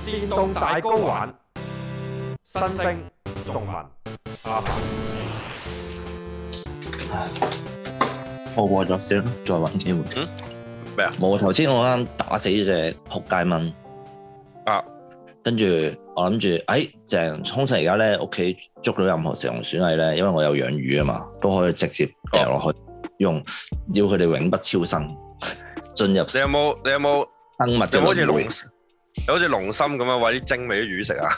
電動大 GO 玩，新星仲文阿凡。 我過咗先，再揾機會。 咩啊？ 冇，頭先我啱打死隻仆街蚊啊！ 跟住我諗住，正通常而家咧屋企捉到任何食用鼠蟻咧，因為我有養魚啊嘛，都可以直接掉落去，用要佢哋永不超生進入。 你有冇生物嘅輪迴？ 有好似龍心咁樣餵啲精俾啲魚食啊！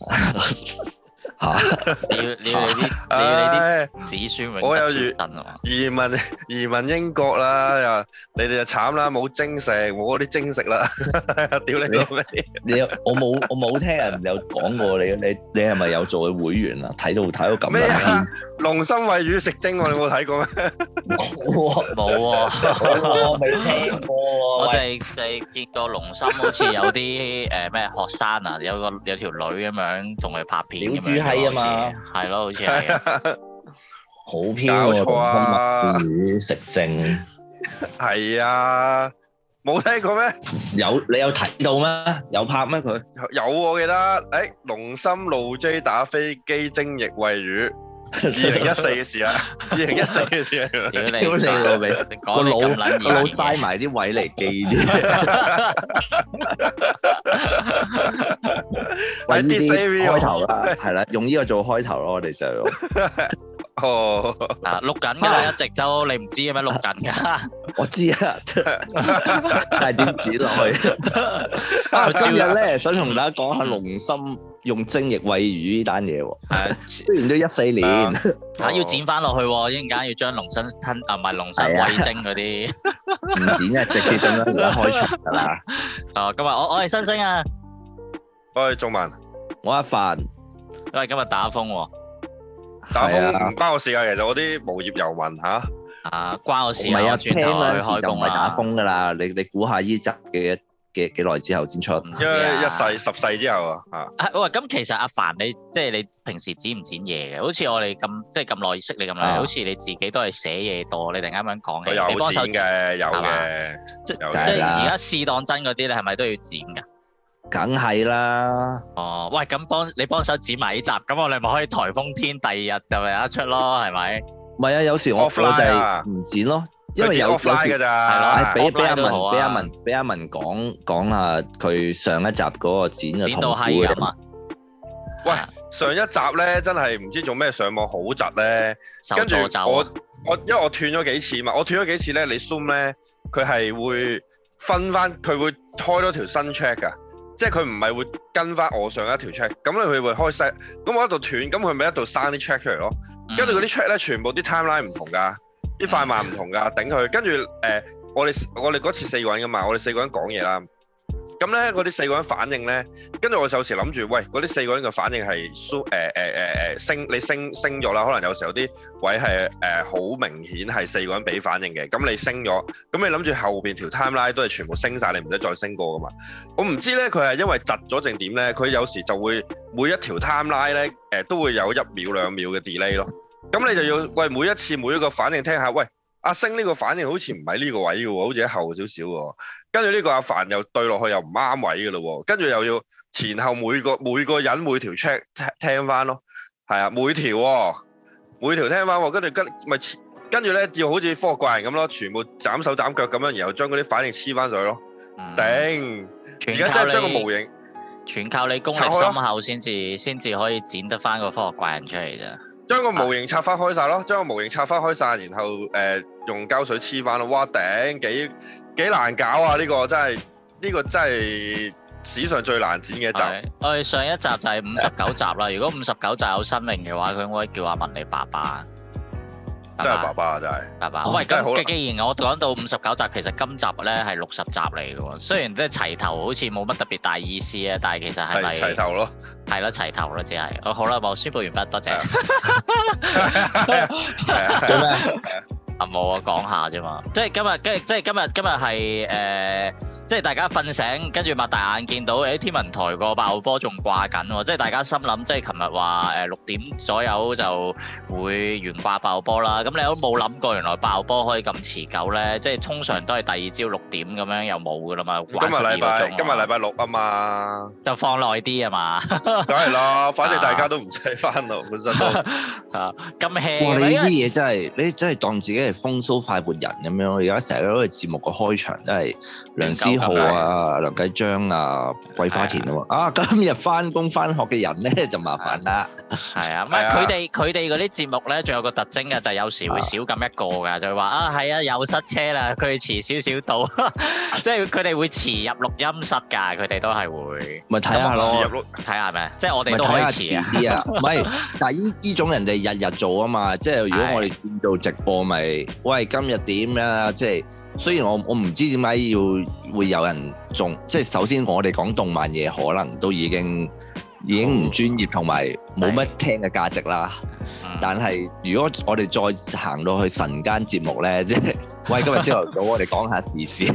你要啲子孫永不超生啊嘛！ 移民英國啦，你哋就慘啦，冇精食，冇嗰啲精食啦，屌你老味！ 我冇聽人有講過你係咪有做會員啊？睇到咁咩啊？龍心餵魚食精，你冇睇過咩？ 冇喎， 我未聽過喎。 我就係見過龍心好似有啲咩學生啊，有條女咁樣同佢拍片咁樣。係啊嘛，係咯，好似係好偏喎，龍心魚食精。 係啊，冇聽過咩？ 你有睇到咩？有拍咩佢？ 有我記得，龍心路 J 打飛機精液餵魚。2014嘅事啊，2014嘅事啊， 屌你老味，個腦嘥埋啲位嚟記啲，揾呢啲開頭啦，係啦，用呢個做開頭咯，我哋就錄緊㗎啦，一直都你唔知嘅咩？錄緊㗎， 我知啊，但係點剪落去？今日咧想同大家講下龍心用精液餵魚呢單嘢喎，雖然都14年， 要剪翻落去喎，一陣間要將龍心吞唔係龍心餵精嗰啲， 唔剪啊，直接咁樣而家開場㗎啦。 今日我係新星啊， 我係仲文， 我阿凡， 因為今日打風喎， 打風唔關我事㗎，其實我啲無業遊民嚇。 關我事啊！ 唔係啊， 轉頭去開工就唔係打風㗎啦，你估下依集嘅幾耐之後先出？ 一世10世之後啊！ 喂，咁其實阿凡你平時剪唔剪嘢嘅？好似我哋咁耐識你咁耐，好似你自己都係寫嘢多。你突然間咁樣講嘅，你幫手剪嘅，有嘅， 即係而家試當真嗰啲，你係咪都要剪㗎？ 梗係啦。 喂，咁你幫手剪埋呢集，咁我哋咪可以颱風天第2日就有得出咯，係咪？ 唔係啊，有時我就係唔剪咯。因為有時㗎咋， 俾阿文講下佢上一集嗰個剪嘅痛苦嘅。 喂，上一集咧真係唔知做咩上網好窒咧，跟住因為我斷咗幾次嘛，我斷咗幾次咧，你 Zoom 咧佢係會分翻，佢會開多條新 track 㗎，即係佢唔係會跟翻我上一條 track，咁佢會開新，咁我一度斷，咁佢咪一度生啲 track 出嚟咯，跟住嗰啲 track 咧全部啲 timeline 唔同㗎。啲快慢唔同㗎，頂佢。跟住我哋嗰次4個人㗎嘛，我哋4個人講嘢啦。咁咧嗰啲4個人反應咧，跟住我有時諗住，喂，嗰啲4個人嘅反應係升咗啦，可能有時候啲位係好明顯係4個人俾反應嘅。咁你升咗，咁你諗住後邊條 timeline 都係全部升晒，你唔使再升過㗎嘛？我唔知咧，佢係因為窒咗定點咧，佢有時就會每一條 timeline 咧都會有1秒2秒嘅 delay 咯。咁你就要每一次每一個反應聽下，喂，阿星呢個反應好似唔係呢個位嘅喎，好似喺後少少喎。跟住呢個阿凡又對落去又唔啱位嘅咯喎，跟住又要前後每個人每條 check 聽翻咯，係啊，每條聽翻喎，跟住咧要好似科學怪人咁咯，全部斬手斬腳咁樣，然後將嗰啲反應黐翻上去咯。頂，而家真係將個模型全靠你功力深厚先至可以剪得翻個科學怪人出嚟咋。 將個模型拆翻開晒咯，然後用膠水黐翻咯。哇頂，幾難搞啊！呢個真係史上最難剪嘅一集。 我哋上一集就係59集啦。如果59集有生命嘅話，佢應該叫阿文你爸爸。 真係爸爸啊！真係爸爸。喂，咁既然我講到59集，其實今集咧係60集嚟嘅喎。雖然即係齊頭好似冇乜特別大意思啊，但係其實係咪齊頭咯？ 係咯，齊頭咯，只係。好啦，我宣佈完畢，多謝。 冇啊，講下啫嘛。即係今日係即係大家瞓醒，跟住擘大眼見到天文台個8號波仲掛緊喎。即係大家心諗，即係琴日話6點左右就會懸掛8號波啦。咁你都冇諗過，原來8號波可以咁持久咧？即係通常都係第二朝6點咁樣又冇噶啦嘛。今日禮拜6啊嘛，就放耐啲啊嘛。 梗係啦，反正大家都唔使翻咯，本身都咁 hea。 哇！你呢啲嘢真係，你真係當自己係風騷快活人咁樣。而家成日嗰個節目個開場都係梁思浩啊、梁繼章啊、桂花田啊嘛。啊，今日翻工翻學嘅人咧就麻煩啦。 係啊，唔係佢哋嗰啲節目咧，仲有個特徵嘅就係有時會少咁一個㗎，就係話啊係啊又塞車啦，佢哋遲少少到，即係佢哋會遲入錄音室㗎，佢哋都係會。 咪睇下咯， 睇下咩？即係我哋都可以遲啊。 唔係，但係呢種人哋日日做啊嘛，即係如果我哋轉做直播咪，喂今日點啊？即係雖然我唔知點解會有人仲，即係首先我哋講動漫嘢可能都已經唔專業同埋冇乜聽嘅價值啦。但係如果我哋再行到去晨間節目咧，即係喂今日朝頭早我哋講下時事。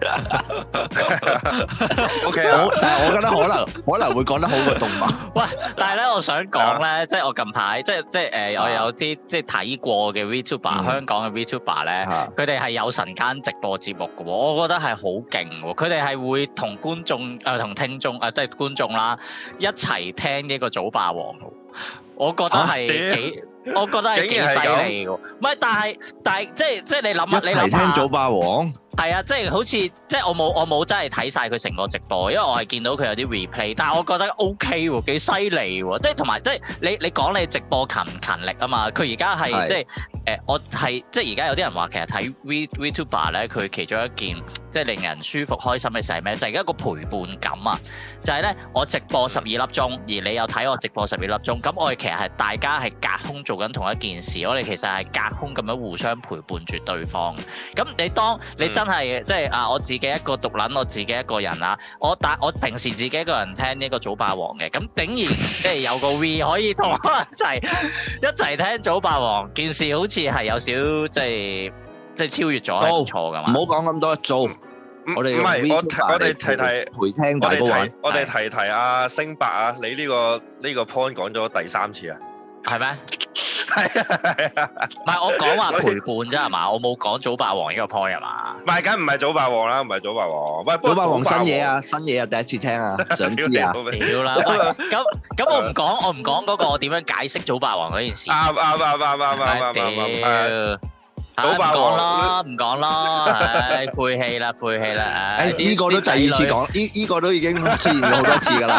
OK， 但係我覺得可能會講得好過動漫。 喂，但係咧，我想講咧，即係我近排即係我有啲即係睇過嘅 VTuber，香港嘅 VTuber 咧，佢哋係有晨間直播節目嘅喎，我覺得係好勁喎。佢哋係會同觀眾同聽眾即係觀眾啦一齊聽呢個早霸王。我覺得係幾犀利喎！唔係，但係即係你諗下， 一齊聽早霸王。 係啊，即係好似即係我冇真係睇晒佢成個直播，因為我係見到佢有啲 replay，但係我覺得 OK 喎，幾犀利喎！即係同埋即係你講你直播勤唔勤力啊嘛？佢而家係即係我係即係而家有啲人話其實睇 VTuber 咧，佢其中一件即係令人舒服開心嘅事係咩？就係一個陪伴感啊！就係咧，我直播12粒鐘，而你又睇我直播12粒鐘，咁我哋其實係大家係隔空做緊同一件事，我哋其實係隔空咁樣互相陪伴住對方。咁你當你真係即係我自己一個獨撚，我自己一個人啦。我平時自己一個人聽呢個早霸王嘅，咁竟然即係有個 V 可以同我一齊聽早霸王，件事好似係有少即係超越咗，係唔錯噶嘛。 唔好講咁多，做我哋我哋提陪聽大哥玩。 我哋提阿星伯啊，你呢個 point 講咗第3次啊， 係咩？係啊，唔係我講話陪伴啫係嘛，我冇講早霸王呢個 point 係嘛？ 唔係，梗唔係早霸王啦，唔係早霸王。喂， 早霸王新嘢啊，第一次聽啊，想知啊？ 屌啦！咁我唔講嗰個我點樣解釋早霸王嗰件事。 啱。 屌！唔講啦，唉，晦氣啦！唉， 呢個都第2次講，呢個都已經出現咗好多次㗎啦。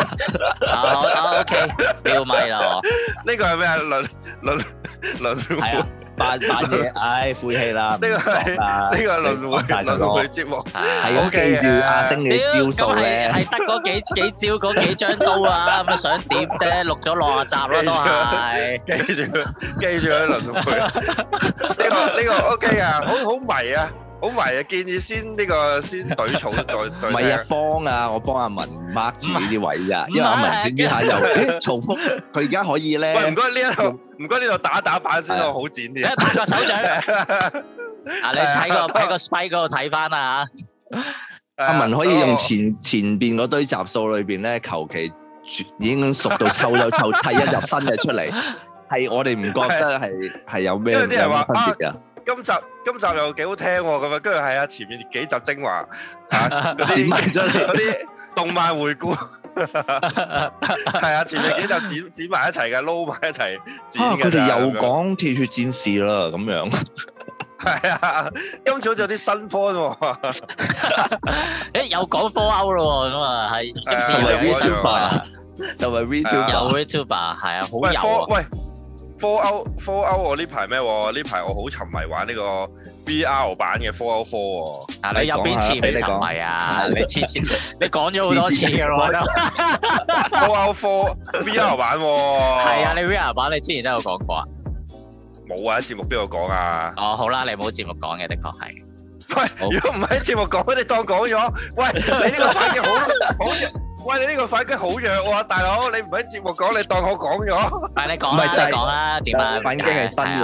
OK，標咪啦， 呢個係咩啊？輪迴扮嘢，唉，晦氣啦！ 呢個係輪迴節目， 係咁記住阿丁嘅招數咧， 係得嗰幾招嗰幾張刀啊！咁想點啫？錄咗60集啦都係， 記住佢輪迴。呢個 OK 啊，好迷啊！好迷啊！建議先懟草再唔係啊，我幫阿文 mark 住呢啲位啊，因為阿文整下又重複，佢而家可以咧。 喂，唔該呢度打板先咯，好剪啲。 拍個手掌。你喺個 spike 嗰度睇翻啊！ 阿文可以用前邊嗰堆集數裏邊咧，求其已經熟到湊砌一入新嘅出嚟，係我哋唔覺得係有咩分別㗎。 今集又幾好聽喎，咁啊，跟住係啊，前面幾集精華剪埋出嚟嗰啲動漫回顧，係啊，前面幾集剪埋一齊嘅，撈埋一齊剪嘅。 佢哋又講鐵血戰士啦，咁樣。 係啊，今次好似有啲新科喎。 有講 Fallout 咯，咁啊係今次有啲新科， 就係 VTuber， 有 VTuber 係啊，好有啊。 喂，Fallout 我呢排咩喎？呢排我好沉迷玩呢個 VR 版嘅 Fallout 4喎。 你有邊次未沉迷啊？你講咗好多次嘅咯。 Fallout 4 VR 版喎。 係啊，你 VR 版你之前都有講過啊？ 冇啊！喺節目邊度講啊？ 哦，好啦，你冇節目講嘅，的確係。 喂，如果唔喺節目講，你當講咗。喂，你呢個反擊好喂，你呢個反擊好弱喎，大佬，你唔喺節目講，你當我講咗。 你講啦，點啊？ 反擊係新嘅，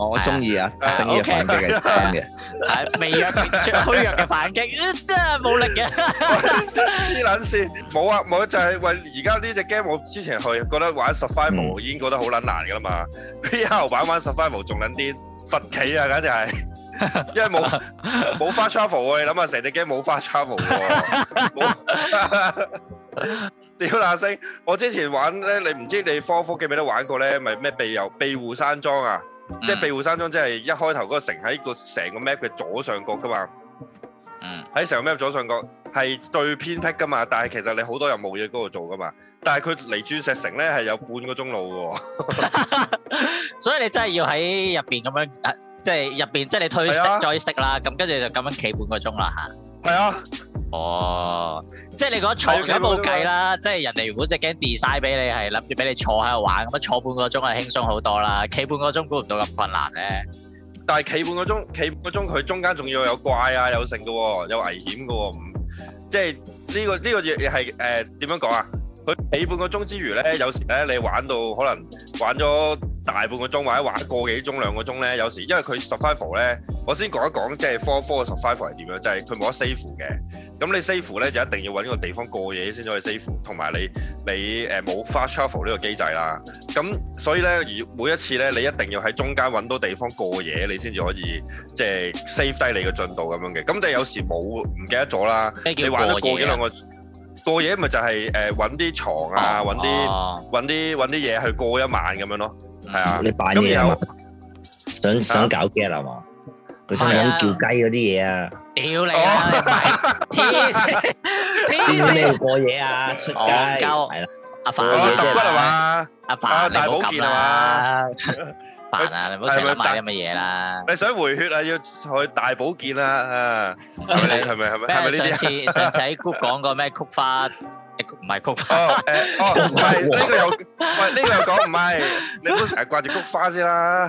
我中意啊，正義嘅反擊係真嘅， 係微弱、虛弱嘅反擊，真係冇力嘅。 黐撚線，冇啊冇，就係為而家呢隻 game，我之前去覺得玩 Survival 已經覺得好撚難㗎啦嘛，VR 版玩 Survival 仲撚啲罰企啊，簡直係，因為冇 fast travel 喎，你諗下成隻 game 冇 fast travel 喎，屌那星！我之前玩咧，你唔知你科記唔記得玩過咧？咪咩庇護山莊啊？即係庇護山莊，即係一開頭嗰個城喺個成個 map 嘅左上角噶嘛。喺成個 map 左上角係最偏僻噶嘛，但係其實你好多任務嘢嗰度做噶嘛。但係佢離鑽石城咧係有半個鐘路嘅喎。 所以你真係要喺入邊咁樣，即係入邊，即係你推 joystick 啦，咁跟住就咁樣企半個鐘啦嚇。係啊。哦，即係你嗰坐都冇計啦，即係人哋如果隻 game design 俾你係諗住俾你坐喺度玩，咁樣坐半個鐘係輕鬆好多啦，企半個鐘估唔到咁困難咧。但係企半個鐘佢中間仲要有怪啊，有剩嘅喎，有危險嘅喎，即係呢個嘢係點樣講啊？佢企半個鐘之餘咧，有時咧你玩到可能玩咗大半個鐘或者玩個幾鐘2個鐘咧，有時因為佢 survival 咧，我先講一講即係科嘅 survival 係點樣，就係佢冇得 save 嘅。咁你 save 咧就一定要揾個地方過夜先可以 save， 同埋你冇 fast travel 呢個機制啦。咁所以咧，每一次咧，你一定要喺中間揾到地方過夜，你先至可以即係 save 低你嘅進度咁樣嘅。咁你有時唔記得咗啦，你玩咗過幾兩個過夜咪就係揾啲床啊，揾啲嘢去過一晚咁樣咯。係啊，你扮嘢啊？想搞 game 啊嘛？佢想叫雞嗰啲嘢啊！屌你啦！黐線，咩要過夜啊？出街係啦，阿凡揼骨係嘛？阿凡大保健係嘛？凡啊，你唔好成日買啲咁嘅嘢啦！你想回血啊？要去大保健啊！係咪呢啲？上次喺 group 講過咩曲花？唔係曲花。唔係呢個又講唔係，你唔好成日掛住菊花先啦。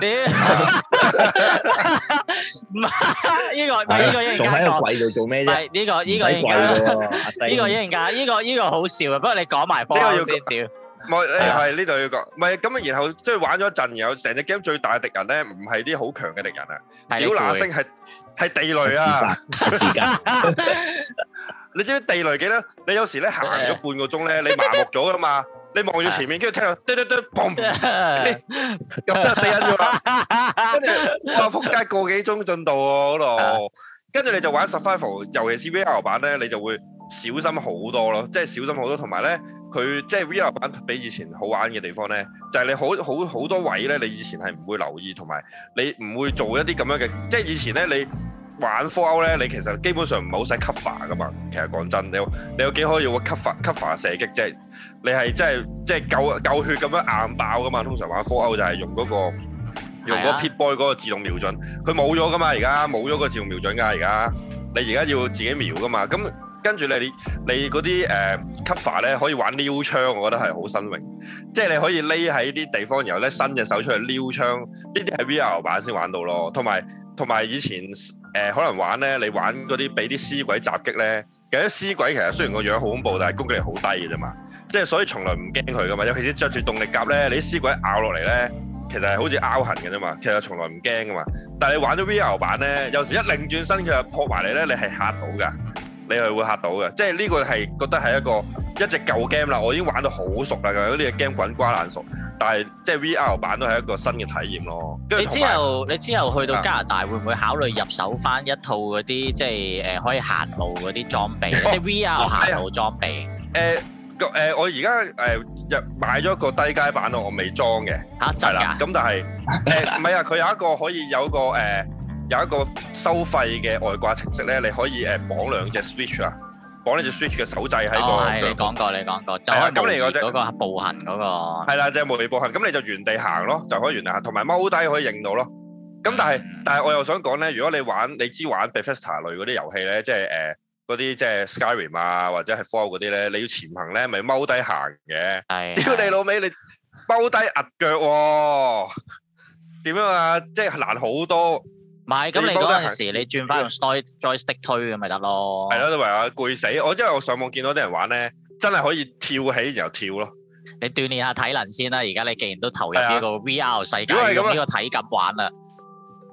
唔係呢個一陣間講。仲喺個櫃度做咩啫？呢個一陣間，呢個好笑啊！不過你講埋科先屌。冇係呢度要講，唔係咁啊。然後即係玩咗一陣，然後成隻 game 最大嘅敵人咧，唔係啲好強嘅敵人啊。屌那星係地雷啊！時間。你知唔知地雷幾多？你有時咧行咗半個鐘咧，你麻木咗噶嘛？你望住前面，跟住聽到嘟嘟嘟，砰！咁就死人咗啦。跟住哇，撲街個幾鐘進度喎嗰度。跟住你就玩 survival， 尤其是 VR 版咧，你就會小心好多咯。即係小心好多，同埋咧，佢即係 VR 版比以前好玩嘅地方咧，就係你好多位咧，你以前係唔會留意，同埋你唔會做一啲咁樣嘅。即係以前咧，你玩 Fallout 咧，你其實基本上唔係好使 cover 噶嘛。其實講真，你有幾可以用 cover 射擊啫？你係即係夠血咁樣硬爆噶嘛。通常玩 Fallout 就係用嗰個Pip-Boy 嗰個自動瞄準，佢冇咗噶嘛。而家冇咗個自動瞄準㗎。而家你而家要自己瞄噶嘛。咁跟住你嗰啲cover 咧可以玩撩槍，我覺得係好新穎。即係你可以匿喺啲地方，然後咧伸隻手出去撩槍，呢啲係 VR 版先玩到咯。同埋以前可能玩咧，你玩嗰啲俾啲屍鬼襲擊咧，其實啲屍鬼其實雖然個樣好恐怖，但係攻擊力好低嘅啫嘛。即係所以從來唔驚佢噶嘛。尤其是着住動力甲咧，你啲屍鬼咬落嚟咧，其實係好似拗痕嘅啫嘛。其實從來唔驚噶嘛。但係你玩咗 VR 版咧，有時一擰轉身佢就撲埋嚟咧，你係嚇到㗎。你係會嚇到嘅，即係呢個係覺得係一隻舊 game 啦，我已經玩到好熟啦，呢隻 game 滾瓜爛熟，但係即係 VR 版都係一個新嘅體驗咯。你之後去到加拿大會唔會考慮入手翻一套嗰啲即係可以行路嗰啲裝備，即係 VR 行路裝備？我而家買咗一個低階版咯，我未裝嘅。嚇，係啦，咁但係唔係啊，佢有一個可以有一個收費嘅外掛程式咧，你可以綁兩隻 Switch 啊，綁呢隻 Switch 嘅手掣喺個。係你講過，就係咁你嗰個步行嗰個。係啦，即係無理步行，咁你就原地行咯，就可以原地行，同埋踎低可以影到咯。咁但係我又想講咧，如果你玩 Bethesda 類嗰啲遊戲咧，即係嗰啲即係 Skyrim 啊，或者係 Fallout 嗰啲咧，你要潛行咧，咪踎低行嘅。係。屌你老味，你踎低壓腳喎？點樣啊？即係難好多。唔係，咁你嗰陣時你轉翻用 joystick 推咁咪得咯。係咯，都話攰死我，因為我上網見到啲人玩咧，真係可以跳起然後跳咯。你鍛鍊下體能先啦。而家你既然都投入呢個 VR 世界，用呢個體感玩啦。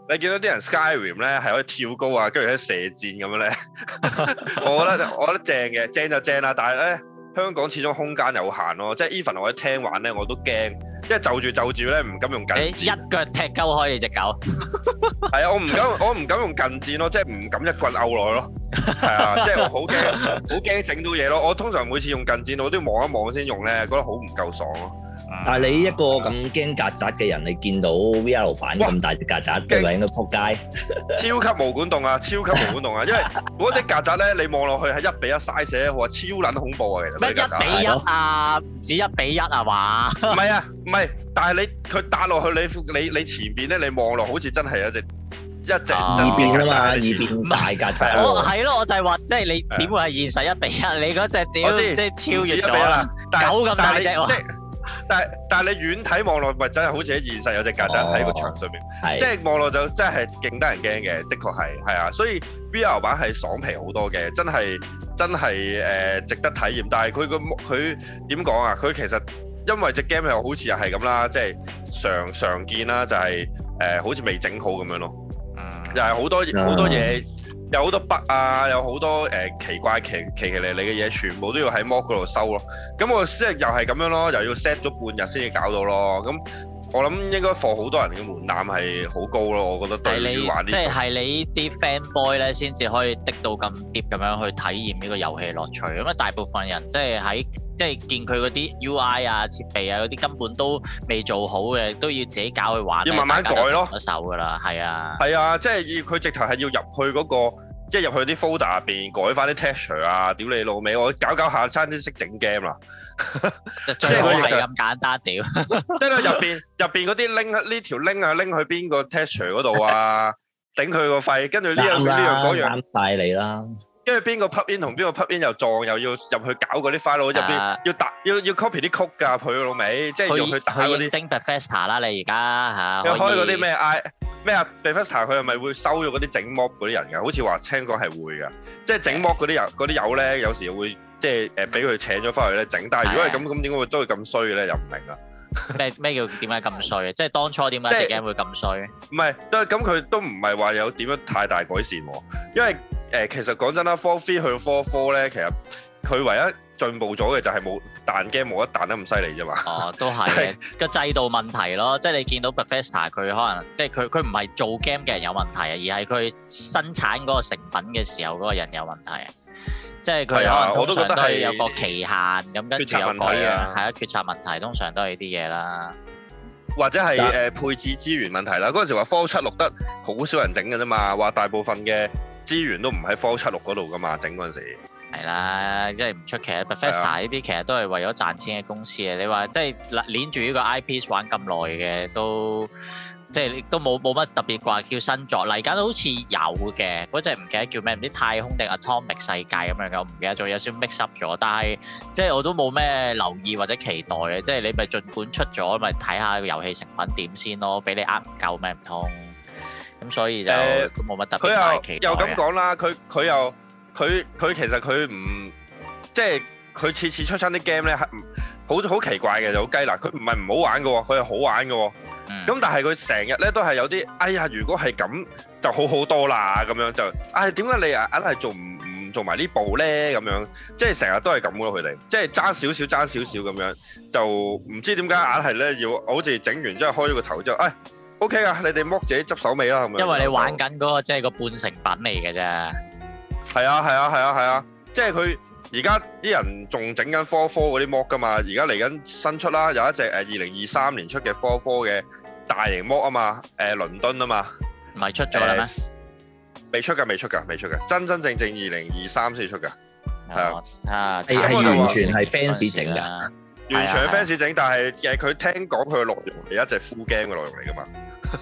你見到啲人 Skyrim 咧係可以跳高啊，跟住喺射箭咁樣咧，我覺得正嘅，正就正啦。但係咧香港始終空間有限咯，即係 even 我喺廳玩咧我都驚，因為就住咧唔敢用近戰。 一腳踢鳩開你隻狗。 係啊，我唔敢用近戰咯，即係唔敢一棍毆落去咯。係啊，即係我好驚整到嘢咯。我通常每次用近戰我都要望一望先用咧，覺得好唔夠爽咯。 但係你一個咁驚曱甴嘅人，你見到 VR 版咁大隻曱甴，你咪應該撲街。 超級毛管戙啊！超級毛管戙啊！因為嗰隻曱甴咧，你望落去係1:1 size 咧，我話超撚恐怖啊！其實咩1:1啊？唔止1:1啊嘛？ 唔係，但係佢打落去你前邊咧，你望落好似真係一隻異變啊嘛，異變大曱甴。 我係咯，我就係話，即係你點會係現實1:1？你嗰隻屌即係超越咗啦，狗咁大隻喎。 但係你遠睇望落，咪真係好似喺現實有隻曱甴喺個牆上面，即係望落就真係勁得人驚嘅，的確係啊，所以 VR 版係爽皮好多嘅，真係值得體驗。但係佢點講啊？佢其實因為隻 game 又好似又係咁啦，即係常見啦，就係好似未整好咁樣咯，又係好多嘢。有好多 bug 啊，有好多奇怪奇離離嘅嘢，全部都要喺 mod 嗰度收咯。咁我即係又係咁樣咯，又要 set 咗半日先至搞到咯。咁我諗應該放好多人嘅門檻係好高咯。我覺得對於玩呢， 即係你啲 fanboy 咧，先至可以滴到咁 deep 咁樣去體驗呢個遊戲樂趣。咁啊，大部分人即係見佢嗰啲 UI 啊、設備啊嗰啲根本都未做好嘅，都要自己搞去玩， 要慢慢改咯。 一手㗎啦，係啊， 即係佢直頭係要入去嗰個，即係入去啲 folder 入邊改翻啲 texture 啊！屌你老味，我搞下差啲識整 game 啦。 即係佢係咁簡單屌。 即係入邊嗰啲呢條 link 啊，拎去邊個 texture 嗰度啊？頂佢個肺，跟住呢樣嗰樣啱晒你啦。 跟住邊個 plug in 同邊個 plug in 又撞，又要入去搞嗰啲 file 入邊，要 copy 啲曲㗎，佢老味，即係要去打嗰啲。 整 Bethesda 啦，你而家嚇。 要開嗰啲咩Bethesda 佢係咪會收咗嗰啲整 mob 嗰啲人㗎？好似話聽講係會㗎，即係整 mob 嗰啲友咧，有時會即係俾佢請咗翻去咧整。但係如果係咁點解會都會咁衰嘅咧？又唔明啊！ 咩叫點解咁衰？即係當初點解隻 game 會咁衰？ 唔係，咁佢都唔係話有點樣太大改善喎，因為其實講真啦 ，4.3 去到 4.4咧，其實佢唯一進步咗嘅就係冇彈 game 冇得彈得咁犀利啫嘛。 哦，都係嘅個制度問題咯，即係你見到 Bethesda 佢可能即係佢唔係做 game 嘅人有問題啊，而係佢生產嗰個成品嘅時候嗰個人有問題啊。即係佢可能通常都係有個期限咁，跟住又改樣，係啊，決策問題通常都係呢啲嘢啦。 或者係配置資源問題啦。嗰陣時話 Fallout 76得好少人整嘅啫嘛，話大部分嘅資源都唔喺 Fallout 76嗰度噶嘛，整嗰陣時。係啦，即係唔出奇啊 Bethesda 呢啲其實都係為咗賺錢嘅公司啊。你話即係攣住呢個 IP 玩咁耐嘅都。即係都冇乜特別話叫新作嚟緊，好似有嘅嗰隻唔記得叫咩，唔知太空定 Atomic 世界咁樣嘅，我唔記得咗，有少少 mix up 咗。但係即係我都冇咩留意或者期待嘅，即係你咪儘管出咗咪睇下個遊戲成品點先咯，俾你唔夠咩唔通？咁所以就都冇乜特別大期待。 又咁講啦，佢其實佢唔即係佢次次出親啲 game 咧，好奇怪嘅就好雞嗱，佢唔係唔好玩嘅喎，佢係好玩嘅喎。咁但係佢成日咧都係有啲，哎呀，如果係咁就好好多啦咁樣就，點解你硬係唔做埋呢步咧咁樣？即係成日都係咁咯，佢哋即係爭少少咁樣，就唔知點解硬係咧要好似整完之後開咗個頭之後，OK 啊，你哋剝自己執手尾啦咁樣。 因為你玩緊嗰個即係個半成品嚟嘅啫。係啊，即係佢。而家啲人仲整緊4.4嗰啲 mod 㗎嘛，而家嚟緊新出啦，有一隻2023年出嘅4.4嘅大型 mod 啊嘛，倫敦啊嘛， 唔係出咗啦咩？ 未出㗎，真正2023先出㗎，係啊， 係完全係 fans 整㗎， 完全係 fans 整，但係佢聽講佢嘅內容係一隻 full game 嘅內容嚟㗎嘛。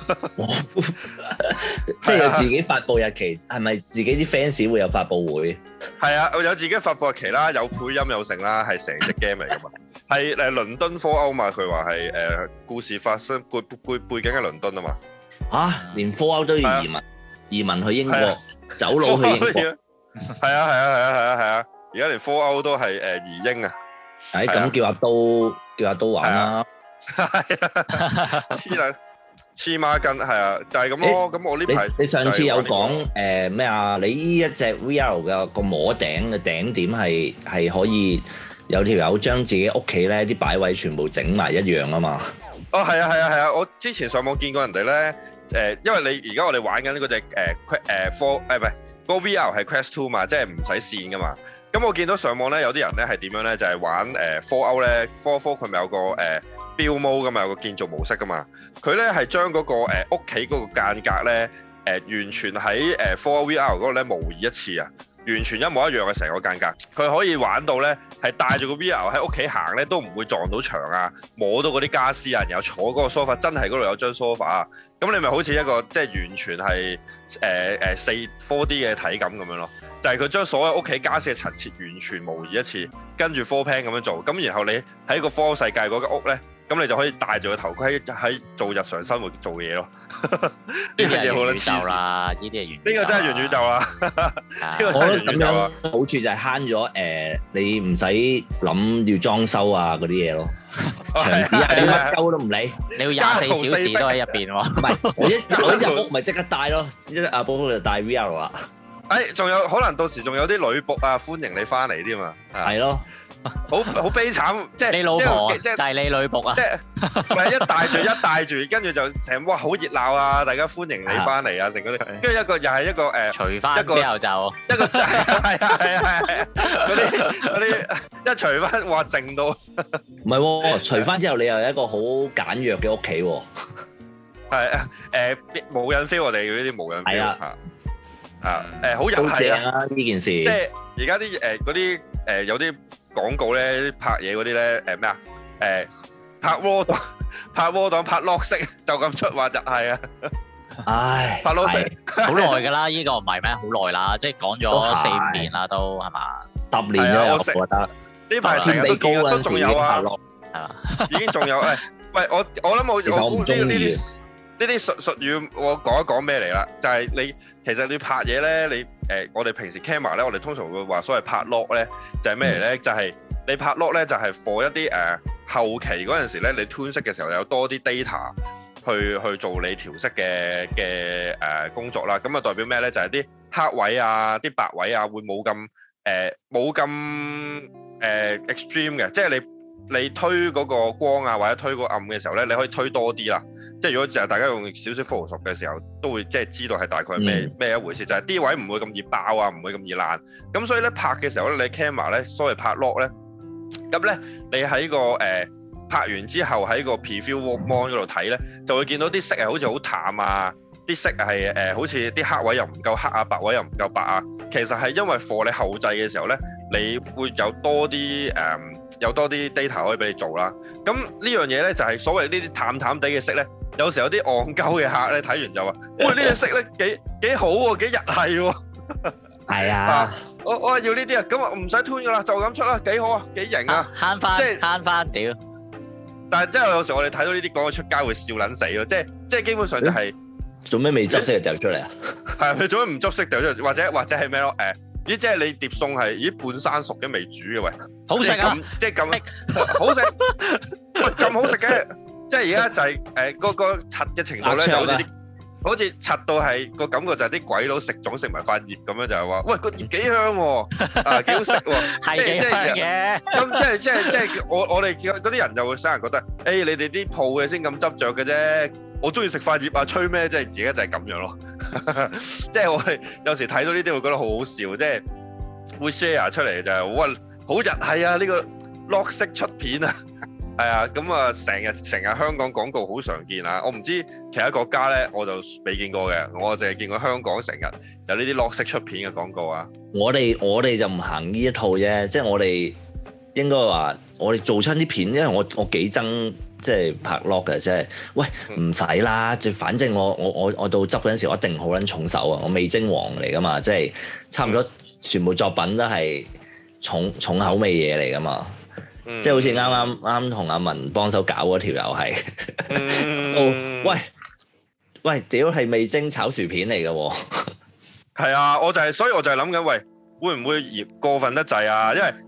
即係有自己發佈日期，係咪自己啲 fans 會有發佈會？ 係啊，有自己發佈日期啦，有配音有成啦，係成隻 game 嚟噶嘛。係倫敦4.0嘛，佢話係故事發生背景喺倫敦啊嘛。 嚇，連4.0都要移民去英國，走佬去英國。 係啊，而家連4.0都係移英啊。咁叫阿刀玩啦。 係啊， 黐孖筋係啊，就係咁咯。咁我呢排你上次有講咩啊？你呢一隻 VR 嘅個摸頂嘅頂點係可以有條友將自己屋企咧啲擺位全部整埋一樣啊嘛。 哦，係啊！我之前上網見過人哋咧，因為你而家我哋玩緊嗰隻個 VR 係 Quest 2嘛，即係唔使線噶嘛。咁我見到上網咧有啲人咧係點樣咧，就係玩Fallout咧，Fallout佢咪有個build mode噶嘛，有個建造模式噶嘛。佢咧係將嗰個屋企嗰個間隔咧完全喺Fallout VR 嗰度咧模擬一次啊！完全一模一樣嘅成個間隔，佢可以玩到咧係帶住個 VR 喺屋企行咧都唔會撞到牆啊，摸到嗰啲家私啊，然後坐嗰個 sofa 真係嗰度有張 sofa 啊，咁你咪好似一個即係完全係4D 嘅體感咁樣咯，就係佢將所有屋企家私嘅陳設完全模擬一次，跟住 floor plan 咁樣做，咁然後你喺個科世界嗰間屋咧。咁你就可以戴住個頭盔喺做日常生活做嘢咯。呢樣嘢好撚黐線啦！呢啲係元宇宙。 呢個真係元宇宙啦！呢個真係元宇宙啊！ 好處就係慳咗你唔使諗要裝修啊嗰啲嘢咯。牆紙你乜鳩都唔理， 你要24小時都喺入邊喎。唔係， 我一入屋咪即刻戴咯，阿寶就戴 VR 啦。 仲有可能到時仲有啲女僕啊，歡迎你翻嚟添嘛。 係咯。 好悲慘，即係你老婆就係你女僕啊！ 即係唔係一帶住，跟住就成哇好熱鬧啊！大家歡迎你翻嚟啊！成嗰啲，跟住一個又係一個除翻之後就一個係嗰啲一除翻哇靜到唔係喎，除翻之後你又有一個好簡約嘅屋企喎。 係無印 feel 我哋嗰啲無印 feel 好都正啊呢件事。 即係而家啲嗰啲有啲。廣告咧拍嘢嗰啲咧咩啊拍窩檔拍 lock 式就咁出話就係啊， 唉拍 lock 式好耐㗎啦，呢個唔係咩？好耐啦，即係講咗4-5年啦，都係嘛 ？10年咗我覺得呢排成日都見都仲有啊， 係嘛？ 已經仲有喂我諗我估呢啲術語我講一講咩嚟啦？就係你其實你拍嘢咧，你我哋平時 camera 咧，我哋通常會話所謂拍 lock 咧，就係咩嚟咧？就係你拍 lock 咧，就係 for 一啲後期嗰陣時咧，你 tune 色嘅時候有多啲 data 去做你調色嘅工作啦。咁啊代表咩咧？就係啲黑位啊、啲白位啊，會冇咁extreme 嘅，即係你推嗰個光啊，或者推個暗嘅時候咧，你可以推多啲啦。即係如果就係大家用少少 Photoshop 嘅時候，都會即係知道係大概係咩一回事。就係啲位唔會咁易爆啊，唔會咁易爛。咁所以咧拍嘅時候咧，你 camera 咧，所謂拍 lock 咧，咁咧你喺個拍完之後喺個 preview mon 嗰度睇咧，就會見到啲色係好似好淡啊，啲色係好似啲黑位又唔夠黑啊，白位又唔夠白啊。其實係因為 for 你後製嘅時候咧，你會有多啲data 可以俾你做啦。咁呢樣嘢咧就係所謂呢啲淡淡地嘅色咧，有時有啲戇鳩嘅客咧睇完就話：喂，呢隻色咧幾好喎，幾日系喎。 係啊， 我要呢啲啊，咁啊唔使 tune 噶啦，就咁出啦，幾好啊，幾型啊， 慳翻，即係慳翻屌！ 但係即係有時我哋睇到呢啲講出街會笑撚死咯，即係基本上就係做咩未執色就掉出嚟啊？ 係佢做咩唔執色掉出嚟？或者係咩咯？咦，即係你碟餸係半生熟嘅未煮嘅喂， 好食啊！ 即係咁好食，咁好食嘅，即係而家就係嗰個柒嘅程度咧，就好似柒到係個感覺就係啲鬼佬食粽食埋塊葉咁樣，就係話喂個葉幾香喎，幾好食喎， 係幾香嘅。 咁即係我哋嗰啲人就會使人覺得，你哋啲鋪嘅先咁執着嘅啫，我中意食塊葉啊，吹咩？即係而家就係咁樣咯。即係我哋有時睇到呢啲會覺得好好笑，即係會 share 出嚟就係哇好日系啊！呢個 lock 式出片啊，係啊，咁啊成日香港廣告好常見啊！我唔知其他國家咧，我就未見過嘅，我淨係見過香港成日有呢啲 lock 式出片嘅廣告啊。我哋就唔行呢一套啫，即係我哋應該話我哋做親啲片，因為我幾憎。即係拍 lock 嘅，即係喂唔使啦，就反正我到執嗰陣時，我一定好撚重手啊！我味精王嚟噶嘛，即係差唔多全部作品都係重口味嘢嚟噶嘛，即係好似啱同阿文幫手搞嗰條友係，喂屌係味精炒薯片嚟嘅喎， 係啊，所以我就係諗緊喂。會唔會過分得滯啊？因為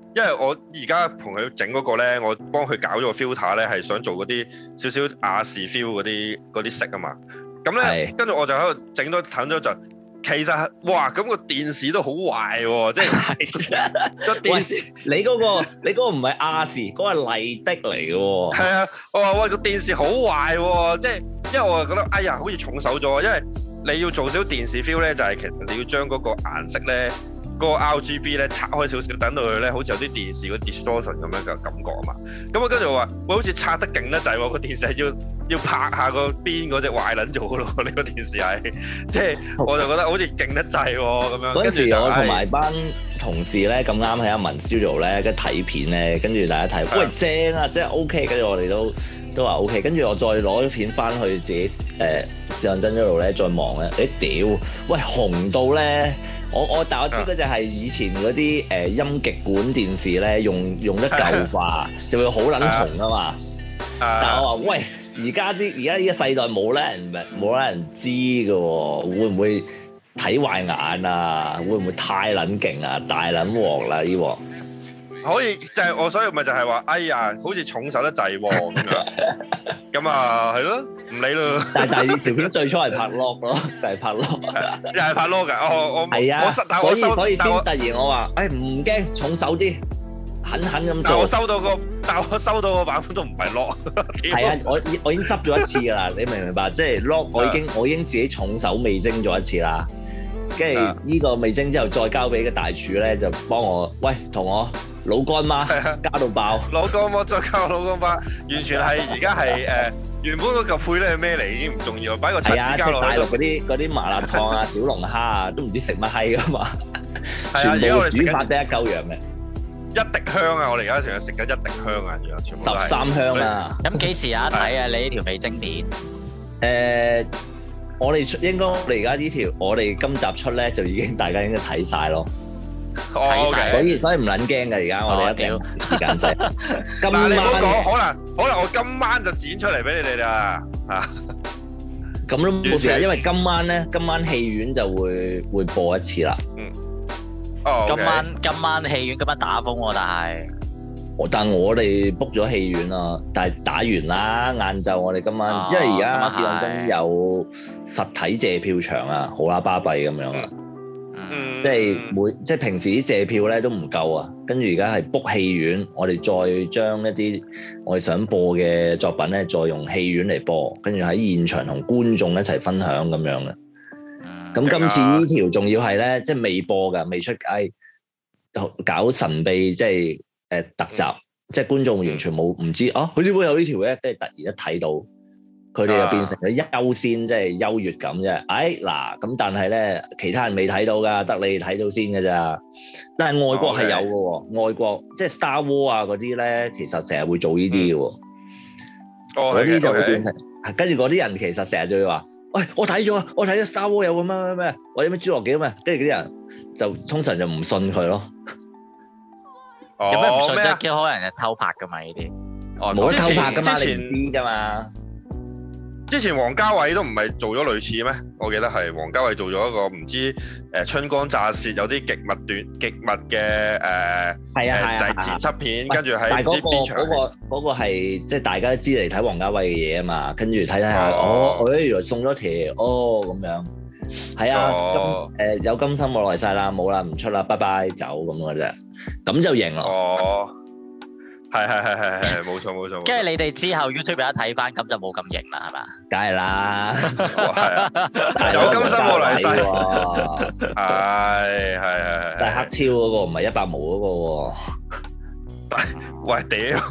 因為我而家同佢整嗰個咧，我幫佢搞咗個 filter 咧，係想做嗰啲少少亞視 feel 嗰啲色啊嘛。咁咧，跟住我就喺度整咗等咗陣。其實哇，咁個電視都好壞喎，即係個電視。你嗰個唔係亞視，嗰個係麗的嚟嘅喎。係啊，我話喂個電視好壞喎，即係因為我就覺得哎呀，好似重手咗，因為你要做少電視 feel 咧，就係其實你要將嗰個顏色咧。嗰個 RGB 咧拆開少少，等到佢咧好似有啲電視嗰 distortion 咁樣嘅感覺啊嘛。咁我跟住我話，喂，好似拆得勁得滯喎，個電視係要拍下個邊嗰隻壞撚咗咯。呢個電視係，即係我就覺得好似勁得滯喎咁樣。嗰陣時我同埋班同事咧咁啱喺阿文 studio 咧，跟住睇片咧，跟住大家睇，喂正啊，即係 OK，跟住我哋都話 OK，跟住我再攞啲片翻去自己視像真嗰度咧再望咧，屌，喂紅到咧！但我知嗰隻係以前嗰啲音極管電視咧，用得舊化就會好撚紅啊嘛。但係我話喂，而家呢個世代冇人知㗎喎，會唔會睇壞眼啊？會唔會太撚勁啊？大撚鑊啦呢鑊！可以就係我，所以咪就係話，哎呀，好似重手得滯喎咁樣。咁啊，係咯，唔理咯。但係條片最初係拍 log 咯，就係拍 log，又係拍 log 㗎。我係啊，所以先突然我話，誒唔驚，重手啲，狠咁做。但我收到個版本都唔係 log。係啊，我已經執咗一次㗎啦，你明唔明白？即係 log，我已經自己重手味精咗一次啦。跟住呢個味精之後，再交俾個大廚咧，就幫我，喂，同我。老乾媽加到爆，老乾媽再加老乾媽，完全係而家係原本嗰嚿配咧係咩嚟已經唔重要，擺個叉子加落去。大陸嗰啲麻辣燙啊、小龍蝦啊，都唔知食乜閪噶嘛，全部煮法得一嚿樣嘅。一滴香啊！我哋而家成日食緊一滴香啊，全部13香啊！咁幾時有得睇啊？你呢條味精片？我哋而家呢條，我哋今集出咧就已經大家應該睇晒咯。睇晒，所以唔撚驚㗎，而家我哋一定時間制。今晚你唔好講，可能我今晚就剪出嚟俾你哋啦嚇。咁都冇事啊，因為今晚戲院就會播一次啦。今晚戲院打風喎，但係我哋 book 咗戲院啦，但係打完啦，晏晝我哋今晚，因為而家試當真有實體借票場啊，好啦巴閉咁樣啊。即係平時啲借票咧都唔夠啊，跟住而家係 book 戲院，我哋再將一啲我哋想播嘅作品咧，再用戲院嚟播，跟住喺現場同觀眾一齊分享咁樣嘅。咁今次呢條仲要係咧，即係未播㗎，未出街，搞神秘，即係特集，即係觀眾完全冇唔知啊，佢點會有呢條嘅？跟住突然一睇到。佢哋就變成咗優先，即係優越感啫。嗱，咁但係咧，其他人未睇到㗎，得你睇到先㗎咋。但係外國係有嘅喎，外國即係 Star Wars 啊嗰啲咧，其實成日會做呢啲嘅喎。嗰啲就會變成，跟住嗰啲人其實成日就會話：喂，我睇咗Star Wars 有個咩，我有咩侏羅紀啊嘛。跟住嗰啲人就通常就唔信佢咯。有咩唔信啫？可能係偷拍㗎嘛呢啲。冇得偷拍㗎嘛，你唔知㗎嘛。之前王家衛都唔係做咗類似咩？我記得係王家衛做咗一個唔知春光乍泄有啲極密嘅就係剪輯片，跟住喺唔知邊場。嗰個係即係大家都知嚟睇王家衛嘅嘢啊嘛，跟住睇下原來送咗條咁樣。係啊，有金心我來晒啦，冇啦唔出啦，拜拜走咁嘅啫，咁就贏咯。係，冇錯。跟住你哋之後 YouTube 有得睇翻，咁就冇咁型啦，係嘛？梗係啦，係有金心我來世喎，係。但係黑超嗰個唔係100毛嗰個喎。喂屌！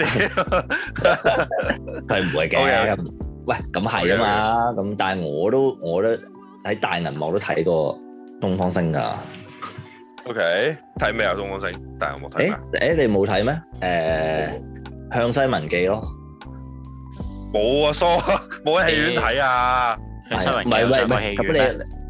佢唔會嘅。喂，咁係啊嘛，咁但係我都喺大銀幕都睇過東方星㗎。OK， 睇咩啊？東方星，但係我冇睇。你冇睇咩？向西文記咯。冇啊，疏冇喺戲院睇啊。向西文記上過戲院咩？咁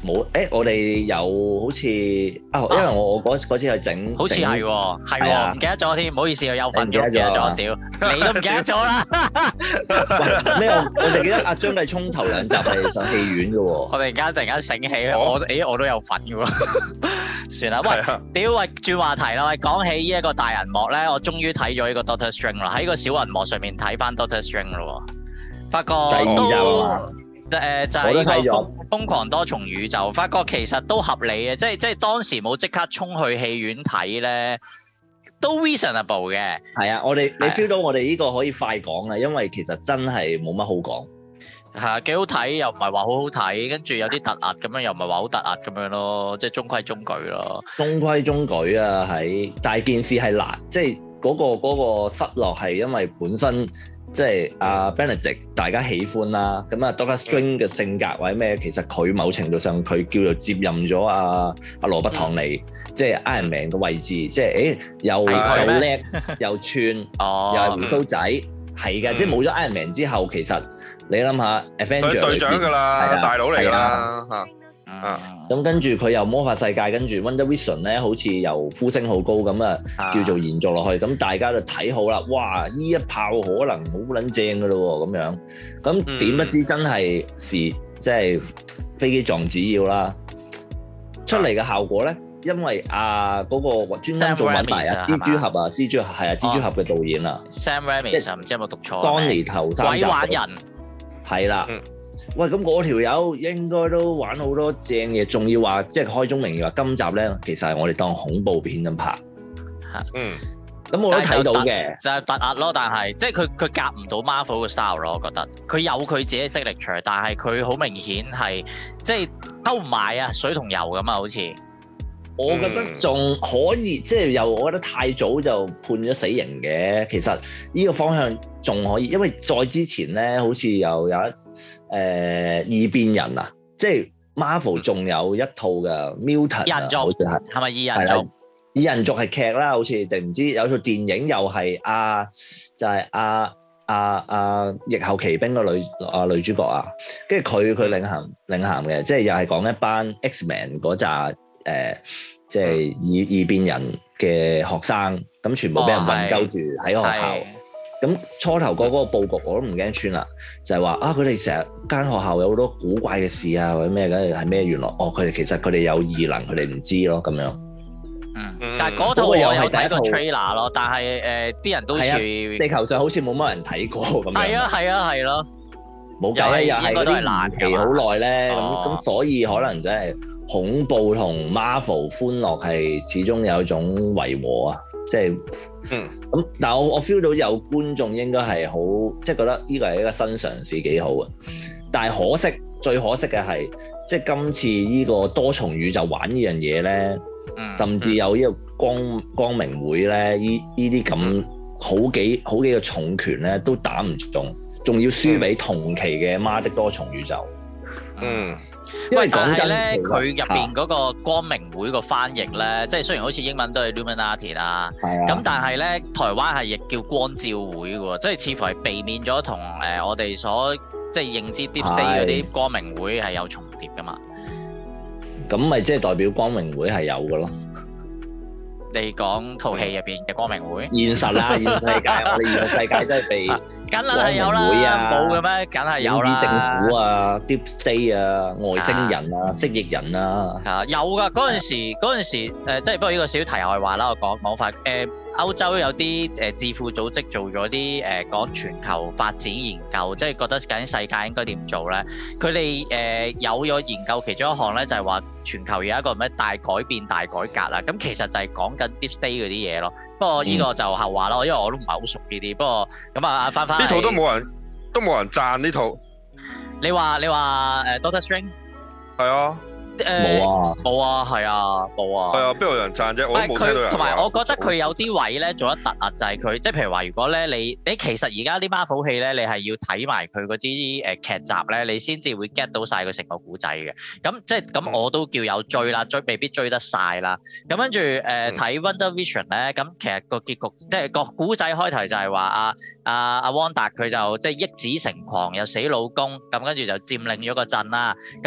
冇我哋有好似因為我嗰次去整， 好似係喎，係喎，唔記得咗添，唔好意思，我有份嘅，唔記得咗，屌，你都唔記得咗啦。 咩？我哋記得阿張繼聰頭2集係上戲院嘅喎。 我突然間醒起，我都有份嘅喎。算啦，喂，屌，喂，轉話題啦，喂，講起呢一個大銀幕咧，我終於睇咗呢個 Doctor Strange 啦，喺個小銀幕上面睇翻 Doctor Strange 咯，發覺就係呢個瘋狂多重宇宙，發覺其實都合理嘅，即係當時冇即刻衝去戲院睇咧，都 reasonable 嘅。係啊， 你 feel 到我哋呢個可以快講啊，因為其實真係冇乜好講。 係啊，幾好睇又唔係話好好睇，跟住有啲突兀咁樣，又唔係話好突兀咁樣咯，即係中規中矩咯。中規中矩啊，但係件事係難，即係嗰個失落係因為本身。即係阿 Benedict 大家喜歡啦，咁啊 Doctor Strange 嘅性格或者咩，其實佢某程度上佢叫做接任咗阿羅伯唐尼，即係 Iron Man 嘅位置，即係又夠叻又串，又係鬍鬚仔，係嘅，即係冇咗 Iron Man 之後，其實你諗下 Avenger 佢隊長㗎啦，大佬嚟㗎啦嚇。 咁跟住佢又魔法世界，跟住 Wonder Vision 咧，好似又呼聲好高咁啊，叫做延續落去。咁大家就睇好啦，哇！依一炮可能好撚正噶咯喎，咁樣。咁點不知真係即係飛機撞紙鷂啦。出嚟嘅效果咧，因為嗰個專登做品牌蜘蛛俠蜘蛛俠嘅導演啊 ，Sam Raimi 唔知有冇讀錯 Donnie 頭3集。鬼玩人係啦。喂，咁嗰條友應該都玩好多正嘢，仲要話即係開宗明義話今集咧，其實係我哋當恐怖片咁拍。咁我都睇到嘅， 就係突兀咯，但係即係佢夾唔到 Marvel 嘅 style 咯，我覺得佢有佢自己嘅 signature，但係佢好明顯係即係溝唔埋啊，水同油咁啊，好似。 我覺得仲可以，即係又我覺得太早就判咗死刑嘅。其實呢個方向仲可以，因為再之前咧，好似又有異變人啊，即係 Marvel 仲有一套嘅 Mutant 異人族，係咪異人族？ 異人族係劇啦，好似定唔知有套電影又係就係逆後奇兵個女主角啊，跟住佢領銜嘅，即係又係講一班 X-Men 嗰扎即係異變人嘅學生，咁全部俾人困鳩住喺學校。咁初頭嗰個佈局我都唔驚穿啦，就係話佢哋成日間學校有好多古怪嘅事啊，或者咩嘅係咩？原來佢哋其實佢哋有異能，佢哋唔知咯咁樣。 但係嗰套我有睇過 trailer 咯，但係啲人都似地球上好似冇乜人睇過咁樣。係咯，冇計啊，又係嗰啲延期好耐咧，咁所以可能真係恐怖同 Marvel 歡樂係始終有一種違和啊，即係咁。但係我 feel 到有觀眾應該係好，即係覺得呢個係一個新嘗試幾好啊。但係最可惜嘅係，即係今次呢個多重宇宙玩呢樣嘢咧，甚至有呢個光明會咧，呢啲咁好幾個重拳咧都打唔中，仲要輸俾同期嘅媽的多重宇宙。因為講真咧， 佢入邊嗰個光明會個翻譯咧，即係雖然好似英文都係 Illuminati 啦，咁但係咧台灣係亦叫光照會喎，即係似乎係避免咗同我哋所即係認知 Deep State 嗰啲光明會係有重疊噶嘛。 咁咪即係代表光明會係有嘅咯。 你講套戲入邊嘅光明會？ 現實啦，現實世界，我哋現實世界都係被梗係有啦，冇嘅咩？梗係有啦。 政府啊 ，Deep State 啊，外星人啊，蜥蜴人啊， 有㗎。嗰陣時即係不過呢個小題外話啦，我講法歐洲有啲智庫組織做咗啲講全球發展研究，即係覺得究竟世界應該點做咧？佢哋有咗研究其中一項咧，就係話全球有一個咩大改變、大改革啦。咁其實就係講緊 Deep State 嗰啲嘢咯。不過呢個就後話咯，因為我都唔係好熟呢啲。不過咁啊，翻呢套都冇人讚呢套。 你話Doctor Strange 係啊。 冇啊，係啊，冇啊。 係啊，邊度有人讚啫？我都冇聽到人。 同埋我覺得佢有啲位咧做得突兀，就係佢即係譬如話，如果咧你其實而家啲 Marvel 戲咧，你係要睇埋佢嗰啲劇集咧，你先至會 get 到晒佢成個古仔嘅。咁即係咁，我都叫有追啦，未必追得晒啦。咁跟住睇 Wonder Vision 咧，咁其實個結局即係個古仔開頭就係話阿汪達佢就即係憶子成狂，又死老公，咁跟住就佔領咗個鎮啦。咁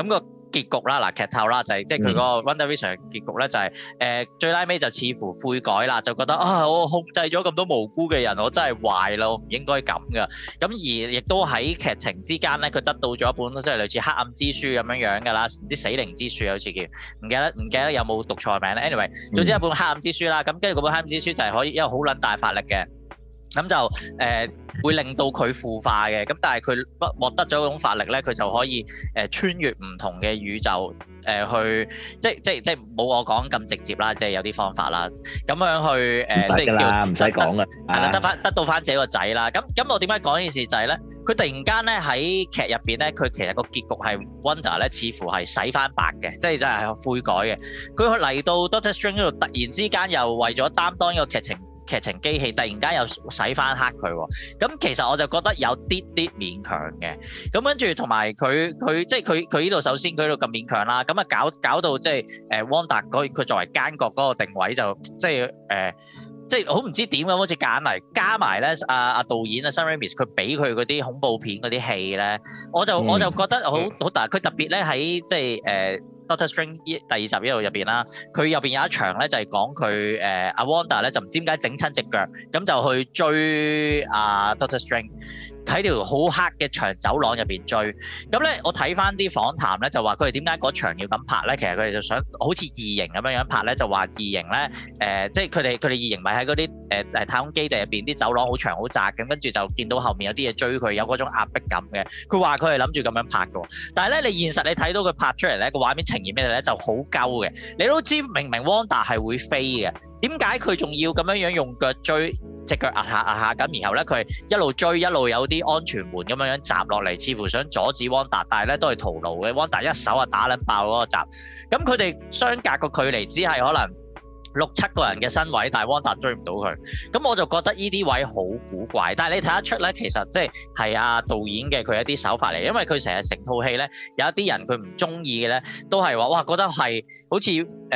結局啦，嗱劇透啦，就係即係佢嗰個 WandaVision 嘅結局咧，就係最拉尾就似乎悔改啦，就覺得我控制咗咁多無辜嘅人，我真係壞啦，我唔應該咁噶。咁而亦都喺劇情之間咧，佢得到咗一本即係類似黑暗之書咁樣樣噶啦，唔知死靈之書好似叫，唔記得有冇讀錯名咧。Anyway， 總之一本黑暗之書啦，咁跟住嗰本黑暗之書就係可以一個好撚大法力嘅。咁就會令到佢腐化嘅，咁但係佢獲得咗嗰種法力咧，佢就可以穿越唔同嘅宇宙去，即冇我講咁直接啦，即係有啲方法啦，咁樣去即係叫唔使講啦，係啦，得到翻自己個仔啦。咁我點解講呢件事就係咧，佢突然間咧喺劇入邊咧，佢其實個結局係 Wanda 咧，似乎係洗翻白嘅，即係真係悔改嘅。佢嚟到 Doctor Strange 嗰度，突然之間又為咗擔當一個劇情機器，突然間又洗翻黑佢喎，咁其實我就覺得有啲勉強嘅，咁跟住同埋佢即係佢呢度首先佢呢度咁勉強啦，咁啊搞到即係Wanda佢作為奸角嗰個定位就即係好唔知點咁，好似揀嚟加埋咧阿導演啊 Sam Raimi 佢俾佢嗰啲恐怖片嗰啲戲咧，我就覺得好大，佢特別咧喺即係Doctor Strange 第二集呢度入邊啦，佢入邊有一場咧就係講佢阿 Wanda 咧就唔知點解整親隻腳，咁就去追阿 Doctor Strange 喺條好黑嘅長走廊入邊追，咁咧我睇翻啲訪談咧就話佢哋點解嗰場要咁拍咧，其實佢哋就想好似異形咁樣拍咧，就話異形咧即係佢哋異形咪喺嗰啲太空基地入邊啲走廊好長好窄咁，跟住就見到後面有啲嘢追佢，有嗰種壓迫感嘅。佢話佢係諗住咁樣拍嘅，但係咧你現實你睇到佢拍出嚟咧個畫面呈現咩咧就好鳩嘅，你都知明明 Wanda 係會飛嘅，點解佢仲要咁樣用腳追？隻腳壓下咁，然後咧佢一路追一路有啲安全門咁樣閘落嚟，似乎想阻止 Wanda，但係咧都係徒勞嘅。Wanda 一手打撚爆嗰個閘，咁佢哋相隔個距離只係可能6-7個人嘅身位，但係 Wanda 追唔到佢，咁我就覺得呢啲位好古怪。但係你睇得出咧，其實即係阿導演嘅佢一啲手法嚟，因為佢成日成套戲咧有一啲人佢唔中意嘅咧，都係話哇覺得係好似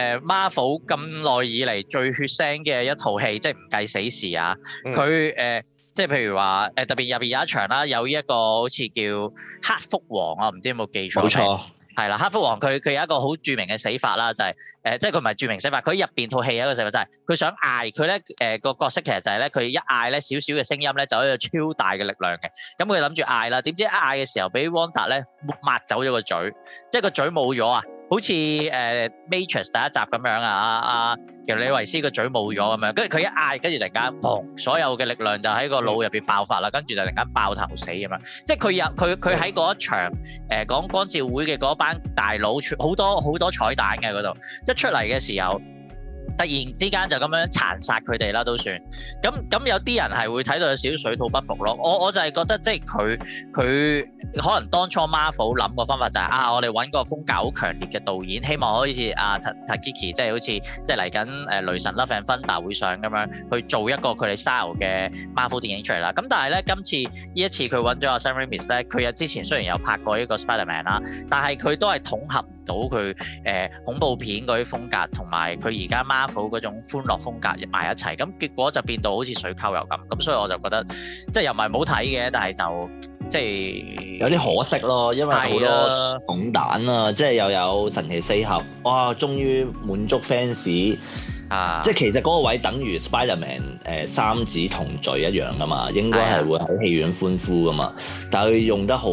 Marvel 咁耐以嚟最血腥嘅一套戲，即係唔計死侍啊。佢即係譬如話特別入邊有一場啦，有一個好似叫黑蝠王啊，唔知有冇記錯？冇錯。係啦，黑蝠王佢有一個好著名嘅死法啦，就係即係佢唔係著名死法，佢入邊套戲有一個死法就係佢想嗌佢咧個角色其實就係咧佢一嗌咧少少嘅聲音咧就有一個超大嘅力量嘅，咁佢諗住嗌啦，點知一嗌嘅時候俾 Wanda 咧抹走咗個嘴，即係個嘴冇咗啊！好似Matrix 第一集咁樣啊，其實李維斯個嘴冇咗咁樣，跟住佢一嗌，跟住突然間砰，所有嘅力量就喺個腦入邊爆發啦，跟住就突然間爆頭死咁樣，即係佢喺嗰一場講光照會嘅嗰班大佬，好多彩蛋嘅嗰度，一出嚟嘅時候，突然之間就咁樣殘殺佢哋啦，都算咁有啲人係會睇到有少少水土不服咯。我就係覺得即係佢可能當初 Marvel 諗個方法就係我哋揾個風格好強烈嘅導演，希望好似阿 Taiki 即係好似即係嚟緊雷神 Love and Thunder 會上咁樣去做一個佢哋 style 嘅 Marvel 電影出嚟啦。咁但係咧今次呢一次佢揾咗阿 Sam Raimi 咧，佢之前雖然有拍過呢個 Spider-Man 啦，但係佢都係統合唔到佢恐怖片嗰啲風格同埋佢而家Marvel嗰種歡樂風格入埋一齊，咁結果就變到好似水溝油咁，所以我就覺得即係又唔係唔好睇嘅，但係就即係有啲可惜咯，因為好多重彈啊，即係又有神奇四俠，哇，終於滿足 fans 啊！即係其實嗰個位等於 Spider-Man 三子同罪一樣噶嘛，應該係會喺戲院歡呼噶嘛，但係佢用得好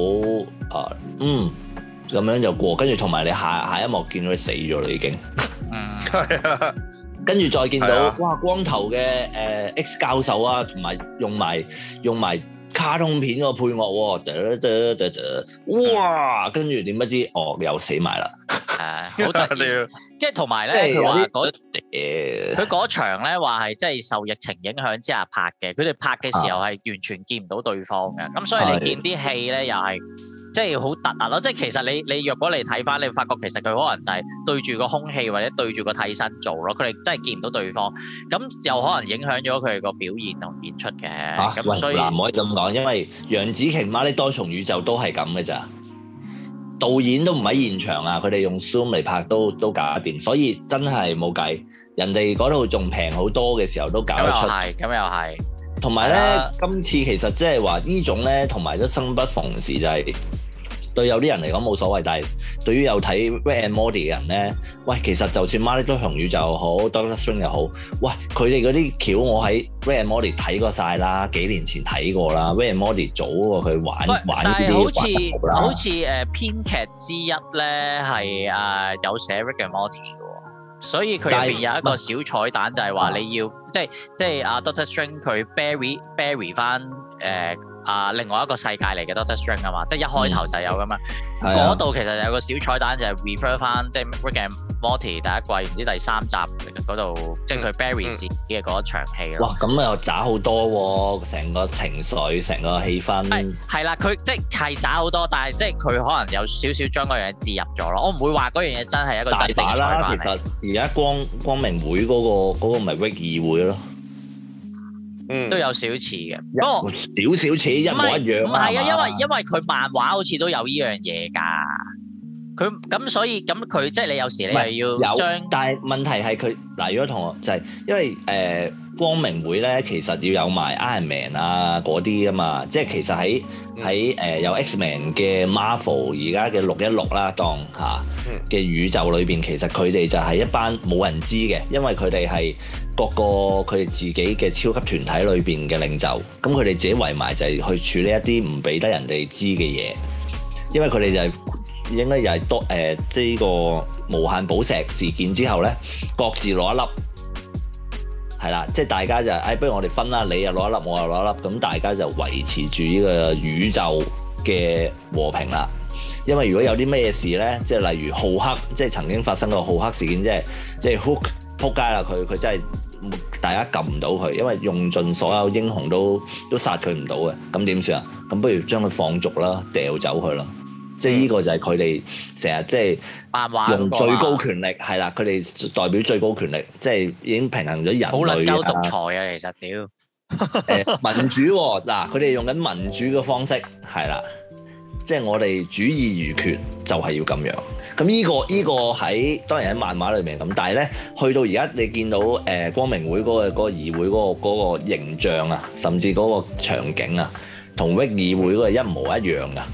咁樣就過，跟住同埋你下一幕見到佢死咗啦已經。係啊，跟住再見到哇光頭嘅X 教授啊，同埋用埋卡通片個配樂喎，哇！跟住點不知又死埋啦， 好得意。跟住同埋咧，佢話佢嗰場咧話係即係受疫情影響之下拍嘅，佢哋拍嘅時候係完全見唔到對方嘅，咁所以你見啲戲咧又係。即係好突兀咯！即係其實你若果你睇翻，你會發覺其實佢可能就係對住個空氣或者對住個替身做咯，佢哋真係見唔到對方，咁又可能影響咗佢哋個表現同演出嘅。咁所以唔可以咁講，因為楊紫瓊媽啲多重宇宙都係咁嘅咋，導演都唔喺現場啊，佢哋用 Zoom 嚟拍都搞掂，所以真係冇計。人哋嗰度仲平好多嘅時候都搞得出。 咁又係。同埋咧，今次其實即係話呢種咧，同埋都生不逢時就係對有啲人嚟講冇所謂，但係對於有睇 Rick and Morty 嘅人咧，喂，其實就算孖呢堆紅宇宙又好 Doctor Strange 又好，喂，佢哋嗰啲橋我喺 Rick and Morty 睇過晒啦，幾年前睇過啦 Rick and Morty 早過佢玩呢啲。 但係好似編劇之一咧係有寫 Rick and Morty 嘅喎，所以佢入邊有一個小彩蛋就係話你要即係Doctor Strange 佢 bury 翻另外一個世界嚟嘅 Doctor Strange 啊嘛，即係一開頭就有噶嘛。嗰度其實有個小彩蛋就係 refer 翻即係 Rick and Morty 第一季唔知第3集嗰度，即係佢 bury 自己嘅嗰一場戲咯。哇！ 咁又渣好多喎，成個情緒、成個氣氛。 係啦，佢即係渣好多，但係即係佢可能有少少將嗰樣嘢置入咗咯。我唔會話嗰樣嘢真係一個真正嘅彩蛋。其實而家光明會嗰個咪 Rick 議會咯。 都有少似嘅，不過少似一模一樣。 唔係啊，因為佢漫畫好似都有呢樣嘢㗎。佢咁所以咁佢即係你有時你又要將， 但係問題係佢嗱，如果同學就係因為光明會咧，其實要有埋 Iron Man 啊嗰啲啊嘛，即係其實喺有 X-Men 嘅 Marvel 而家嘅616啦，當下嘅宇宙裏邊，其實佢哋就係一班冇人知嘅，因為佢哋係各個佢哋自己嘅超級團體裏邊嘅領袖，咁佢哋自己圍埋就係去處理一啲唔俾得人哋知嘅嘢，因為佢哋就係應該又係多即係呢個無限寶石事件之後咧，各自攞一粒。係啦，即係大家就不如我哋分啦，你又攞一粒，我又攞一粒，咁大家就維持住呢個宇宙嘅和平啦。因為如果有啲咩事咧，即係例如浩克，即係曾經發生過浩克事件，即係 Hulk 撲街啦，佢真係大家撳唔到佢，因為用盡所有英雄都殺佢唔到嘅，咁點算啊？咁不如將佢放逐啦，掉走佢啦。即係呢個就係佢哋成日即係用最高權力係啦，佢哋代表最高權力，即係已經平衡咗人類啊。好能夠獨裁啊，其實屌民主喎，嗱，佢哋用緊民主嘅方式係啦，即係我哋主義如決就係要咁樣。咁呢個喺當然喺漫畫裏面咁，但係咧去到而家你見到光明會嗰個議會嗰個形象啊，甚至嗰個場景啊，同 Rick 議會嗰個一模一樣噶。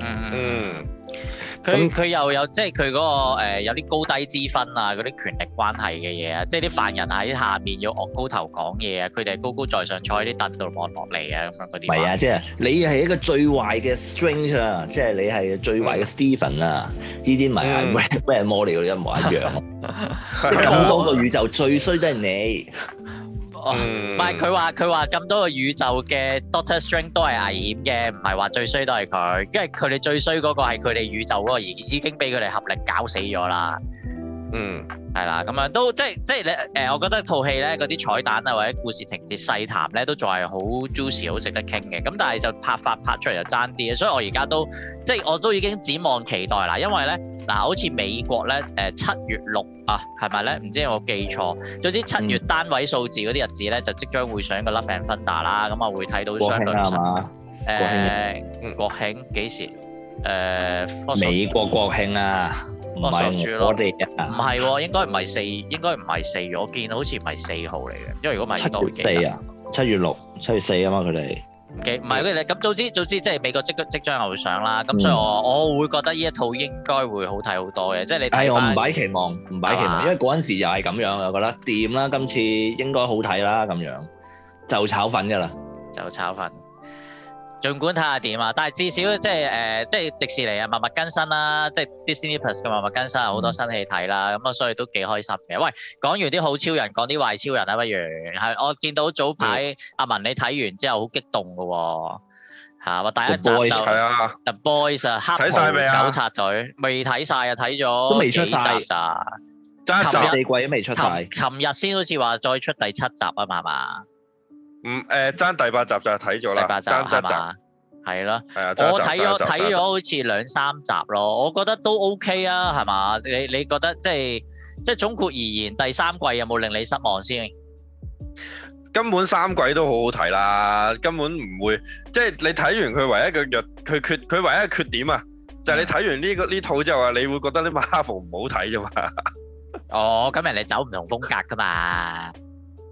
佢又有即係佢嗰個有啲高低之分啊，嗰啲權力關係嘅嘢啊，即係啲犯人喺下面要昂高頭講嘢啊，佢哋係高高在上坐喺啲凳度望落嚟啊，咁樣嗰啲。唔係啊，即係你係一個最壞嘅 Strange 啊，即係你係最壞嘅 Stephen 啊，呢啲咪係 Rick and Morty 嗰啲一模一樣。咁多個宇宙最衰都係你。 唔係佢話咁多個宇宙嘅 Doctor Strange 都係危險嘅，唔係話最衰都係佢，因為佢哋最衰嗰個係佢哋宇宙嗰個已經俾佢哋合力搞死咗啦。係啦，咁樣都即係你我覺得套戲咧嗰啲彩蛋啊或者故事情節細談咧都仲係好 juicy 好值得傾嘅，咁但係就拍出嚟就爭啲，所以我而家都即係我都已經展望期待啦，因為咧嗱好似美國咧7月6啊係咪咧？唔知有冇記錯？總之7月單位數字嗰啲日子咧就即將會上個 Love and Thunder 啦，咁啊會睇到相對國慶幾時？ 美國國慶啊！唔係我哋啊，唔係喎，應該唔係4月，我見好似唔係4號嚟嘅，因為如果唔係 7月4啊，7月6、7月4啊嘛，佢哋唔係佢哋咁早知即係美國即將又會上啦，咁所以我會覺得呢一套應該會好睇好多嘅，即係你睇翻。我唔擺期望，因為嗰陣時又係咁樣，我覺得掂啦，今次應該好睇啦，咁樣就炒粉㗎啦，就炒粉。儘管睇下點啊，但係至少即係迪士尼啊，默默更新啦，即係 Disney Plus 嘅默默更新，有好多新戲睇啦，咁啊，所以都幾開心嘅。喂，講完啲好超人，講啲壞超人啊，不如係我見到早排阿文你睇完之後好激動嘅喎，話第一集就 The Boys 啊，黑袍糾察隊未睇晒啊，睇咗都未出晒咋，爭一集四季都未出晒，琴日先好似話再出第7集啊嘛，係嘛？ 爭第8集就睇咗啦，爭7集， 係咯，我睇咗好似2-3集咯，我覺得都 OK 啊，係嘛？你覺得即係總括而言，第3季有冇令你失望先？ 根本3季都好好睇啦，根本唔會，即係你睇完佢唯一嘅佢唯一嘅缺點啊，就係你睇完呢套之後啊，你會覺得啲 Marvel 唔好睇啫嘛。 哦，咁人哋走唔同風格噶嘛。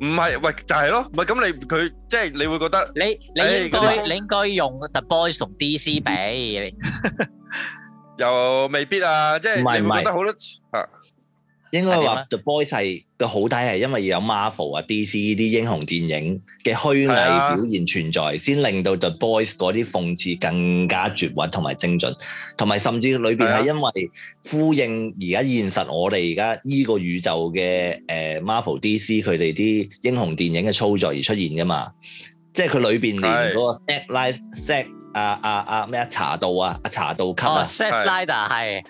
唔係，喂就係咯，唔係咁佢即係你會覺得你應該用 The Boys 同 DC 比， 又未必啊，即係你會覺得好多啊。 應該話 The Boys 係個好睇係因為有 Marvel 啊 DC 呢啲英雄電影嘅虛偽表現存在，先令到 The Boys 嗰啲諷刺更加絕核同埋精準，同埋甚至裏邊係因為呼應而家現實我哋而家呢個宇宙嘅Marvel DC 佢哋啲英雄電影嘅操作而出現噶嘛，即係佢裏邊連嗰個 Zack 咩茶道啊，茶道 cut 啊 Zack Snyder 係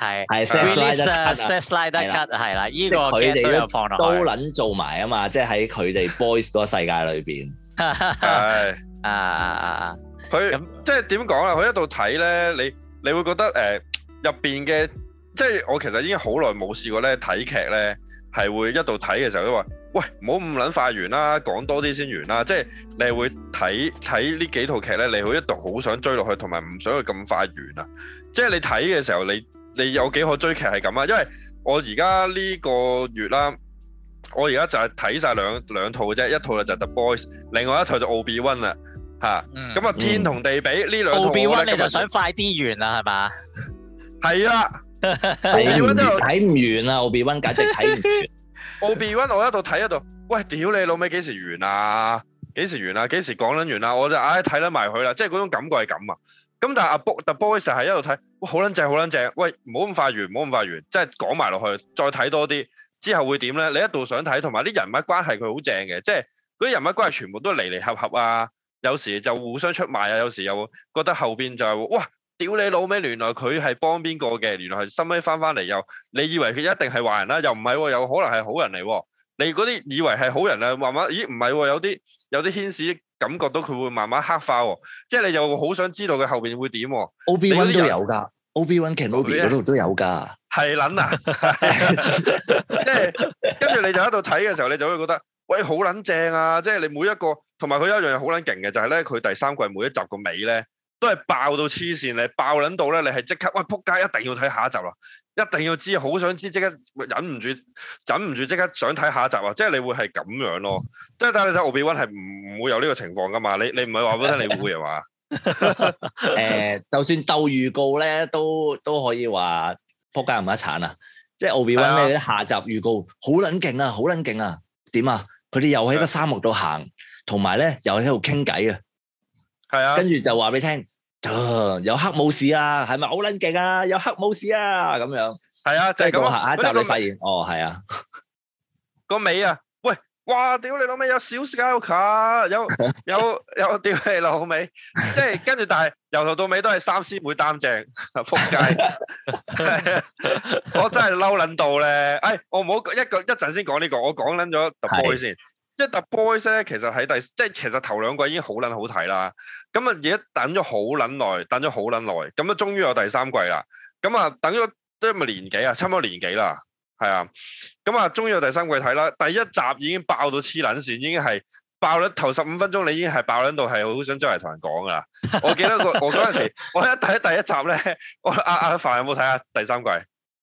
Zack Snyder cut 係啦，呢個佢哋都有放落去， 都撚做埋啊嘛，即係喺佢哋 Boys 嗰個世界裏邊。 係佢即係點講啊？佢一度睇咧，你會覺得入邊嘅，即係我其實已經好耐冇試過咧睇劇咧，係會一度睇嘅時候都話，喂，唔好咁撚快完啦，講多啲先完啦。即係你係會睇呢幾套劇咧，你會一度好想追落去，同埋唔想佢咁快完啊。即係你睇嘅時候，你有幾可追劇係咁啊？因為我而家呢個月啦，我而家就係睇晒兩套嘅啫，一套就係 The Boys， 另外一套就奧比溫啦嚇。咁啊天同地比呢兩套，奧比溫你就想快啲完啦係嘛？ 係啊，奧比溫睇唔完啊！奧比溫簡直睇唔完。 奧比溫我一度睇一度，喂，屌你老味幾時完啊？幾時完啊？幾時講撚完啊？我就睇得埋佢啦，即係嗰種感覺係咁啊。咁但係The Boys 係一路睇，哇好撚正好撚正，喂唔好咁快完，唔好咁快完，即係講埋落去，再睇多啲之後會點咧？你一度想睇，同埋啲人物關係佢好正嘅，即係嗰啲人物關係全部都離離合合啊，有時就互相出賣啊，有時又覺得後邊就係哇。屌你老味，原來佢係幫邊個嘅？原來係收尾翻嚟又，你以為佢一定係壞人啦？又唔係喎，有可能係好人嚟喎。你嗰啲以為係好人啊，慢慢咦唔係喎，有啲牽使感覺到佢會慢慢黑化喎。即係你又好想知道佢後邊會點喎。 Obi-Wan 都有㗎，Obi-Wan Kenobi 嗰度都有㗎。係撚啊！即係跟住你就喺度睇嘅時候，你就會覺得喂好撚正啊！即係你每一個同埋佢有一樣嘢好撚勁嘅，就係咧佢第三季每一集個尾咧。都係爆到黐線，你爆撚到咧，你係即刻喂撲街，一定要睇下一集啦，一定要知，好想知，即刻忍唔住即刻想睇下一集啊！即係你會係咁樣咯，即係但係你睇奧比溫係唔會有呢個情況噶嘛？你唔係話俾我聽你會係嘛？ 就算鬥預告咧，都可以話撲街唔一鏟啊！即係奧比溫咧下集預告好撚勁啊，好撚勁啊！點啊？佢哋又喺個沙漠度行，同埋咧又喺度傾偈啊！ 係啊， 跟住就話俾你聽，有黑武士啊，係咪好撚勁啊？有黑武士啊，咁樣。係啊，就係咁。下一集你發現，係啊， 個尾啊，喂，哇，屌你老味有小 Skywalker，有屌你老味，即係跟住，但係由頭到尾都係三師妹擔正，仆街。我真係嬲撚到咧，我唔好一陣先講呢個，我講撚咗 The Boys 先。即係 The Boys 咧，其實喺即係其實頭兩季已經好撚好睇啦。咁啊，而家等咗好撚耐，咁啊，終於有第三季啦。咁啊，等咗即係咪年幾啊？差唔多年幾啦，係啊。咁啊，終於有第三季睇啦。第一集已經爆到黐撚線，已經係爆咗頭15分鐘，你已經係爆撚到係好想周圍同人講噶啦。我記得我嗰陣時，我一睇第一集咧，阿凡有冇睇下第三季？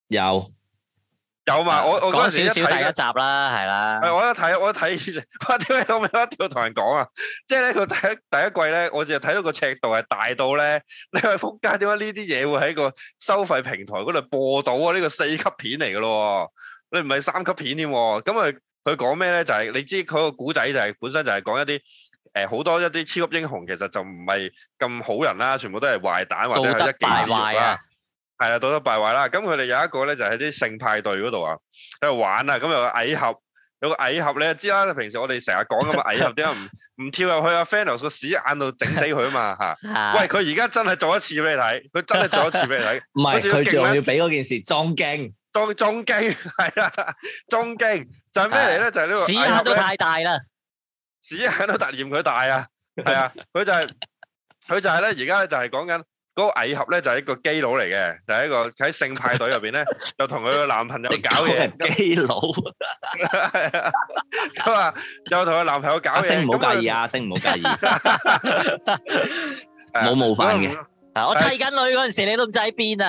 有嘛？我嗰陣時少少第一集啦，係啦。 我一睇，我點解我一定要同人講啊？即係咧，佢第一季咧，我就睇到個尺度係大到咧，你話仆街，點解呢啲嘢會喺個收費平台嗰度播到啊？呢個4級片嚟噶咯，你唔係3級片添。咁佢講咩咧？就係你知佢個古仔就係本身就係講一啲好多一啲超級英雄，其實就唔係咁好人啦，全部都係壞蛋或者係一己私欲啦。係啊，道德敗壞啦。咁佢哋有一個咧，就喺啲性派對嗰度啊，喺度玩啊。咁有個矮盒，你就知啦。平時我哋成日講咁啊，矮盒點解唔跳入去阿 Thanos 個屎眼度整死佢啊嘛嚇？喂，佢而家真係做一次俾你睇，佢真係做一次俾你睇。 唔係，佢仲要俾嗰件事裝勁， 裝勁係啦，裝勁就係咩嚟咧？就係呢個屎眼都太大啦， 屎眼都突嫌佢大啊！係啊，佢就係咧，而家就係講緊。嗰個矮盒咧就係一個基佬嚟嘅，就係一個喺性派對入邊咧，就同佢個男朋友搞嘢。 基佬， 咁啊，又同佢男朋友搞嘢。 星唔好介意啊，星唔好介意。冇冒犯嘅。 我砌緊女嗰陣時，你都唔知喺邊啊？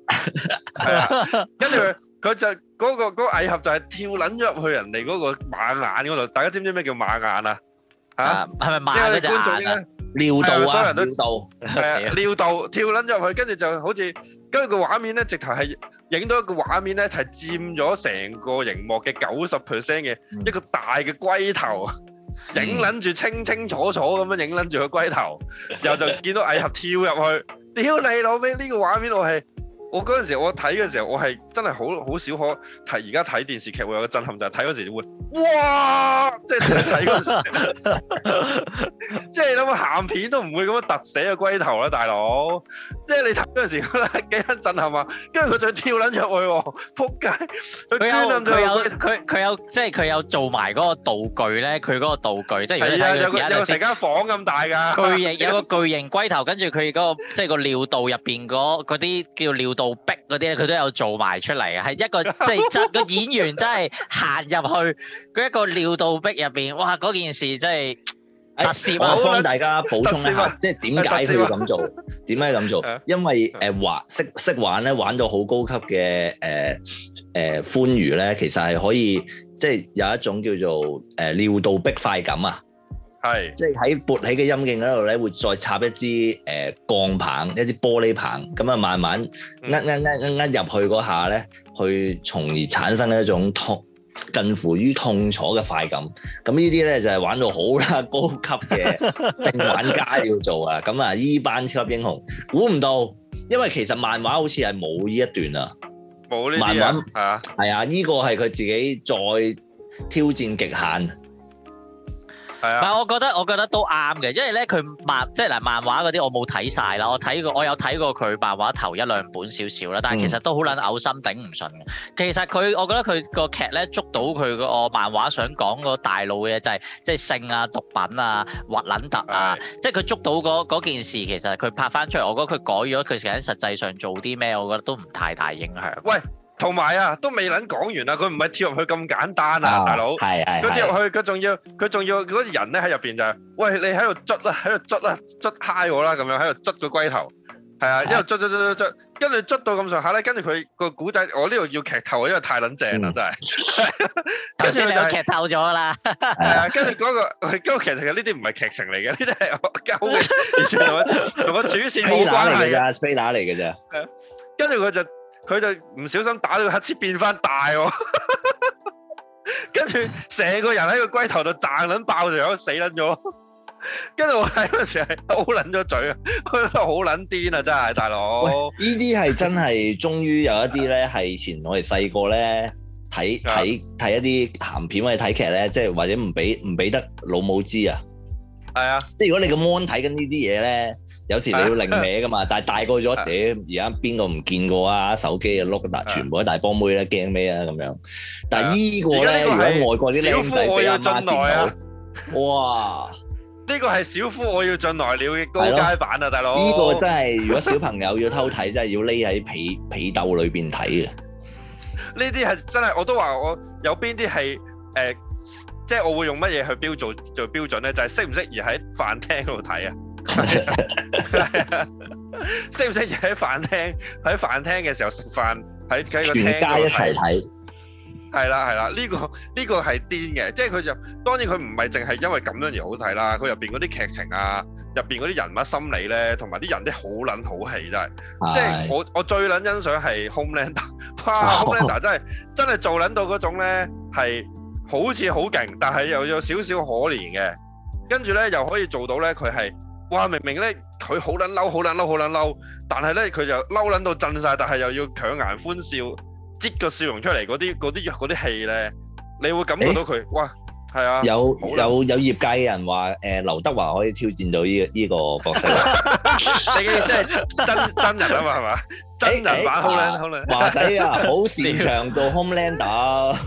係啊，跟住佢就嗰個蟻俠就係跳撚咗入去人哋嗰個馬眼嗰度。大家知唔知咩叫馬眼啊？嚇， 係咪馬嗰隻眼啊？ 尿道啊， 所有人都尿道， 係啊，尿道跳撚咗入去，跟住就好似跟住個畫面咧，直頭係影到一個畫面咧，係佔咗成個熒幕嘅90% 嘅一個大嘅龜頭，影撚住清清楚楚咁樣影撚住個龜頭，然後就見到蟻俠跳入去，屌你老味！呢個畫面我嗰陣時我睇嘅時候，我係真係好少可睇。而家睇電視劇會有個震撼，就係睇嗰時會哇！即係睇嗰時，即係你諗下鹹片都唔會咁樣突死個龜頭啦，大佬！即係你睇嗰陣時覺得幾撚震撼啊！跟住佢就跳撚入去喎，撲街！ 佢有即係佢有做埋嗰個道具咧，佢嗰個道具即係如果你睇有成間房咁大㗎， 有個巨型龜頭，跟住佢嗰個即係個尿道入邊嗰啲叫尿道壁嗰啲咧，佢都有做埋出嚟嘅，係一個即係真個演員真係行入去嗰一個尿道壁入邊，哇！嗰件事真係特攝啊！ 我幫大家補充一下，即係點解佢要咁做？點解咁做？因為識玩咧，玩到好高級嘅歡愉咧，其實係可以即係有一種叫做尿道壁快感啊！ 係， 即係喺勃起嘅陰莖嗰度咧，會再插一支鋼棒，一支玻璃棒，咁啊慢慢入去嗰下咧，去從而產生一種近乎於痛楚嘅快感。咁呢啲咧就係玩到好啦，高級嘅定玩家要做啊。咁啊，呢班超級英雄估唔到，因為其實漫畫好似係冇呢一段啊， 冇呢啲啊， 係啊，呢個係佢自己再挑戰極限。 唔係，我覺得都啱嘅，因為咧佢漫畫嗰啲我冇睇晒啦，我有睇過佢漫畫頭一兩本少少啦，但係其實都好撚嘔心頂唔順嘅。其實我覺得佢個劇咧捉到佢個漫畫想講個大路嘅就係即係性啊、毒品啊、核撚突啊，即係佢捉到嗰件事，其實佢拍翻出嚟，我覺得佢改咗佢實際上做啲咩，我覺得都唔太大影響。 喂！同埋啊，都未撚講完啊！佢唔係跳入去咁簡單啊，大佬。係。佢跳入去，佢仲要嗰啲人咧喺入邊就係，喂，你喺度捽啦，捽嗨我啦，咁樣喺度捽個龜頭。係啊，一路捽，跟住捽到咁上下咧，跟住佢個古仔，我呢度要劇透，因為太撚正啦，真係。 頭先你有劇透咗啦。 係啊，跟住嗰個其實呢啲唔係劇情嚟嘅，呢啲係我鳩嘅，完全同個主線冇關係嘅。 飛打嚟嘅啫。 跟住佢就唔小心打到個黑切變翻大喎，跟住成個人喺個龜頭度炸撚爆咗，死撚咗。跟住我睇嗰時係好撚咗嘴啊，佢覺得好撚癲啊，真係大佬。 呢啲係真係，終於有一啲咧係以前我哋細個咧睇一啲鹹片或者睇劇咧，即係或者唔俾得老母知啊。 係啊， 即係如果你個 mon 睇緊呢啲嘢咧，有時你要擰歪噶嘛。但係大個咗，而家邊個唔見過啊？手機啊碌全部都大波妹咧，驚咩啊咁樣？但係呢個咧，如果外國啲僆仔俾阿媽見到，哇！ 呢個係小夫我要進來了嘅高階版啊，大佬！ 呢個真係如果小朋友要偷睇，真係要匿喺被竇裏邊睇嘅。 呢啲係真係，我都話我有邊啲係即係我會用乜嘢去做標準咧？就係適唔適宜喺飯廳嗰度睇啊？適唔適宜喺飯廳嘅時候食飯喺個廳全家一齊睇？ 係啦，呢個係癲嘅，即係佢就當然佢唔係淨係因為咁樣而好睇啦。佢入邊嗰啲劇情啊，入邊嗰啲人物心理咧，同埋啲人啲好撚好戲真係。即係我最撚欣賞係 Homelander， 哇 Homelander 真係做撚到嗰種咧係。好似好勁，但係又有少少可憐嘅，跟住咧又可以做到咧，佢係哇明明咧佢好撚嬲，但係咧佢就嬲撚到震晒，但係又要強顏歡笑，擠個笑容出嚟嗰啲戲咧，你會感覺到佢哇係啊！有業界嘅人話劉德華可以挑戰到呢個角色， 你嘅意思係真人啊嘛係嘛？真人版 Homelander 華仔啊，好擅長做 Homelander，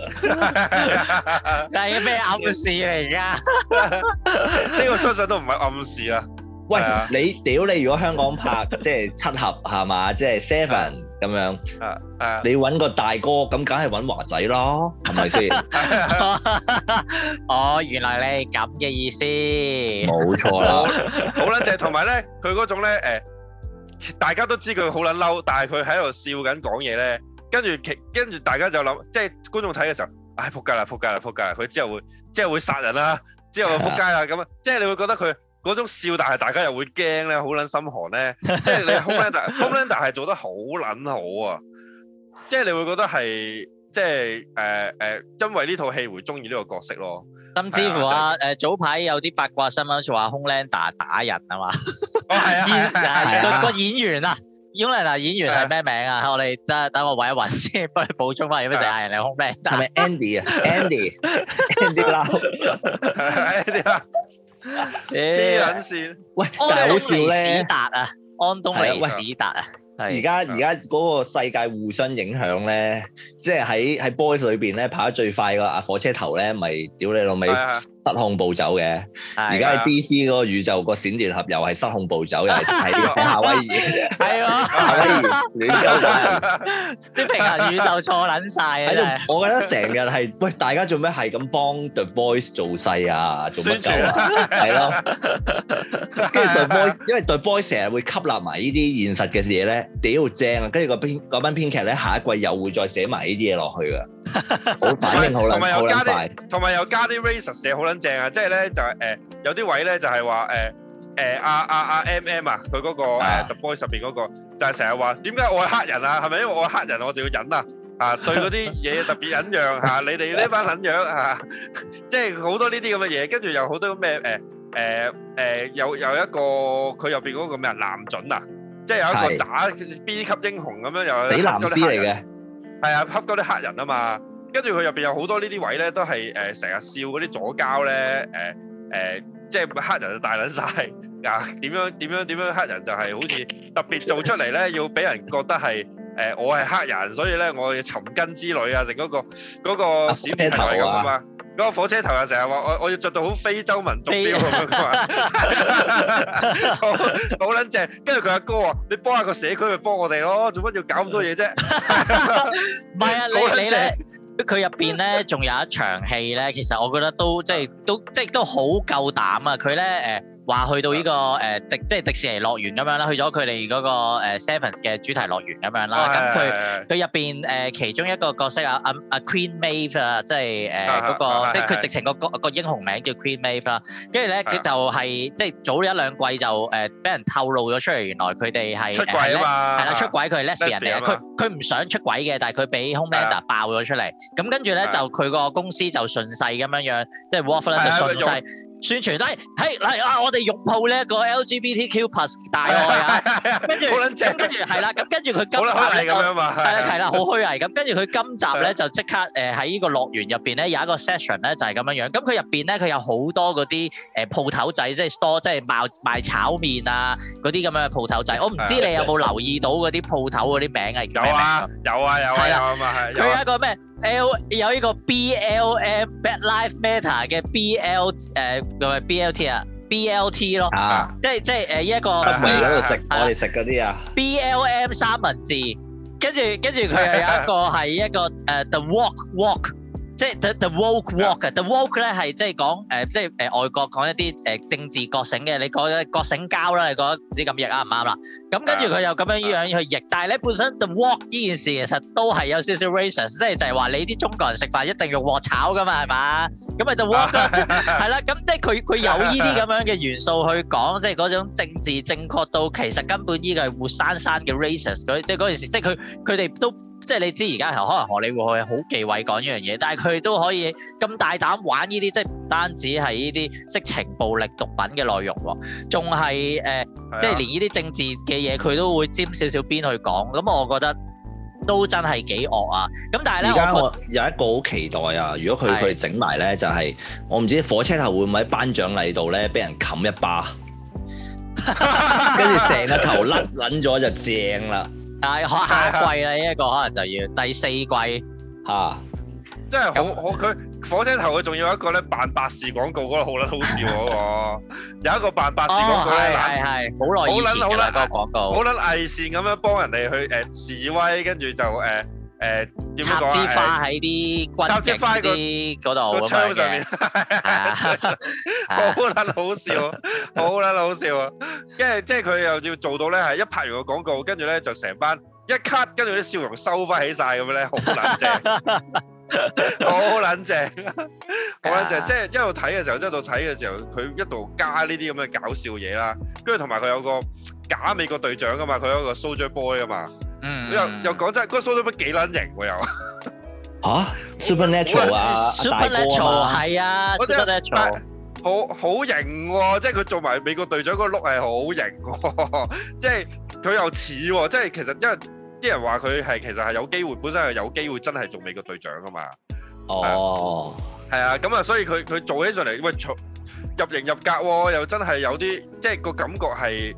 係咩暗示嚟㗎？ 呢個相信都唔係暗示啦。 喂，你如果香港拍即係七俠係嘛，即係 Seven 咁樣，你揾個大哥咁，梗係揾華仔咯，係咪先？ 哦，原來你係咁嘅意思。 冇錯啦， 好啦，就係同埋咧，佢嗰種咧大家都知佢好撚嬲，但係佢喺度笑緊講嘢咧，跟住大家就諗，即係觀眾睇嘅時候，唉仆街啦，佢之後會殺人啦，之後仆街啦咁啊，即係你會覺得佢嗰種笑，但係大家又會驚咧，好撚心寒咧，即係你 Homelander 係做得好撚好啊，即係你會覺得係即係因為呢套戲會中意呢個角色咯。 甚至乎早排有啲八卦新聞就話 Homelander 打人啊嘛，個演員啊 Homelander 演員係咩名啊？我哋真係等我揾一揾先，幫你補充翻有咩成日人嚟 Homelander 係咪 Andy 啊 ？Andy Lau 黐撚線。 喂，但係好笑咧， 安東尼史達啊！ 而家嗰個世界互相影響咧，即係喺 Boys 裏邊咧跑得最快個阿火車頭咧，咪屌你老味失控暴走嘅。而家喺 DC 嗰個宇宙個閃電俠又係失控暴走，又係喺夏威夷。係喎，夏威夷亂鳩打人， 啲平衡宇宙錯撚曬啊！ 喺度，我覺得成日係喂大家做咩係咁幫 The Boys 做勢啊？做乜鳩啊？係咯，跟住 The Boys，因為 The Boys 成日會吸納埋呢啲現實嘅嘢咧。屌正啊！跟住嗰班編劇咧，下一季又會再寫埋呢啲嘢落去噶，好反應好撚快， 同埋又加啲 racist 嘢好撚正啊！即係咧就係有啲位咧就係話阿 MM 啊，佢嗰個The Boys 入邊嗰個就係成日話點解我係黑人啊？係咪因為我係黑人我就要忍啊？對嗰啲嘢特別忍讓嚇，你哋呢班撚樣嚇，即係好多呢啲咁嘅嘢，跟住又好多咩有一個佢入邊嗰個咩男準啊！即係有一個渣 B 級英雄咁樣，又比藍絲嚟嘅， 係啊，恰嗰啲黑人啊嘛。跟住佢入邊有好多呢啲位咧，都係成日笑嗰啲左膠咧，即係黑人就大撚晒啊！點樣黑人就係好似特別做出嚟咧，要俾人覺得係我係黑人，所以咧我要尋根之旅啊，成嗰個閃電頭係咁啊嘛。嗰個火車頭又成日話我要着到好非洲民族 feel 咁樣嘛，好撚正。跟住佢阿哥話：你幫下個社區咪幫我哋咯，做乜要搞咁多嘢啫？ 唔係啊，你咧佢入邊咧仲有一場戲咧，其實我覺得都好夠膽啊！佢咧話去到呢個即係迪士尼樂園咁樣啦，去咗佢哋嗰個Sevens 嘅主題樂園咁樣啦。咁佢入邊其中一個角色啊 Queen Maeve 啊，即係嗰個即係佢直情個英雄名叫 Queen Maeve 啦。跟住咧佢就係即係早一兩季就俾人透露咗出嚟，原來佢哋係出軌啊嘛， 係啦，出軌，佢係 lesbian 嚟嘅。佢唔想出軌嘅，但係佢俾 Homelander 爆咗出嚟。咁跟住咧就佢個公司就順勢咁樣，即係 Wolf 咧就順勢宣傳，係啊，我哋擁抱呢一個 LGBTQ+ 大愛啊，跟住係啦，咁跟住佢今集咧係啦，好虛偽咁，跟住佢今集咧就即刻喺呢個樂園入邊咧有一個 session 咧就係咁樣樣，咁佢入邊咧佢有好多嗰啲鋪頭仔，即係 store，即係賣炒麵啊嗰啲咁樣嘅鋪頭仔，我唔知你有冇留意到嗰啲鋪頭嗰啲名係叫咩名？有啊嘛，係佢有一個咩？有呢個 BLM Black Lives Matter 嘅 BLT 啊 BLT 咯，即係一個喺度食我哋食嗰啲啊 BLM 三文治，跟住佢又有一個係一個The Walk。即係 the woke walk 啊 ，the woke 咧係即係講即係外國講一啲政治覺醒嘅，你講覺醒膠啦，你覺得唔知咁譯啱唔啱啦？咁跟住佢又咁樣去譯，但係咧本身 the walk 呢件事其實都係有少少 racist， 即係就係話你啲中國人食飯一定用鑊炒噶嘛，係嘛？咁咪 the walk 啦，係啦，咁即係佢有呢啲咁樣嘅元素去講，即係嗰種政治正確到其實根本呢個係活生生嘅 racist， 即係嗰件事，即係佢哋都。即係你知而家可能荷里活係好忌諱講呢樣嘢，但係佢哋都可以咁大膽玩呢啲，即係唔單止係呢啲色情暴力毒品嘅內容喎，仲係即係連呢啲政治嘅嘢佢都會沾少少邊去講，咁我覺得都真係幾惡啊！咁但係咧，我有一個好期待啊！如果佢整埋咧，就係我唔知火車頭會唔會喺頒獎禮度咧俾人冚一巴，跟住成個頭甩撚咗就正啦〜 下一季啦，呢一個可能就要第4季嚇， 真係好佢火車頭佢仲要一個咧扮百事廣告嗰個好撚好笑嗰個，有一個扮百事廣告咧， 係好耐以前㗎啦個廣告， 好撚偽善咁樣幫人哋去示威，跟住就插支花喺啲軍警啲嗰度咁樣嘅， 好撚好笑，好撚好笑啊！跟住即係佢又要做到咧，係一拍完個廣告，跟住咧就成班一 cut，跟住啲笑容收翻起曬咁樣咧，好撚正。好撚正，好撚正，即係一路睇嘅時候，一路睇嘅時候，佢一路加呢啲咁嘅搞笑嘢啦，跟住同埋佢有個假美國隊長噶嘛，佢有一個 Soldier Boy 啊嘛，又講真，嗰個 Soldier Boy 幾撚型喎又嚇 Supernatural 啊 Supernatural 係啊 Supernatural 好型喎，即係佢做埋美國隊長嗰個 look 係好型喎，即係佢又似喎，即係其實因為。啲人話佢係其實係有機會，本身係有機會真係做美國隊長噶嘛。 哦， 係啊，咁啊，所以佢做起上嚟，喂，入型入格喎，又真係有啲，即係個感覺係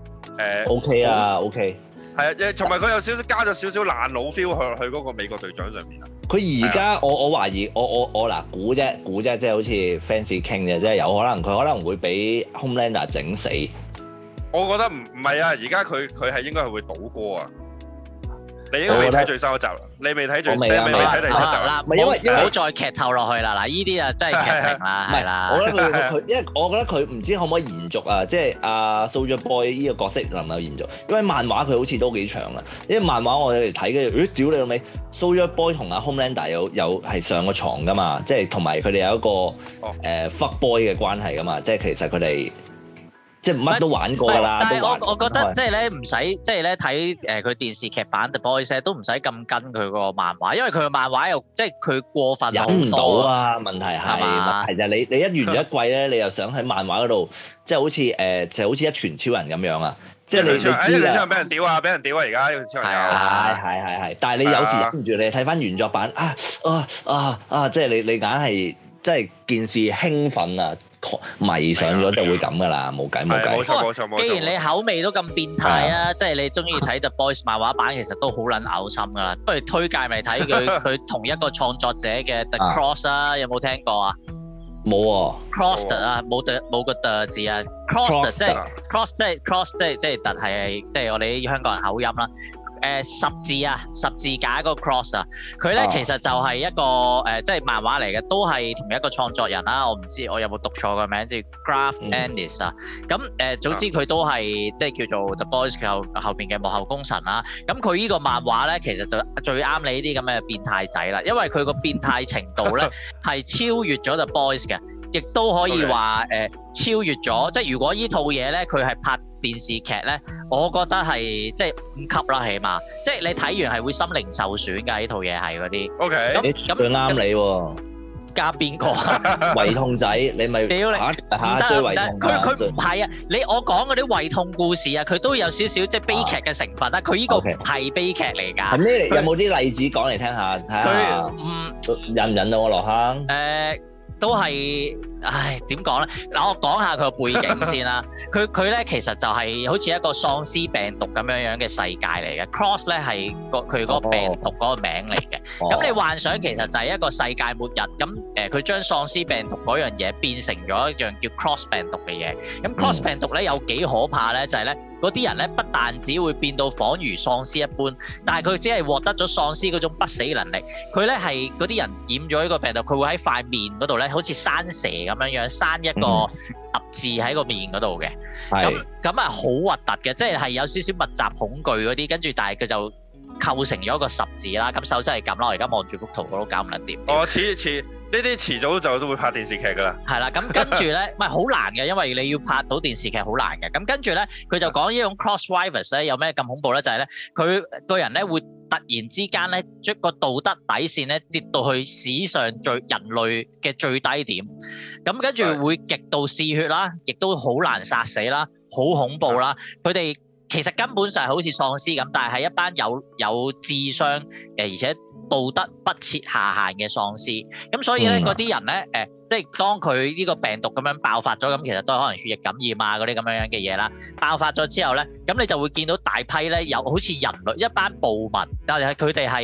OK 啊 OK。 係啊，同埋佢有少少加咗少少爛佬 feel 去嗰個美國隊長上面啊。 佢而家我懷疑我嗱估啫，即係好似 fans 傾嘅，即係有可能佢可能會俾 Homelander 整死。我覺得唔係啊，而家佢係應該係會倒戈啊。你應該未睇最新一集啦，你未睇未睇第七集啦。 唔好再劇透落去啦，嗱，依啲啊真係劇情啦，係啦。 我覺得佢，因為我覺得佢唔知可唔可以延續啊，即係阿 Soldier Boy 呢個角色能夠延續，因為漫畫佢好似都幾長啦。因為漫畫我哋睇嘅，屌你老味 Soldier Boy 同阿 Homelander 有係上過床噶嘛，即係同埋佢哋有一個fuck boy 嘅關係噶嘛，即係其實佢哋。即係乜都玩過㗎啦， 但係我覺得即係咧唔使即係咧睇佢電視劇版 The Boys 都唔使咁跟佢個漫畫，因為佢個漫畫又即係佢過分忍唔到啊！問題係就係你一完咗一季咧，你又想喺漫畫嗰度即係好似就好似一拳超人咁樣啊！即係你知啊， 一拳超人俾人屌啊！俾人屌啊！而家一拳超人係，但係你有時忍唔住，你睇翻原作版即係你硬係即係件事興奮啊！迷上咗就會咁噶啦，冇計。 冇錯。 既然你口味都咁變態啊，即係你中意睇 The Boys 漫畫版，其實都好撚嘔心噶啦。不如推介咪睇佢同一個創作者嘅 The Cross 啊，有冇聽過啊？ 冇喎。 Crossed 啊，冇個 the 字啊。Crossed 即係 cross 即係特係即係我哋香港人口音啦。十字架嗰個 cross 啊，佢咧其實就係一個即係漫畫嚟嘅，都係同一個創作人啦。我唔知我有冇讀錯個名，即係 Garth Ennis 啊。咁總之佢都係即係叫做 The Boys 後邊嘅幕後功臣啦。咁佢呢個漫畫咧，其實就最啱你呢啲咁嘅變態仔啦，因為佢個變態程度咧係超越咗 The Boys 嘅，亦都可以話超越咗。即係如果呢套嘢咧，佢係拍電視劇咧，我覺得係即係5級啦，起碼即係你睇完係會心靈受損㗎。呢套嘢係嗰啲。 OK。 咁佢啱你喎。 加邊個啊？ 胃痛仔，你咪屌你嚇追胃痛。 佢唔係啊！我講嗰啲胃痛故事啊，佢都有少少即係悲劇嘅成分啦。佢呢個唔係悲劇嚟㗎。 係咩？有冇啲例子講嚟聽下？睇下引唔引到我落坑？ 都係，點講咧？嗱，我講下佢個背景先啦。佢咧其實就係好似一個喪屍病毒咁樣嘅世界嚟嘅。Cross 咧係佢嗰個病毒嗰個名嚟嘅。咁你幻想其實就係一個世界末日。咁佢將喪屍病毒嗰樣嘢變成咗一樣叫 Cross 病毒嘅嘢。咁 Cross 病毒咧有幾可怕咧？就係咧嗰啲人咧不但只會變到仿如喪屍一般，但係佢只係獲得咗喪屍嗰種不死能力。佢咧係嗰啲人染咗呢個病毒，佢會喺塊面嗰度咧。好似生蛇咁樣生一個凸字喺個面嗰度嘅，咁啊好核突嘅，即係有少少密集恐懼嗰啲，跟住但係佢就構成咗一個十字啦。咁首先係咁啦，我而家望住幅圖我都搞唔撚掂。遲呢啲遲早就都會拍電視劇㗎啦。係啦，咁跟住咧，唔係好難嘅，因為你要拍到電視劇好難嘅。咁跟住咧，佢就講呢種 cross virus 咧有咩咁恐怖咧？就係咧，佢個人咧會突然之間咧，將個道德底線咧跌到去史上人類嘅最低點。咁跟住會極度嗜血啦，亦都好難殺死啦，好恐怖啦。佢哋其實根本就係好似喪屍咁，但係係一班有智商而且道德不設下限嘅喪屍。咁所以咧嗰啲人咧即係當佢呢個病毒咁樣爆發咗，咁其實都係可能血液感染啊嗰啲咁樣嘅嘢啦。爆發咗之後咧，咁你就會見到大批咧有好似人類一班暴民，但係佢哋係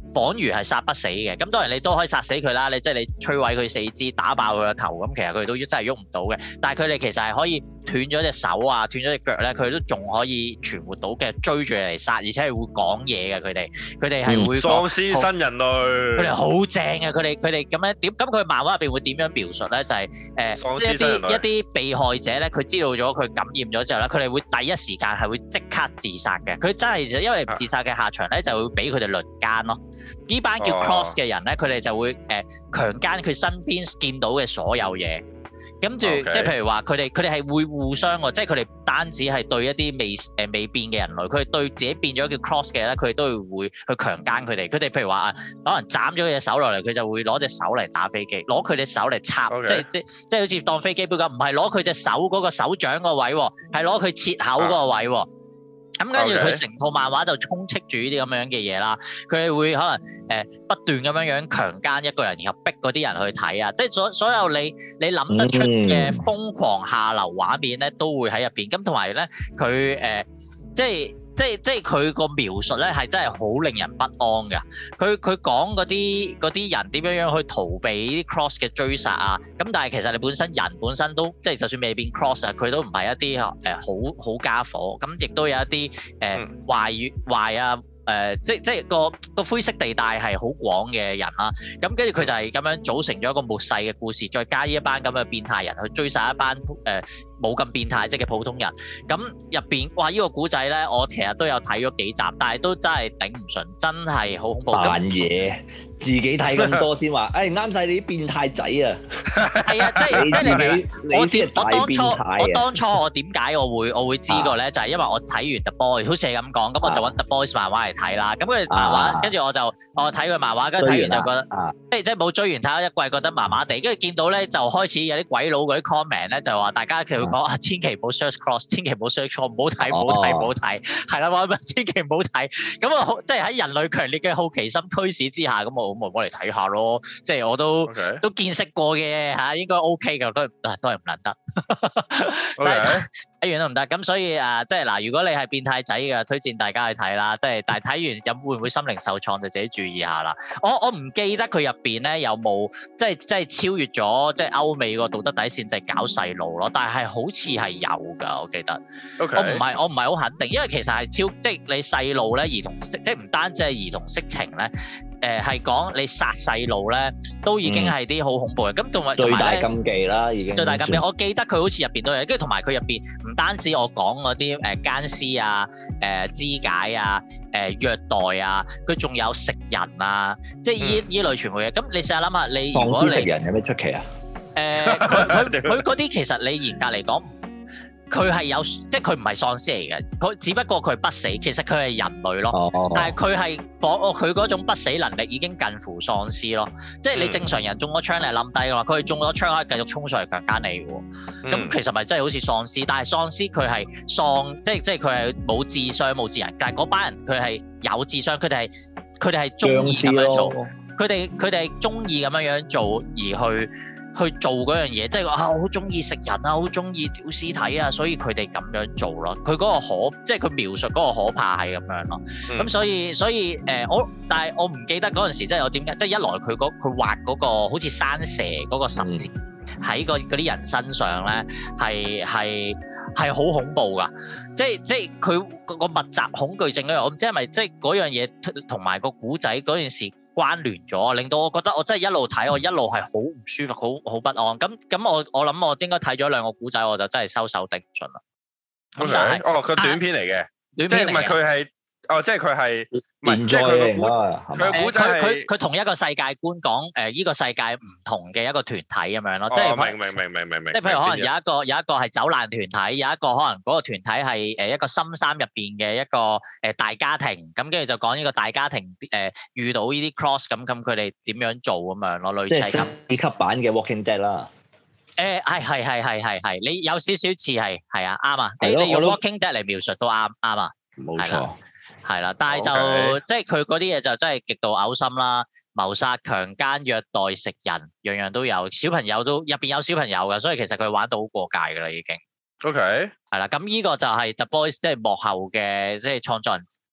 仿如係殺不死嘅。咁當然你都可以殺死佢啦，你即係你摧毀佢四肢，打爆佢個頭，咁其實佢哋都真係喐唔到嘅。但係佢哋其實係可以斷咗隻手啊，斷咗隻腳咧，佢哋都仲可以存活到嘅，追住嚟殺，而且係會講嘢嘅。佢哋係會喪屍新人類， 佢哋好正啊！佢哋咁樣點？咁佢漫畫入邊會點樣描述咧？就係即係一啲被害者咧，佢知道咗佢感染咗之後咧，佢哋會第一時間係會即刻自殺嘅。佢真係因為自殺嘅下場咧，就會俾佢哋輪姦咯。呢班叫 Cross 嘅人咧，佢哋就會強姦佢身邊見到嘅所有嘢。跟住即係譬如話，佢哋係會互相喎，即係佢哋唔單止係對一啲未變嘅人類，佢哋對自己變咗叫 Cross 嘅咧，佢哋都會去強姦佢哋。佢哋譬如話可能斬咗佢隻手落嚟，佢就會攞隻手嚟打飛機，攞佢隻手嚟插，okay. 即係好似當飛機杯咁，唔係攞佢隻手嗰個手掌個位喎，係攞佢切口嗰個位喎。咁跟住佢成套漫畫就充斥住呢啲咁樣嘅嘢啦，佢哋會可能不斷咁樣強姦一個人，然後逼嗰啲人去睇啊，即係所有你諗得出嘅瘋狂下流畫面咧，都會喺入邊。咁同埋咧，佢即係佢個描述咧係真係好令人不安㗎。佢講嗰啲人點樣去逃避啲 Cross 嘅追殺啊。咁但係其實你人本身都即係就算未變 Cross 啊，佢都唔係一啲好家伙。咁亦都有一啲壞啊。即係個灰色地帶係好廣嘅人啦，咁跟住佢就係咁樣組成咗一個末世嘅故事，再加呢一班咁嘅變態人去追殺一班冇咁變態即係嘅普通人。咁入邊哇，呢個古仔咧，我其實都有睇咗幾集，但係都真係頂唔順，真係好恐怖。 扮嘢，自己睇咁多先話，啱晒你啲變態仔啊！ 係啊，即係我當初我點解我會知個咧，就係因為我睇完 The Boys，好似係咁講，咁我就揾 The Boys 漫畫嚟睇啦。咁佢漫畫，跟住我睇佢漫畫，跟住睇完就覺得，即係冇追完睇咗一季，覺得麻麻地。跟住見到咧，就開始有啲鬼佬嗰啲 comment 咧，就話大家佢會講千祈唔好 search Cross， 千祈唔好 search Cross， 唔好睇，係啦，話千祈唔好睇。咁我即係喺人類強烈嘅好奇心驅使之下，咁我嚟睇下咯。即係我都見識過嘅嚇，應該 OK 嘅，都係唔難得。睇完都唔得。咁所以即係嗱，如果你係變態仔嘅，推薦大家去睇啦。即係但係睇完會唔會心靈受創，就自己注意下啦。我唔記得佢入邊咧有冇即係超越咗即係歐美個道德底線，就係搞細路咯。但係好似係有㗎，我記得。Okay. 我唔係好肯定，因為其實係即係你細路咧，兒童即係唔單止係兒童色情咧。係講你殺細路咧，都已經係啲好恐怖嘅。咁同埋最大禁忌啦，已經最大禁忌。我記得佢好似入邊都有，跟住同埋佢入邊唔單止我講嗰啲姦屍啊、肢解啊、虐待啊，佢仲有食人啊，即係依類全部嘢。咁你試下諗下，你如果你食人有咩出奇啊？ 佢嗰啲其實你嚴格嚟講。佢係有，即係佢唔係喪屍嚟嘅，佢只不過佢不死，其實佢係人類咯。但係佢係佢嗰種不死能力已經近乎喪屍咯。即係你正常人中咗槍你係冧低㗎嘛，佢係中咗槍可以繼續衝上嚟強姦你喎。咁其實咪真係好似喪屍，但係喪屍佢係喪，即係佢係冇智商冇智人，但係嗰班人佢係有智商，佢哋係中意咁樣做，佢哋係中意咁樣做而去做嗰樣嘢，即係話我好中意食人啊，好中意屌屍體啊，所以佢哋咁樣做咯。佢嗰個即係佢描述嗰個可怕係咁樣咯。咁所以但係我唔記得嗰陣時，即係我點解，即係一來佢畫嗰個好似山蛇嗰個十字喺嗰啲人身上咧，係好恐怖噶。即係佢個密集恐懼症嗰樣，我唔知係咪即係嗰樣嘢同埋個古仔嗰件事關聯咗，令到我覺得我真係一路睇，我一路係好唔舒服，好不安。咁我諗我應該睇咗兩個古仔，我就真係收手頂唔順啦。 Okay. 佢短片嚟嘅，即係唔係佢係。即係佢係唔即係佢個古仔佢同一個世界觀講呢個世界唔同嘅一個團體咁樣咯，即係明。即係譬如可能有一個係走難團體，有一個可能嗰個團體係一個深山入邊嘅一個大家庭，咁跟住就講呢個大家庭遇到呢啲 cross 咁佢哋點樣做咁樣咯，類似係咁。 即係4級版嘅 Walking Dead 啦。 係，你有少少似係啊，啱啊，你用 Walking Dead 嚟描述都啱啊， 冇錯。 係啦，但係就即係佢嗰啲嘢就真係極度嘔心啦，謀殺、強姦、虐待、食人，樣樣都有。小朋友都入邊有小朋友㗎，所以其實佢玩到好過界㗎啦，已經。 OK。 係啦，咁呢個就係 The Boys 即係幕後嘅即係創作人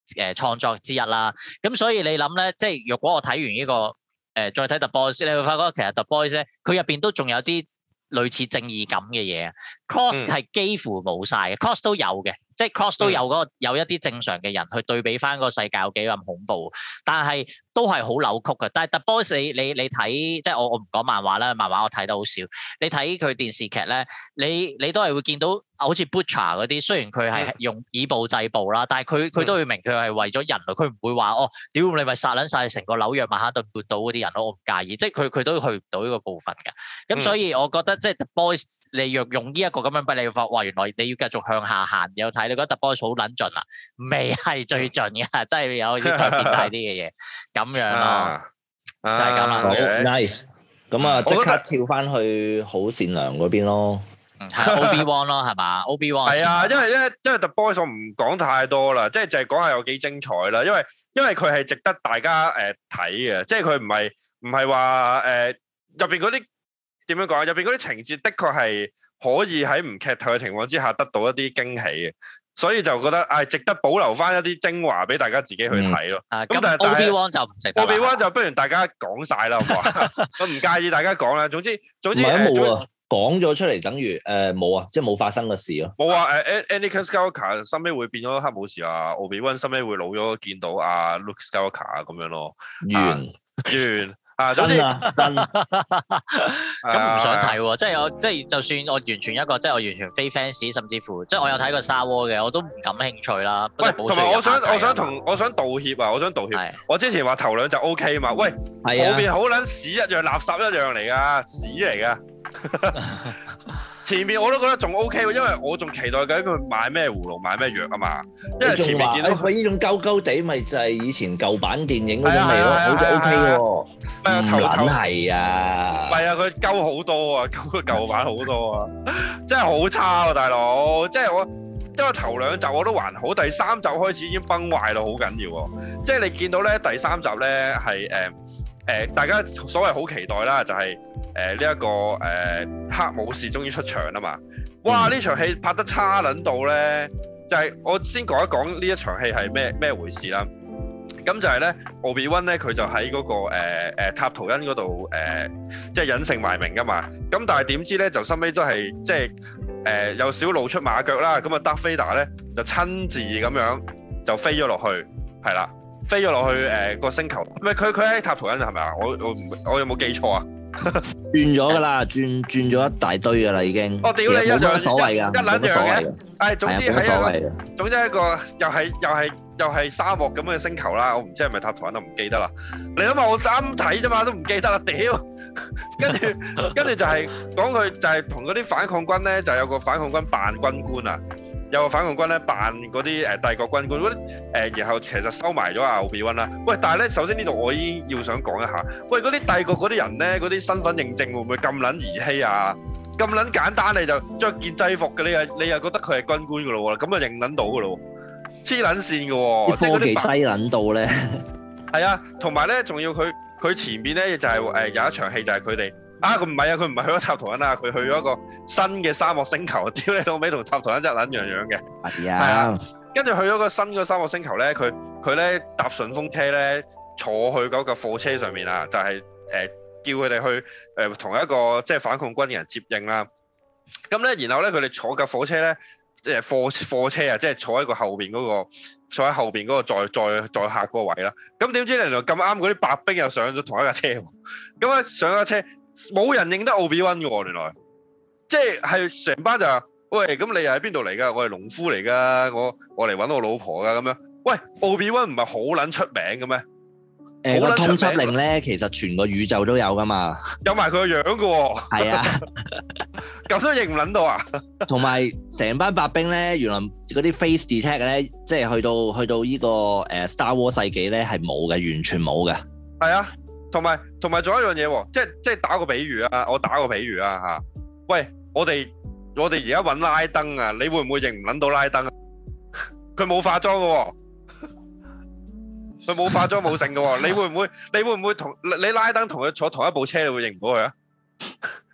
創作之一啦。咁所以你諗咧，即係若果我睇完呢個再睇 The Boys，你會發覺其實 The Boys 咧，佢入邊都仲有啲類似正義感嘅嘢。Cross 係幾乎冇晒嘅，Cross 都有嘅。即係 Cross 都有嗰個有一啲正常嘅人去對比翻個世界有幾咁恐怖，但係都係好扭曲嘅。但係 The Boys 你睇，即係我唔講漫畫啦，漫畫我睇得好少。你睇佢電視劇咧，你都係會見到好似 Butcher 嗰啲，雖然佢係用以暴制暴啦，但係佢都會明佢係為咗人類，佢唔會話屌你咪殺撚晒成個紐約曼哈頓半島嗰啲人咯，我唔介意。即係佢都去唔到呢個部分嘅。咁所以我覺得即係 The Boys 你若用呢一個咁樣俾你發，哇原來你要繼續向下行有睇。你覺得 The Boys 好撚盡啊？未係最盡嘅，真係有啲再變大啲嘅嘢，咁樣咯，就係咁啦。 好 nice， 咁啊即刻跳翻去好善良嗰邊咯。 係 Obi-Wan 咯，係嘛 ？Obi-Wan 係啊，因為 The Boys 我唔講太多啦，即係就係講下有幾精彩啦。因為佢係值得大家睇嘅，即係佢唔係話入邊嗰啲點樣講啊？入邊嗰啲情節的確係可以喺唔劇透嘅情況之下得到一啲驚喜嘅。所以就覺得值得保留翻一啲精華俾大家自己去睇咯。咁但係 Obi-Wan 就唔值得。 Obi-Wan 就不如大家講晒啦，好唔好啊？我唔介意大家講啦。總之冇啊，講咗出嚟等於冇啊，即係冇發生嘅事咯。 冇啊Anakin Skywalker 收尾會變咗黑武士啊 ，Obi-Wan 收尾會老咗見到阿 Luke Skywalker 啊咁樣咯。完。總之真咁唔想睇喎，即係就算我完全一個即係我完全非 fans，甚至乎即係我有睇過 Star Wars 嘅，我都唔感興趣啦。 喂，同埋我想道歉啊！我想道歉。 係。 我之前話頭兩集 OK 嘛？喂，後邊好撚屎一樣，垃圾一樣嚟㗎，屎嚟㗎。前面我都覺得仲 OK 喎，因為我仲期待緊佢買咩葫蘆買咩藥啊嘛。因為前面見到佢呢種鳩鳩地，咪就係以前舊版電影嗰種味咯，好似 OK 喎。唔撚係啊！ 唔係啊，佢鳩好多啊，鳩個舊版好多啊，真係好差喎，大佬！即係我頭兩集我都還好，第三集開始已經崩壞到好緊要喎。即係你見到咧第三集咧係大家所謂好期待啦，就係呢一個黑武士終於出場啦嘛！哇！呢場戲拍得差撚到咧，就係我先講一講呢一場戲係咩回事啦。咁就係咧，Obi-Wan咧佢就喺嗰個塔圖恩嗰度即係隱姓埋名噶嘛。咁但係點知咧就收尾都係即係有少露出馬腳啦。咁啊Darth Vader咧就親自咁樣就飛咗落去，係啦，飛咗落去個星球。唔係佢喺塔圖恩係咪啊？我有冇記錯啊？ 轉咗㗎啦，轉咗一大堆㗎啦已經。 我屌你一樣所謂㗎， 一撚樣嘅。總之係一個又係沙漠咁嘅星球啦。我唔知係咪塔圖恩都唔記得啦。你諗下我啱睇啫嘛，都唔記得啦，屌！跟住就係講佢就係同嗰啲反抗軍咧，就有個反抗軍扮軍官啊。有個反抗軍咧扮嗰啲帝國軍官嗰啲然後其實收埋咗阿 Obi-Wan啦。喂，但係咧，首先呢度我已經要想講一下，喂，嗰啲帝國嗰啲人咧，嗰啲身份認證會唔會咁撚兒戲啊？咁撚簡單你就着件制服嘅，你又覺得佢係軍官嘅咯喎，咁就認撚到嘅咯喎，黐撚線嘅喎， 啲科技低撚到咧。 係啊，同埋咧，仲要佢前邊咧就係有一場戲就係佢哋。佢唔係去咗塔圖恩啊，佢去咗一個新嘅沙漠星球，屌你老味同塔圖恩一撚樣嘅。係啊，跟住去咗個新嘅沙漠星球咧，佢咧搭順風車咧，坐去嗰個貨車上面啊，就係叫佢哋去同一個即係反抗軍嘅人接應啦。咁咧，然後咧佢哋坐架火車咧，即係貨車啊，即係坐喺個後邊嗰個載客嗰個位啦。咁點知原來咁啱嗰啲白兵又上咗同一架車喎。咁啊上架車。冇人認得 Obi-Wan 嘅喎，原來即係成班就話：喂，咁你又喺邊度嚟㗎？我係農夫嚟㗎，我嚟揾我老婆㗎咁樣。喂 ，Obi-Wan 唔係好撚出名嘅咩？ 個通緝令咧，其實全個宇宙都有㗎嘛。 有埋佢個樣嘅喎。係啊，咁都認唔撚到啊？同埋成班白兵咧，原來嗰啲 face detect 咧，即係去到依個Star Wars 世紀咧係冇嘅，完全冇嘅。 係啊。同埋仲有一樣嘢喎，即係打個比喻啊！我打個比喻啊嚇，喂，我哋而家揾拉登啊，你會唔會認唔撚到拉登啊？佢冇化妝嘅喎，佢冇化妝冇剩嘅喎，你會唔會同你拉登同佢坐同一部車，你會認唔到佢啊？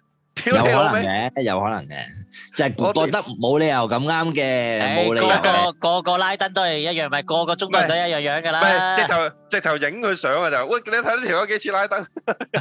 有可能嘅，有可能嘅，就係覺得冇理由咁啱嘅，冇理由。 個拉登都係一樣，咪個中國人都一樣樣㗎啦。 唔係直頭影佢相啊就，喂你睇呢條友幾似拉登？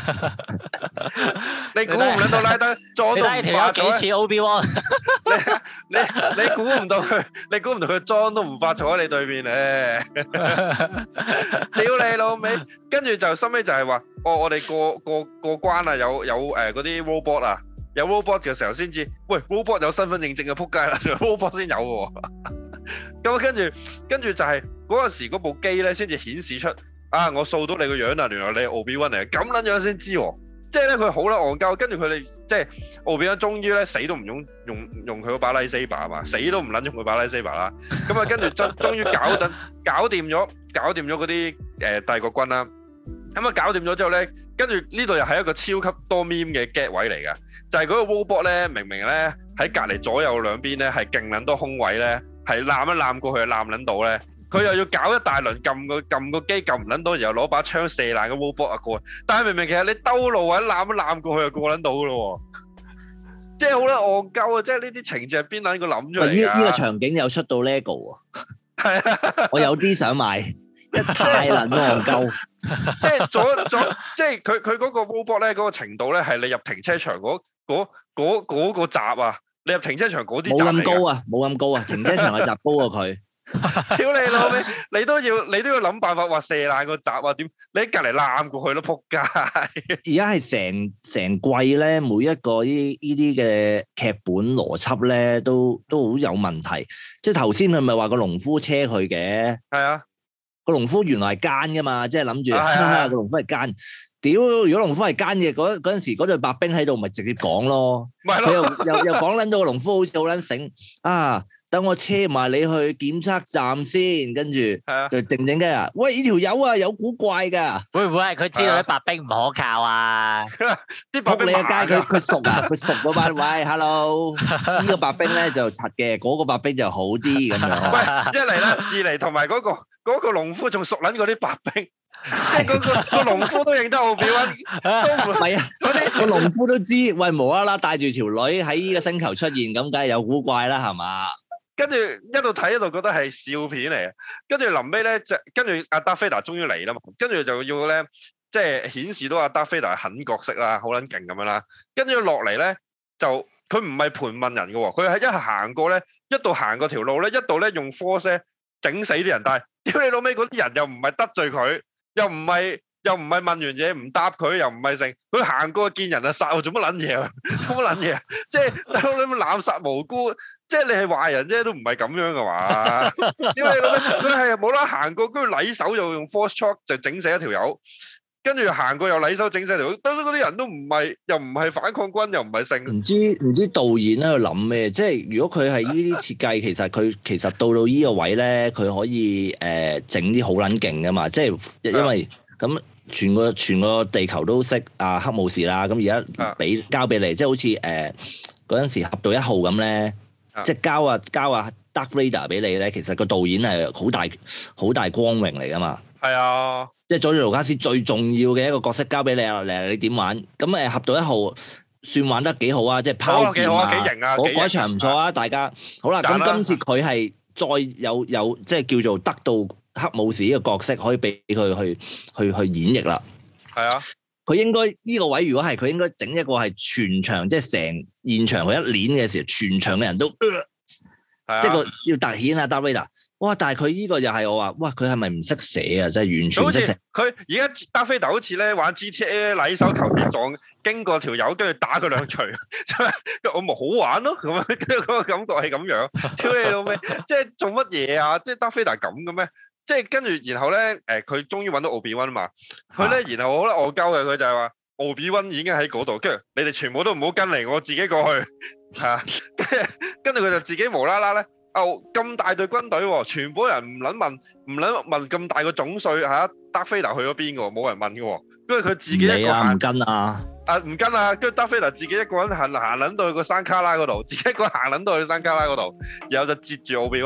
你估唔撚到拉登裝都唔化咗？你睇條友幾似 Obi-Wan？你估唔到佢裝都唔化坐喺你對面咧？屌你老味！跟住就收尾就係話，我哋過關啊，有嗰啲 robot 啊，有 robot 嘅時候先知，喂 robot 有身份認證嘅撲街啦 ，robot 先有嘅喎。咁跟住就係嗰陣時嗰部機咧，先至顯示出啊，我掃到你個樣啊，原來你係 Obi-Wan 嚟嘅，咁撚樣先知喎。即係咧，佢好撚戇鳩，跟住佢哋即係Obi-Wan終於咧死都唔用佢嗰把 lightsaber 係嘛，死都唔撚用佢把 lightsaber 啦。咁啊，跟住終於搞掂咗嗰啲帝國軍啦。咁啊，搞掂咗之後咧，跟住呢度又係一個超級多 meme 嘅 get 位嚟㗎，就係嗰個 robot 咧，明明咧喺隔離左右兩邊咧係勁撚多空位咧，係攬一攬過去攬撚到咧。佢又要搞一大輪撳個機撳唔撚到，然後攞把槍射爛個 robot 啊過，但係明明其實你兜路或者攬一攬過去就過撚到㗎咯喎，即係好撚戇鳩啊！即係呢啲情節係邊撚個諗出嚟㗎？ 呢個場景有出到 LEGO 啊， 係啊， 我有啲想買，太撚戇鳩。 即係即係佢嗰個 robot 咧嗰個程度咧係你入停車場嗰個閘啊，你入停車場嗰啲閘嚟㗎。冇咁高啊，停車場嘅閘高過佢。 屌你老味，你都要諗辦法話射爛個閘啊？點你喺隔離攬過去都撲街。 而家係成季咧，每一個呢啲嘅劇本邏輯咧，都好有問題。即係頭先佢咪話個農夫車佢嘅， 係啊， 個農夫原來係奸噶嘛，即係諗住個農夫係奸。屌，如果農夫係奸嘅，嗰陣時嗰隊白兵喺度，咪直接講咯。佢又講撚到個農夫好似好撚醒啊！等我車埋你去檢測站先，跟住就靜靜雞啊！喂，呢條友啊有古怪㗎， 會唔會係佢知道啲白兵唔可靠啊？ 啲白兵你嘅街佢熟啊，佢熟嗰班。喂 ，hello， 呢個白兵咧就柒嘅，嗰個白兵就好啲咁樣。 喂，一嚟啦，二嚟同埋嗰個農夫仲熟撚過啲白兵。即係個農夫都認得Obi-Wan，都唔係啊！ 個農夫都知，喂，無啦啦帶住條女喺呢個星球出現，咁梗係有古怪啦，係嘛？ 跟住一路睇一路覺得係笑片嚟嘅，跟住臨尾咧就跟住阿達菲達終於嚟啦嘛，跟住就要咧即係顯示到阿達菲達係狠角色啦，好撚勁咁樣啦，跟住落嚟咧就佢唔係盤問人嘅喎，佢係一行過咧，一度行過條路咧，一度咧用 force 整死啲人，但係屌你老尾嗰啲人又唔係得罪佢。又唔係問完嘢唔答佢，又唔係成佢行過見人就殺，做乜撚嘢啊？做乜撚嘢啊？即係你濫殺無辜，即係你係壞人啫，都唔係咁樣嘅嘛。因為佢係冇啦行過，跟住禮手又用 force choke 就整死一條友，跟住行過又禮手整死一條友，嗰啲人都唔係又唔係反抗軍，又唔係成。唔知導演喺度諗咩？即係如果佢係呢啲設計，其實到呢個位咧，佢可以整啲好撚勁㗎嘛。即係因為咁全個地球都識啊黑武士啦。咁而家交俾你，即係好似嗰陣時俠盜1號咁咧，即係交啊 Darth Vader 俾你咧。其實個導演係好大光榮嚟㗎嘛。係啊。即係佐治盧卡斯最重要嘅一個角色交俾你啊！你點玩？咁俠盜1號算玩得幾好啊！即係拋劍啊，幾型啊！嗰場唔錯啊！大家好啦，咁今次佢係再有即係叫做得到黑武士呢個角色，可以俾佢去演繹啦。係啊，佢應該呢個位，如果係佢應該整一個係全場，即係成現場佢一練嘅時候，全場嘅人都即係要突顯啊 Darth Vader。哇！但係佢呢個又係我話，哇！佢係咪唔識寫啊？真係完全唔識寫。佢而家達菲特好似咧玩 GTA 禮手頭先撞經過條友，跟住打佢兩錘，我咪好玩咯咁樣，跟住嗰個感覺係咁樣。屌你老味，即係做乜嘢啊？即係達菲特咁嘅咩？即係跟住然後咧，佢終於揾到Obi-Wan啊嘛。佢咧然後好撚戇鳩嘅，佢就係話Obi-Wan已經喺嗰度，跟住你哋全部都唔好跟嚟，我自己過去嚇。跟住佢就自己無啦啦咧。咁大隊軍隊喎，全部人唔撚問咁大個總帥嚇，達菲特去咗邊嘅喎，冇人問嘅喎，跟住佢自己一個行唔跟啊，唔跟啊，跟住達菲特自己一個人行撚到去個山卡拉嗰度，自己一個行撚到去山卡拉嗰度，然後就截住Obi-Wan，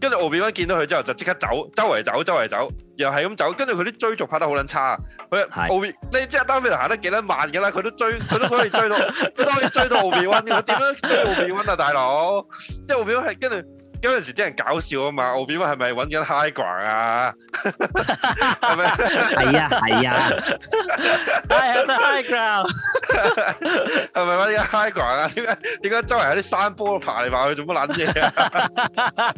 跟住奧比溫見到佢之後就即刻走，周圍走，又係咁走。跟住佢啲追逐拍得好撚差，佢奧比你知阿丹菲特行得幾撚慢㗎啦，佢都可以追到，奧比溫㗎。點樣追奧比溫啊，大佬？即係奧比溫係跟住。嗰陣時啲人搞笑啊嘛，奧比溫係咪揾緊 high ground 啊？係咪？ 係啊係 high ground。 係咪揾緊 high ground 啊？點解周圍喺啲山坡爬嚟爬去做乜撚嘢啊？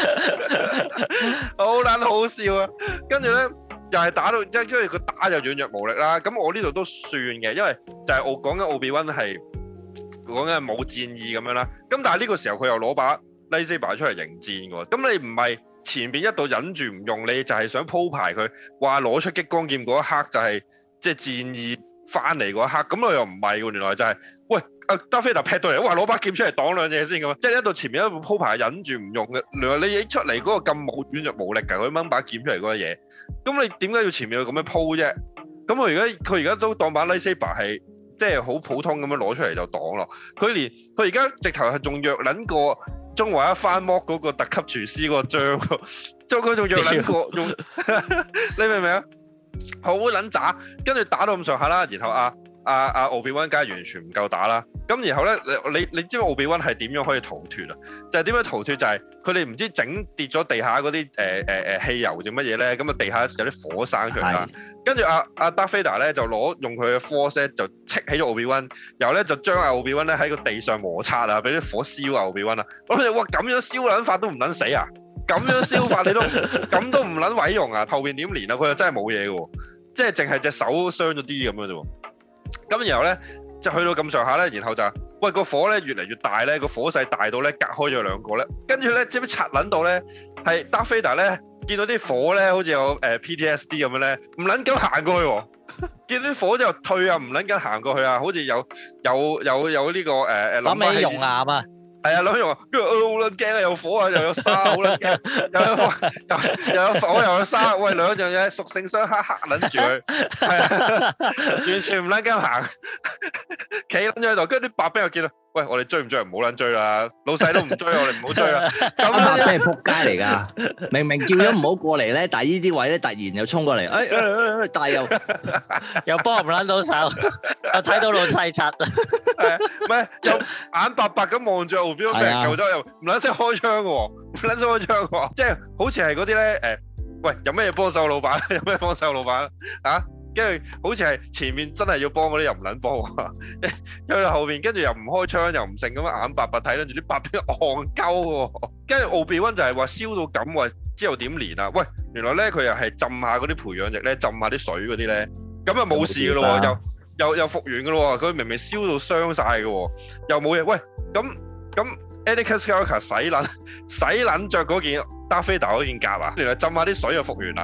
好撚好笑啊！跟住咧又係打到，因為佢打就軟弱無力啦。咁我呢度都算嘅，因為就係我講緊奧比溫係講緊冇戰意咁樣啦。咁但係呢個時候佢又攞把Lightsaber 出嚟迎戰喎，咁你唔係前邊一度忍住唔用，你就係想鋪排佢話攞出激光劍嗰一刻就係即係戰意翻嚟嗰一刻，咁我又唔係喎，原來就係喂阿達菲特劈到嚟，哇攞把劍出嚟擋兩嘢先咁，即係一度前面一度鋪排忍住唔用嘅，原來你影出嚟嗰個咁冇軟弱無力㗎，佢掹把劍出嚟嗰個嘢，咁你點解要前面要咁樣鋪啫？咁佢而家都當把 Lightsaber 係即係好普通咁樣攞出嚟就擋咯，佢而家直頭係仲弱撚過中華一番剝嗰個特級廚師嗰個章，佢仲弱撚過用，你明唔明啊？好撚渣，跟住打到咁上下啦，然後阿奧比溫梗係完全唔夠打啦。咁然後咧，你知唔知奧比溫係點樣可以逃脫啊？就係點樣逃脫？就係佢哋唔知整跌咗地下嗰啲汽油定乜嘢咧？咁啊地下有啲火生出嚟啦。跟住阿達菲達咧就用佢嘅 force 就戚起咗奧比溫，然後咧就將阿奧比溫咧喺個地上摩擦啊，俾啲火燒阿奧比溫啊。我諗住哇咁樣燒撚法都唔撚死啊！咁樣燒法你都咁都唔撚毀容啊？後邊點連啊？佢又真係冇嘢嘅喎，即係淨係隻手傷咗啲咁樣啫喎。咁然後咧就去到咁上下咧，然後就喂個火咧越嚟越大咧，個火勢大到咧隔開咗兩個咧，跟住咧知唔知拆撚到咧係達菲達咧見到啲火咧好似有PTSD 咁樣咧，唔撚敢行過去喎，見到啲火就退啊，唔撚敢行過去啊，好似有呢個諗起熔岩啊！ 係啊，諗住話，跟住好撚驚啊！有火啊，又有沙，好撚驚，又有火又有沙，喂兩樣嘢屬性相克，嚇撚住佢，係啊，完全唔撚驚行，企撚咗喺度，跟住啲白兵又見到，喂我哋追唔追？唔好撚追啦，老細都唔追，我哋唔好追啦。咁白兵係撲街嚟㗎，明明叫咗唔好過嚟咧，但係呢啲位咧突然又衝過嚟，但係又幫唔撚到手，又睇到老細柒， 唔係又眼白白咁望住。俾人救咗又唔撚識開槍嘅喎，唔撚識開槍喎，即係好似係嗰啲咧喂有咩嘢幫手老闆？有咩幫手老闆啊？跟住好似係前面真係要幫嗰啲又唔撚幫喎，去到後面跟住又唔開槍又唔剩咁樣眼白白睇，跟住啲白兵戇鳩喎，跟住奧比溫就係話燒到咁喎，之後點連啊？喂，原來咧佢又係浸下嗰啲培養液咧，浸下啲水嗰啲咧，咁啊冇事嘅咯喎，又復原嘅咯喎，佢明明燒到傷晒嘅喎，又冇嘢，喂咁 Anakin Skywalker 洗撚著嗰件達菲達嗰件甲啊，原來浸下啲水就復原啦。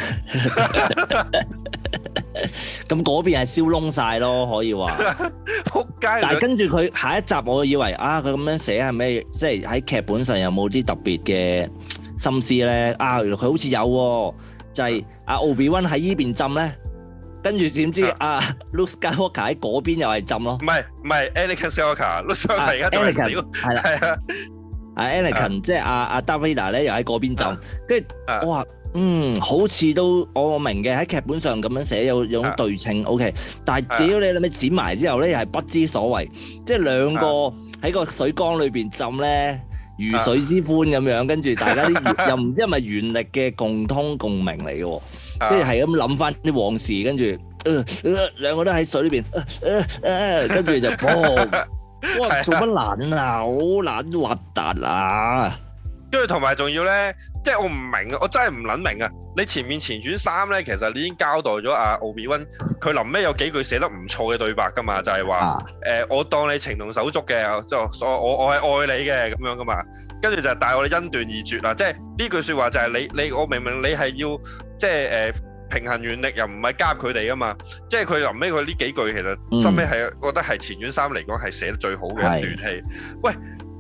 咁嗰邊係燒燶晒咯，可以話。 仆街！ 但係跟住佢下一集，我以為佢咁樣寫係咩？即係喺劇本上有冇啲特別嘅心思咧？原來佢好似有喎，就係奧比溫喺依邊浸咧。跟住點知Luke Skywalker 喺嗰邊又係浸咯？唔係 Anakin Skywalker，Luke Skywalker 而家仲係少，係啦，係啊 ，Anakin 即係阿 Darth Vader 咧又喺嗰邊浸，跟住我話好似都我明嘅，喺劇本上咁樣寫有種對稱 OK， 但係屌你咪剪埋之後咧又係不知所謂，即係兩個喺個水缸裏邊浸咧如水之歡咁樣，跟住大家啲又唔知係咪原力嘅共通共鳴嚟嘅喎。跟住係咁諗翻啲往事，跟住兩個都喺水裏邊，跟住就哇做乜撚啊，好撚核突啊！ 跟住同埋仲要咧，即係我唔明啊，我真係唔撚明啊！你前傳3咧，其實你已經交代咗阿奧比溫，佢臨尾有幾句寫得唔錯嘅對白噶嘛，就係話我當你情同手足嘅，我係愛你嘅咁樣噶嘛。跟住就但係我哋恩斷義絕啦，即係呢句説話就係你我明明你係要即係平衡原力，又唔係加入佢哋噶嘛，即係佢臨尾佢呢幾句其實收尾係覺得係前傳3嚟講係寫得最好嘅一段戲。喂，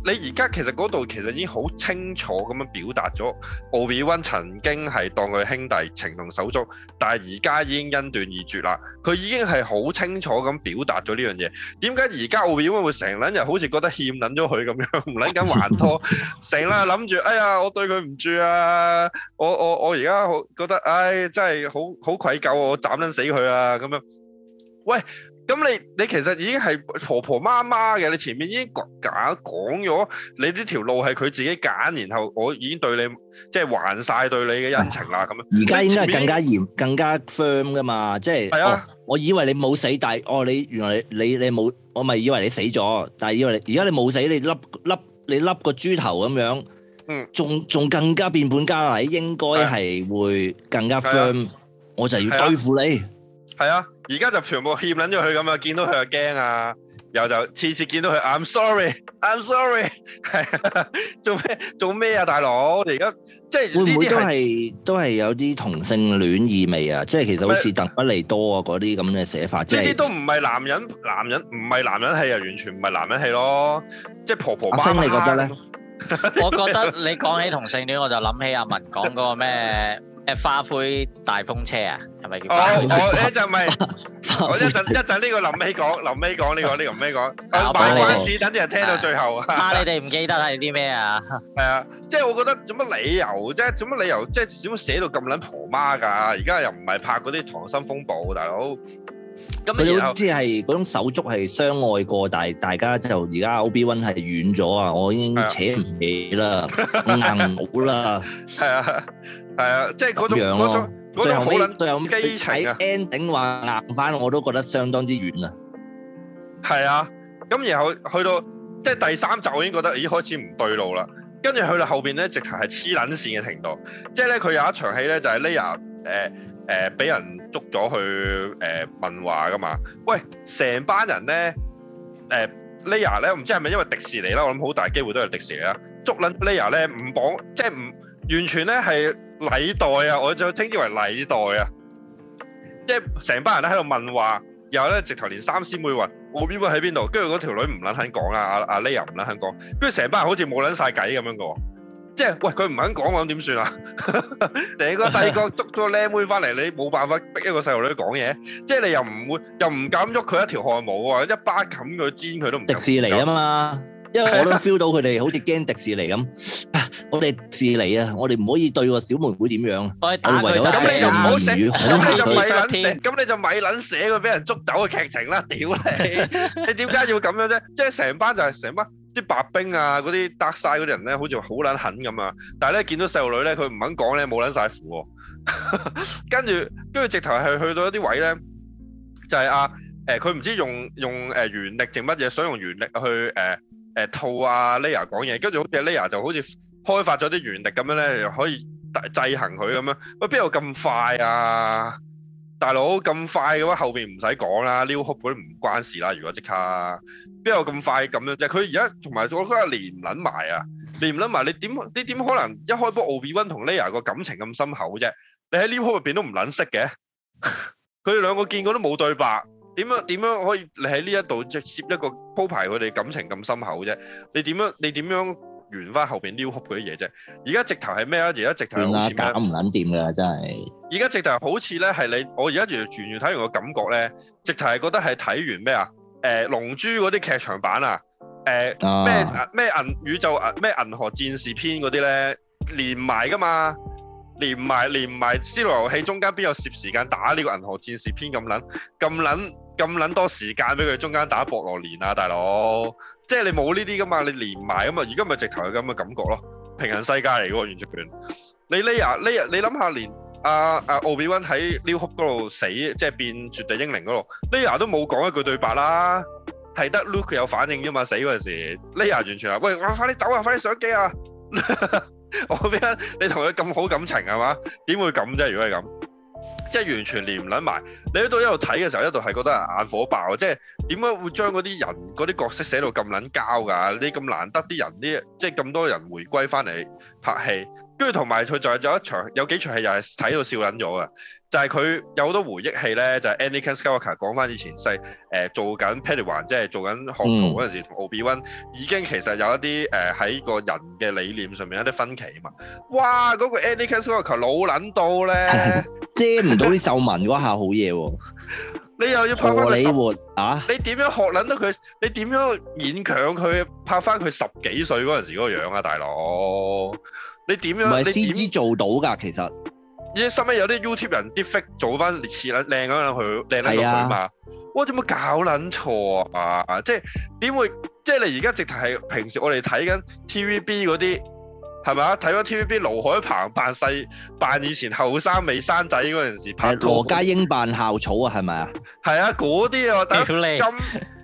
而家其實嗰度其實已經好清楚咁樣表達咗，Obi-Wan曾經係當佢兄弟情同手足，但係而家已經恩斷義絕啦。佢已經係好清楚咁表達咗呢樣嘢。點解而家 Obi-Wan會成撚日好似覺得欠撚咗佢咁樣，唔撚緊還拖，成日諗住哎呀我對佢唔住啊，我而家好覺得唉真係好愧疚，我斬撚死佢啊咁樣。喂！咁你其實已經係婆婆媽媽嘅，你前面已經講咗，你呢條路係佢自己揀，然後我已經對你即係還晒對你嘅恩情啦咁樣。而家應該係更加嚴、更加 firm 噶嘛，即係我以為你冇死，但係你原來你冇，我咪以為你死咗，但係以為而家你冇死，你笠個豬頭咁樣，仲更加變本加厲，應該係會更加 firm，我就要對付你。 係啊，而家就全部欠撚咗佢咁啊！見到佢就驚啊，又就次次見到佢 I'm sorry，係做咩啊，大佬？你而家即係會唔會都係有啲同性戀意味啊？即係其實好似鄧不利多啊嗰啲咁嘅寫法，即係呢啲都唔係男人唔係男人戲啊，完全唔係男人戲咯，即係婆婆媽媽。阿星你覺得咧？ 我覺得你講起同性戀，我就諗起阿文講嗰個咩？花灰大風車啊，係咪叫？我一陣咪，我一陣呢個臨尾講呢個臨尾講，賣關子等啲人聽到最後。 怕你哋唔記得係啲咩啊？ 係啊，即係我覺得做乜理由啫？做乜理由？即係點解寫到咁撚婆媽㗎？而家又唔係拍嗰啲《溏心風暴》，大佬。 咁你好似係嗰種手足係相愛過，但係大家就而家 Obi-Wan 係遠咗啊！我已經扯唔起啦，硬冇啦。係啊。係啊，即係嗰種最後尾基情啊 ending 話硬翻，我都覺得相當之遠啊。 係啊，咁然後去到即係第三集，我已經覺得已經開始唔對路啦。跟住去到後邊咧，直頭係黐撚線嘅程度。即係咧，佢有一場戲咧，就係 Leia 俾人捉咗去問話噶嘛。喂，成班人咧Leia 咧，唔知係咪因為迪士尼啦？我諗好大機會都係迪士尼啦。捉撚 Leia 咧，唔綁即係唔完全咧係。禮待啊，我就稱之為禮待啊，即係成班人咧喺度問話，然後咧直頭連三師妹話Obi-Wan喺邊度，跟住嗰條女唔撚肯講啊，阿 Leia 唔撚肯講，跟住成班人好似冇撚晒計咁樣嘅喎，即係喂佢唔肯講，咁點算啊？第個捉咗個靚妹翻嚟，你冇辦法逼一個細路女講嘢，即係你又唔敢喐佢一條汗毛喎，一巴冚佢煎佢都唔。迪士尼啊嘛。因為我都 feel 到佢哋好似驚迪士尼咁，我哋迪士尼啊，我哋唔可以對個小妹妹點樣？我哋唯有咁你就唔好寫，咁你就咪撚寫， 咁你就咪撚寫佢俾人捉走嘅劇情啦！屌你，你點解要咁樣啫？即係成班啲白兵啊，嗰啲 dark side 嗰啲人咧，好似好撚狠咁啊！但係咧見到細路女咧，佢唔肯講咧，冇撚晒符喎。跟住直頭係去到一啲位咧，就係佢唔知用原力定乜嘢，想用原力去套啊 Leia 講嘢，跟住好似 Leia 就好似開發咗啲原力咁樣咧，又可以制衡佢咁樣。喂，邊有咁快啊？大佬咁快嘅話，後邊唔使講啦，New Hope 嗰啲唔關事啦。如果即刻邊有咁快咁樣啫？佢而家同埋我覺得連唔撚埋啊，連唔撚埋，你點可能一開波 Obi-Wan 同 Leia 個感情咁深厚啫？你喺 New Hope 入邊都唔撚識嘅，佢哋兩個見過都冇對白。點樣可以你喺呢一度即係攝一個鋪排佢哋感情咁深厚啫？你點樣圓翻後邊 New Hope 嗰啲嘢啫？而家直頭係咩啊？而家直頭好似咩？ 搞唔撚掂㗎，真係。 而家直頭好似咧係我而家完全睇完個感覺咧，直頭係覺得係睇完咩啊？龍珠嗰啲劇場版啊，咩宇宙咩銀河戰士篇嗰啲咧連埋㗎嘛？連埋《斯諾遊戲》中間邊有攝時間打呢個銀河戰士篇咁撚多時間俾佢中間打博羅連啊，大佬！即係你冇呢啲噶嘛，你連埋咁嘛，而家咪直頭係咁嘅感覺咯，平行世界嚟嘅喎，完全。你 Leia，你諗下，連Obi-Wan 喺 New Hope 嗰度死，即係變絕地英靈嗰度 ，Leia 都冇講一句對白啦，係得 Luke 有反應啫嘛，死嗰陣時 ，Leia 完全話：喂，我快啲走啊，快啲上機啊！我邊你同佢咁好感情係嘛？點會咁啫？如果係咁，即係完全連唔撚埋。你喺度一路睇嘅時候，一度係覺得眼火爆。即係點解會將嗰啲人嗰啲角色寫到咁撚膠㗎？你咁難得啲人，即係咁多人回歸翻嚟拍戲， 跟住同埋佢仲有幾場戲又係睇到笑撚咗嘅，就係佢有好多回憶戲咧，就係 Anakin Skywalker 講翻以前做緊 Padawan 即係做緊學徒嗰陣時，同 Obi-Wan 已經其實有一啲喺個人嘅理念上面有啲分歧啊嘛。哇！嗰個 Anakin Skywalker 老撚到咧， 遮唔到啲皺紋嗰下好嘢喎。 你又要拍翻佢啊！ 你點樣學撚到佢？你點樣勉強佢拍翻佢10幾歲嗰陣時嗰個樣啊，大佬？你點樣？唔係先知做到㗎，其實。 依收尾有啲 YouTube 人啲 fake 做翻似靚咁樣佢靚撚到佢嘛？哇！點解搞撚錯啊？即係點會？即係你而家直頭係平時我哋睇緊 TVB 嗰啲係咪啊？睇咗 TVB 盧海鵬扮以前後生未生仔嗰陣時拍拖， 羅家英扮校草啊，係咪啊？ 係啊，嗰啲啊，但係咁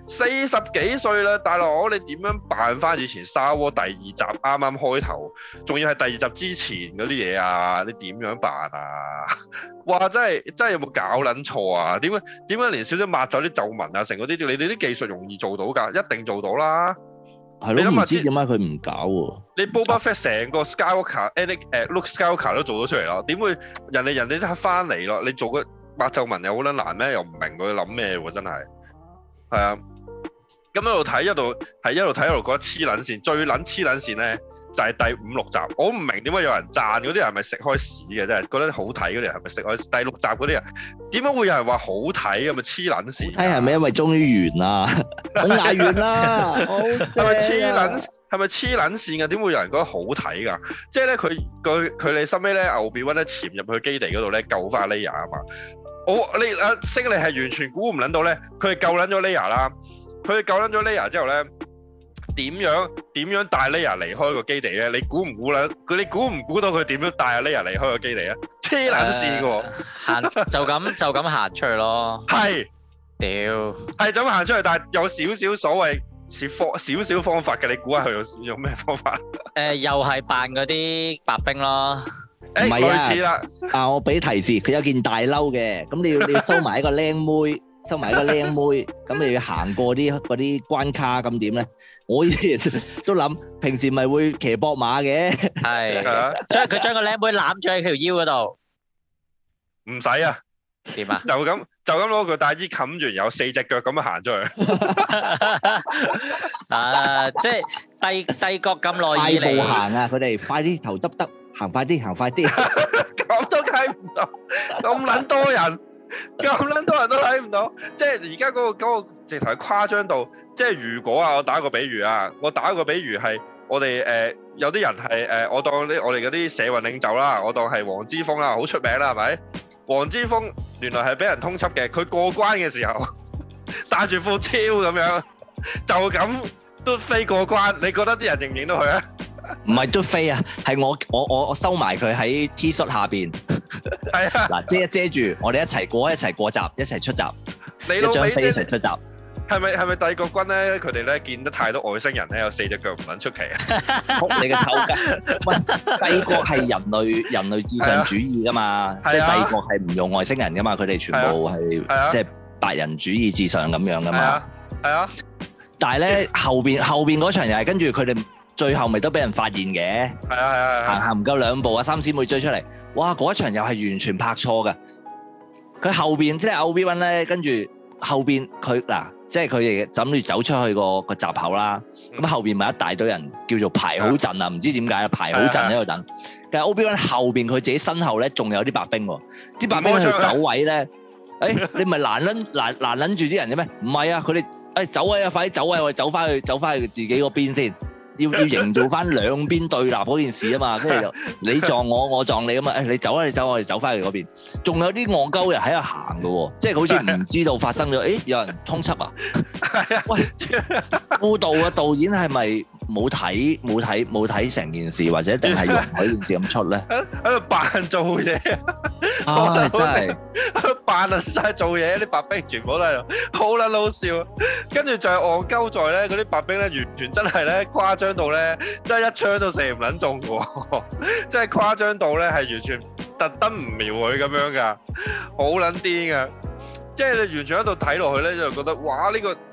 40幾歲啦，大佬你點樣扮翻以前沙窩第2集啱啱開頭，仲要係第2集之前嗰啲嘢啊？你點樣扮啊？哇！真係有冇搞撚錯啊？點解連少少抹走啲皺紋啊，成嗰啲你哋啲技術容易做到㗎？一定做到啦。 係咯，唔知點解佢唔搞喎？ 你 Boba Fett 成個 Skywalker、Luke Skywalker 都做到出嚟咯，點會人哋都翻嚟咯？你做個抹皺紋又好撚難咩？又唔明佢諗咩喎？真係係啊！咁一路睇一路睇一路覺得黐撚線，最撚黐撚線咧就係第5、6集。我唔明點解有人讚嗰啲人係咪食開屎嘅？真係覺得好睇嗰啲人係咪食開屎？第6集嗰啲人點解會有人話好睇？係咪黐撚線？睇係咪因為終於完啦？我嗌完啦，係咪黐撚線㗎？點會有人覺得好睇㗎？即係咧佢哋收尾咧Obi-Wan咧潛入去基地嗰度咧救翻 Leia 啊嘛！星你係完全估唔撚到咧，佢係救撚咗 Leia 啦。佢救撚咗 Leia 之後咧，點樣帶 Leia 離開個基地咧？你估唔估到佢點樣帶阿 Leia 離開個基地啊？黐撚線㗎喎！ 就咁行出去咯。 係， 屌， 係就咁行出去，但係有少少所謂少少方法嘅，你估下佢用咩方法？ 又係扮嗰啲白兵咯。 唔係類似啦。 我俾提示，佢有件大褸嘅，咁你要收埋一個靚妹。收埋一個靚妹，咁你要行過嗰啲關卡，咁點咧？我以前都諗，平時咪會騎膊馬嘅， 係，所以佢將個靚妹攬住喺條腰嗰度， 唔使啊？ 點啊？ 就咁攞個大衣冚住，有4隻腳咁樣行出去。 即係帝國咁耐以嚟， 快步行啊！佢哋快啲頭耷耷，行快啲， 咁都睇唔到，咁撚多人。咁撚多人都睇唔到，即係而家嗰個直頭係誇張到，即係如果我打個比喻係我哋有啲人係我當我哋嗰啲社運領袖啦，我當係黃之鋒啦，好出名啦，係咪？黃之鋒原來係俾人通緝嘅，佢過關嘅時候戴住副超咁樣，就咁都飛過關，你覺得啲人認唔認到佢啊？ 唔係都飛啊，係我收埋佢喺 T 恤下邊，係啊，嗱遮住，我哋一齊過閘，一齊出閘， 你老味一齊出閘。 係咪帝國軍咧？佢哋咧見得太多外星人咧，有4隻腳唔撚出奇啊！ 仆你個臭雞！喂，帝國係人類至上主義噶嘛，即係帝國係唔用外星人噶嘛，佢哋全部係即係白人主義至上咁樣噶嘛。係啊，但係咧後邊嗰場又係跟住佢哋。最後咪都俾人發現嘅，係啊，行唔夠2步啊，3姊妹追出嚟，哇！嗰一場又係完全拍錯嘅。佢後邊即係 Obi-Wan 咧，跟住後邊佢嗱，即係佢哋諗住走出去個閘口啦。咁後邊咪一大堆人叫做排好陣啊，唔知點解啊，排好陣喺度等。但係 Obi-Wan 後邊佢自己身後咧，仲有啲白兵喎，啲白兵去走位咧。你唔係攔撚住啲人嘅咩？唔係啊，佢哋走位啊，快啲走位，我哋走翻去自己嗰邊先。要營造翻兩邊對立嗰件事啊嘛，跟住就你撞我，我撞你啊嘛，你走啊，我哋走翻去嗰邊。仲有啲戇鳩人喺度行嘅喎，即係好似唔知道發生咗，有人通緝啊？喂，副導嘅導演係咪冇睇成件事，或者定係容許件事咁出咧？ 喺度扮做嘢， 真係扮晒做嘢，啲白兵全部都喺度，好撚好笑。跟住就係戇鳩在咧，嗰啲白兵咧完全真係咧誇張到咧，真係一槍都射唔撚中嘅喎，真係誇張到咧係完全特登唔瞄佢咁樣㗎，好撚癲㗎。即係你完全喺度睇落去咧，就覺得哇！呢個真係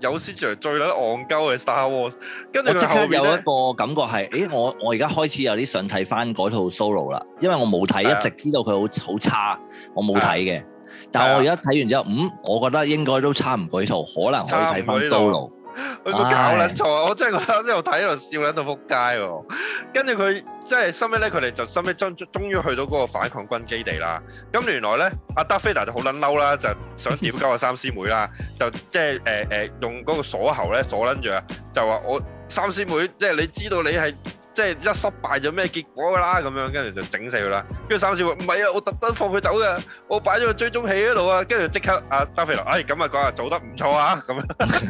有史以來最撚戇鳩嘅 Star Wars。跟住我即刻有一後面咧， 個感覺係，我而家開始有啲想睇翻嗰套 Solo 啦，因為我冇睇， 係啊一直知道佢好差，我冇睇嘅。但係我而家睇完之後，我覺得應該都差唔過呢套，可能可以睇翻 Solo。 佢個搞撚錯，我真係覺得一路睇一路笑撚到撲街喎。跟住佢即係收尾咧，佢哋就收尾終於去到嗰個反抗軍基地啦。咁原來咧，阿 Darth Vader 就好撚嬲啦，就想屌鳩阿三師妹啦，就即係用嗰個鎖喉咧鎖撚住啊，就話我三師妹，即係你知道你係。即係一失敗就咩結果㗎啦咁樣，跟住就整死佢啦。跟住三師妹唔係啊，我特登放佢走嘅，我擺咗個追蹤器喺度啊。跟住即刻阿達菲羅，咁啊講啊做得唔錯啊咁樣。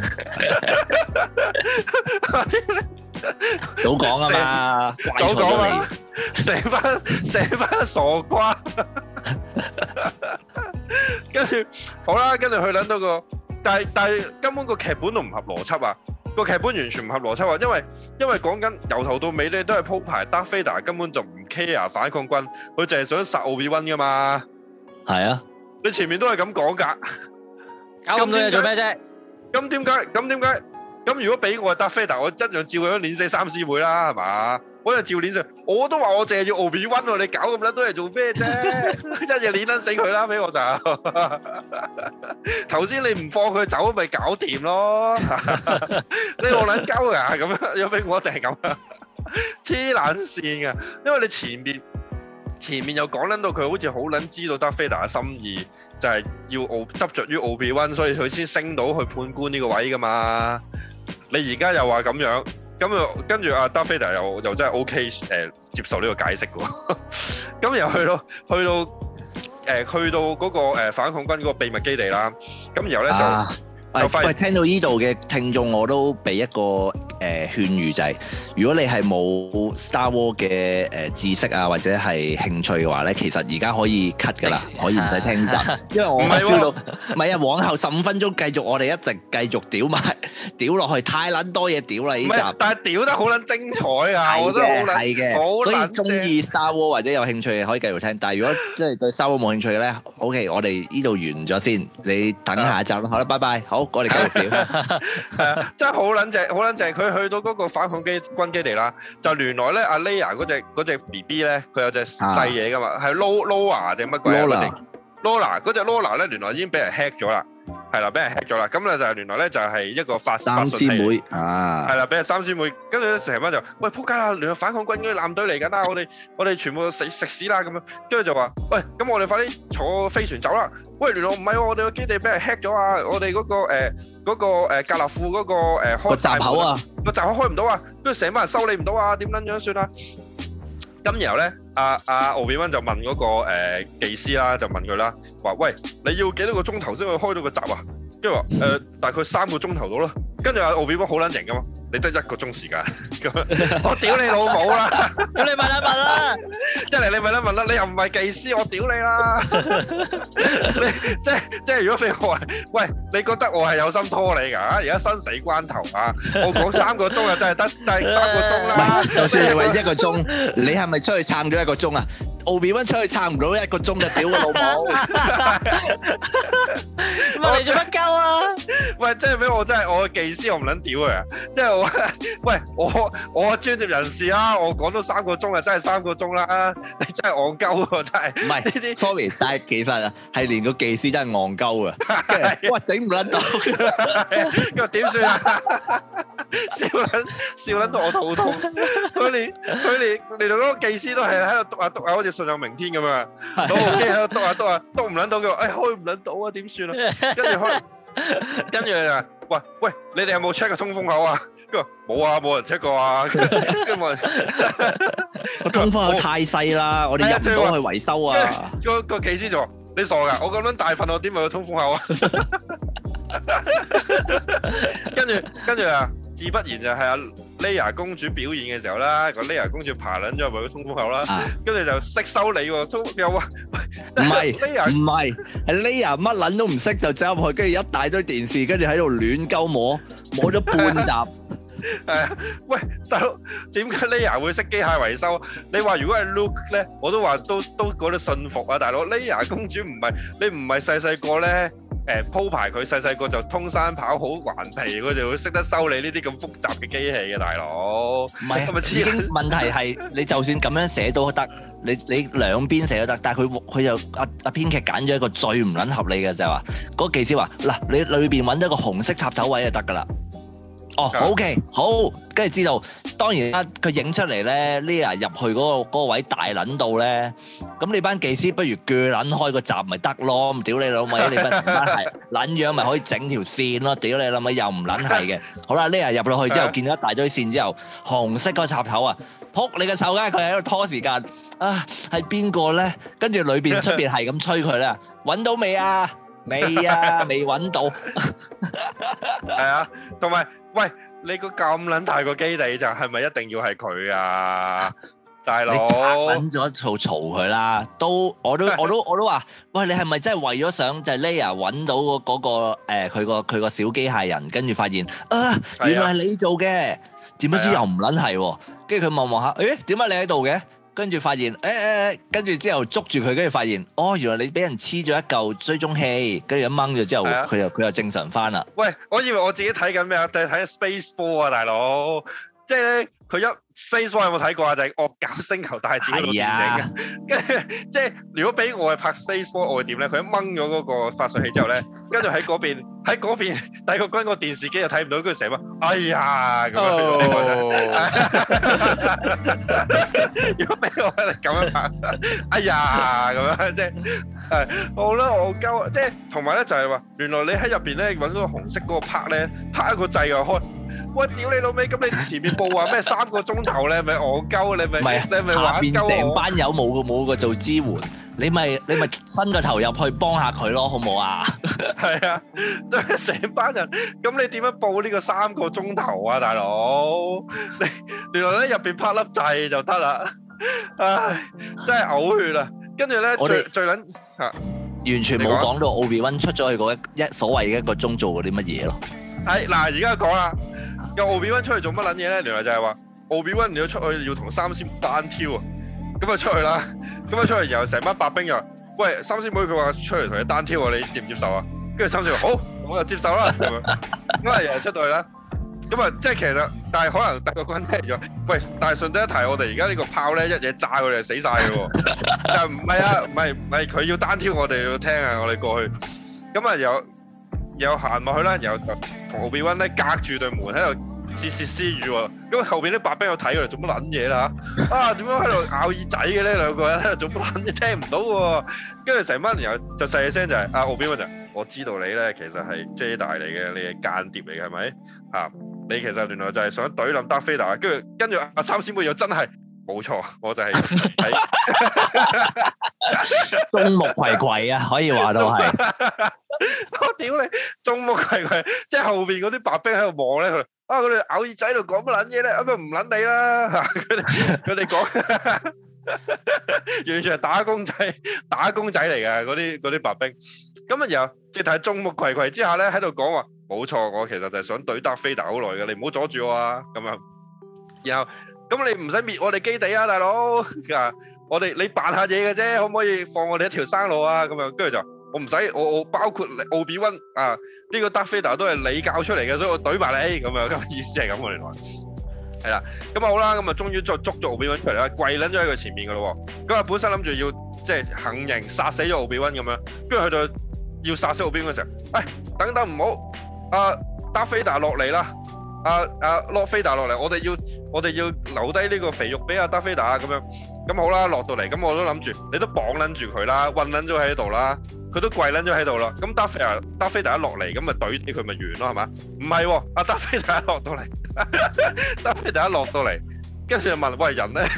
早講啊嘛， 早講啊，成班傻瓜。跟住好啦，跟住佢諗到個，但係根本個劇本都唔合邏輯啊！個劇本完全唔合邏輯啊！因為講緊由頭到尾咧都係鋪排，Darth Vader根本就唔 care 反抗軍，佢淨係想殺奧比溫噶嘛。 係啊， 你前面都係咁講㗎， 搞咁多嘢做咩啫？ 咁點解？咁如果俾我係 Darth Vader，我一樣照樣碾死三師妹啦，係嘛？我就照碾死，我都話我淨係要奧比溫喎，你搞咁撚多嘢做咩啫？一嘢碾撚死佢啦，俾我就。頭先你唔放佢走，咪搞掂咯。你我撚鳩㗎咁樣，有俾我一定係咁啊！黐撚線㗎，因為你前面又講撚到佢好似好撚知道 Darth Vader 嘅心意，就係要執著於奧比溫，所以佢先升到去判官呢個位㗎嘛。你而家又話咁樣。咁又跟住阿 Darth Vader 又真係 OK 接受呢個解釋嘅喎，咁又去到嗰個反抗軍嗰個秘密基地啦，咁然後咧就發現聽到呢度嘅聽眾我都俾一個勸喻就係，如果你係冇 Star Wars 嘅知識啊或者係興趣嘅話咧，其實而家可以 cut 㗎啦，可以唔使聽集，因為我 feel 到唔係啊，往後15分鐘繼續我哋一直繼續屌落去，太撚多嘢屌啦呢集， 但係屌得好撚精彩啊！我覺得好撚， 所以中意 Star Ware 或者有興趣嘅可以繼續聽，但係如果即係對 Star Wars 冇興趣嘅咧，OK， 我哋呢度完咗先，你等下一集啦，好啦，拜拜，好，我哋繼續屌， 係啊，真係好撚正，好撚正，佢去到嗰個反抗軍基地啦，就原來咧阿 Leia 嗰隻 BB 咧，佢有隻細嘢噶嘛，係 Lola 定乜鬼啊？Lola 嗰隻 Lola 咧，原來已經俾人 hack 咗啦。係啦，俾人 hack 咗啦，咁咧就原來咧就係一個發信器， 三師妹啊， 係啦，俾人三師妹，跟住咧成班就喂仆街啦，原來反抗軍嗰啲艦隊嚟緊啦，我哋全部食屎啦咁樣，跟住就話喂，咁我哋快啲坐飛船走啦，喂，原來唔係喎，我哋個基地俾人 hack 咗啊，我哋嗰個格納庫嗰個開閘口啊， 個閘口開唔到啊，跟住成班人修理唔到啊，點撚樣算啊？咁然後咧，阿奧比溫就問嗰個技師啦，就問佢啦，話喂，你要幾多個鐘頭先可以開到個閘啊？跟住話大概3個鐘頭到啦。跟住阿奧比溫好撚型噶嘛，你得1個鐘時間咁樣，我屌你老母啦！ 咁你問一問啦， 一嚟你問一問啦，你又唔係技師，我屌你啦！你即係如果俾我話，喂，你覺得我係有心拖你㗎？而家生死關頭啊！我講3個鐘啊，真係得3個鐘啦。 就算你話1個鐘，你係咪出去撐咗1個鐘啊？奧比溫出去撐唔到1個鐘就屌我老母！ 問你做乜鳩啊？ 喂，即係俾我真係我嘅技師，我唔撚屌佢啊！即係我喂我專業人士啊，我講到3個鐘啊，真係3個鐘啦！你真係戇鳩喎，真係。唔係呢啲 ，sorry， 但係其實啊，係連個技師真係戇鳩啊！哇，整唔撚到， 咁點算啊？笑撚到我肚痛。佢連嗰個技師都係喺度篤下，好似信有明天咁樣。攞部機喺度篤下，篤唔撚到佢話，開唔撚到啊，點算啊？跟住就喂，你哋有冇 check 個通風口啊？佢話冇啊，冇人 check 過啊。跟住個通風口太細啦，我哋入唔到去維修啊。 個技師就話：你傻㗎？我咁樣大份，我點會有通風口啊？跟住啊，自不然就係阿 Leia 公主表演嘅時候啦，個 Leia 公主爬撚咗入去個通風口啦，跟住就識修理喎，又話唔係，係 Leia 乜撚都唔識就走入去，跟住一大堆電視，跟住喺度亂鳩摸咗半集。 係啊，喂，大佬，點解 Leia 會識機械維修？你話如果係 Luke 咧，我都話都覺得信服啊，大佬。Leia 公主唔係你唔係細個咧鋪排佢細細個就通山跑好頑皮，佢就會識得修理呢啲咁複雜嘅機器嘅大佬。 唔係，已經問題係你就算咁樣寫都得，你兩邊寫都得，但係佢就阿編劇揀咗一個最唔撚合理嘅就係話，嗰個技師話嗱，你裏邊揾咗個紅色插頭位就得㗎啦。哦，OK，好，跟住知道，當然啦，佢影出嚟咧 Leia 入去嗰個位大撚到咧，咁你班技師不如鋸撚開個閘咪得咯，屌你老味，你班係撚樣咪可以整條線咯，屌你老味又唔撚係嘅。好啦，Leia入落去之後見到一大堆線之後，紅色個插頭啊，撲你個臭街，佢喺度拖時間啊，係邊個咧？跟住裏邊出邊係咁催佢咧，揾到未啊？未啊，未揾到。 係啊，同埋。喂，你個咁撚大個基地就係咪一定要係佢啊，大佬？你揾咗嘈佢啦，我都話，喂，你係咪真係為咗想就係 Leia 揾到嗰個佢個小機械人，跟住發現啊，原來係你做嘅，點不知又唔撚係喎，跟住佢望下，誒點解你喺度嘅？跟住發現，跟住之後捉住佢，跟住發現，哦，原來你俾人黐咗一嚿追蹤器，跟住一掹咗之後，佢又正常翻啦。喂， 我以為我自己睇緊咩啊？定係睇 Space Four 啊，大佬！即係咧，佢一 Space Four 有冇睇過啊？就係惡搞星球大戰嗰個電影嘅。跟住即係如果俾我係拍 Space Four，我會點咧？佢一掹咗嗰個發射器之後咧，跟住喺嗰邊帝國軍個電視機又睇唔到，跟住成日話：哎呀咁樣。如果俾我係咁樣拍，哎呀咁樣，即係好啦，我鳩，即係同埋咧就係話，原來你喺入邊咧揾到個紅色嗰個拍咧，拍一個掣就開。喂，屌你老味！咁你前面報話咩3個鐘頭咧？咪戇鳩？你咪玩鳩我？ 下邊成班友冇個做支援，你咪伸個頭入去幫下佢咯，好唔好啊？ 係啊，都係成班人。咁你點樣報呢個3個鐘頭啊，大佬？你原來咧入邊拍粒掣就得啦。唉，真係嘔血啊！跟住咧最撚嚇， 完全冇講到奧比溫出咗去嗰所謂嘅1個鐘做過啲乜嘢咯。 係嗱，而家講啦。有奧比溫出去做乜撚嘢咧？原來就係話奧比溫你要出去要同三仙單挑啊！咁啊出去啦，咁啊出去然後成班白兵又話：喂，三仙妹佢話出嚟同你單挑啊，你接唔接受啊？跟住三仙話：好，我就接受啦。咁啊，咁啊又出到去啦。咁啊，即係其實，但係可能帝國軍聽咗，喂，但係順帶一提，我哋而家呢個炮咧一嘢炸佢哋死晒嘅喎。但唔係啊，唔係佢要單挑，我哋要聽啊，我哋過去。咁啊又行落去啦，然後就同奧比溫咧隔住對門喺度竊竊私語喎。咁後邊啲白兵有睇佢哋做乜撚嘢啦嚇？啊點樣喺度咬耳仔嘅咧？兩個人喺度做乜撚嘢？聽唔到喎。跟住成班人又就細聲就係奧比溫就我知道你咧其實係 Jedi 嚟嘅，你係間諜嚟嘅係咪？嚇你其實原來就係想懟冧 Darth Vader。跟住阿三仙妹又真係冇錯，我就係眾目睽睽啊，可以話到係。 我屌你，眾目睽睽，即係後邊嗰啲白兵喺度望咧，佢佢哋咬耳仔喺度講乜撚嘢咧？咁啊唔撚你啦嚇！佢哋講完全係打工仔嚟㗎，嗰啲白兵。咁啊然後即係眾目睽睽之下咧，喺度講話冇錯，我其實就係想懟Darth Vader好耐嘅，你唔好阻住我啊！咁樣，然後咁你唔使滅我哋基地啊，大佬！你扮下嘢嘅啫，可唔可以放我哋一條生路啊？咁樣跟住就。我唔使，我包括奧比溫啊，呢個 Darth Vader 都係你教出嚟嘅，所以我懟埋你咁樣，咁意思係咁喎，原來係啦，咁啊好啦，咁啊終於再捉咗奧比溫出嚟啦，跪撚咗喺佢前面噶咯喎，咁啊本身諗住要即係行刑殺死咗奧比溫咁樣，跟住去到要殺死奧比溫嘅時候，等等唔好，Darth Vader 落嚟啦，Lord Vader 落嚟，我哋要留低呢個肥肉俾Darth Vader啊咁樣，咁好啦，落到嚟，咁我都諗住你都綁撚住佢啦，韞撚咗喺度啦。佢都跪撚咗喺度啦，咁Darth Vader一落嚟，咁咪懟佢咪完咯，係嘛？唔係喎，阿Darth Vader一落到嚟，Darth Vader一落到嚟，跟住就問：喂，人咧？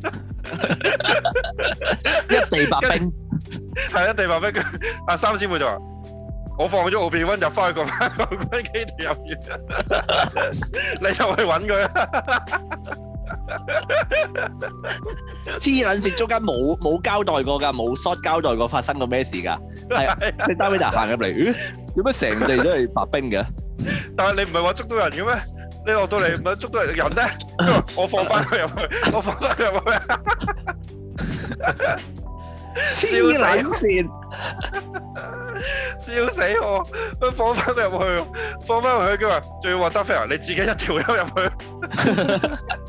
一地白兵， 係一地白兵。阿三仙妹就話：我放咗奧比溫入翻去個軍基地入面，你就去揾佢啦。 黐撚線，中間冇交代過㗎，冇 shot 交代過發生過咩事㗎。係啊，你Darth Vader行入嚟，點解成地都係白兵嘅？ 但係你唔係話捉到人嘅咩？你落到嚟唔係捉到人咧？我放翻佢入去，我放翻佢入去。 黐撚線， 笑死我！佢放翻入去，佢話仲要話得飛啊！你自己一條友入去，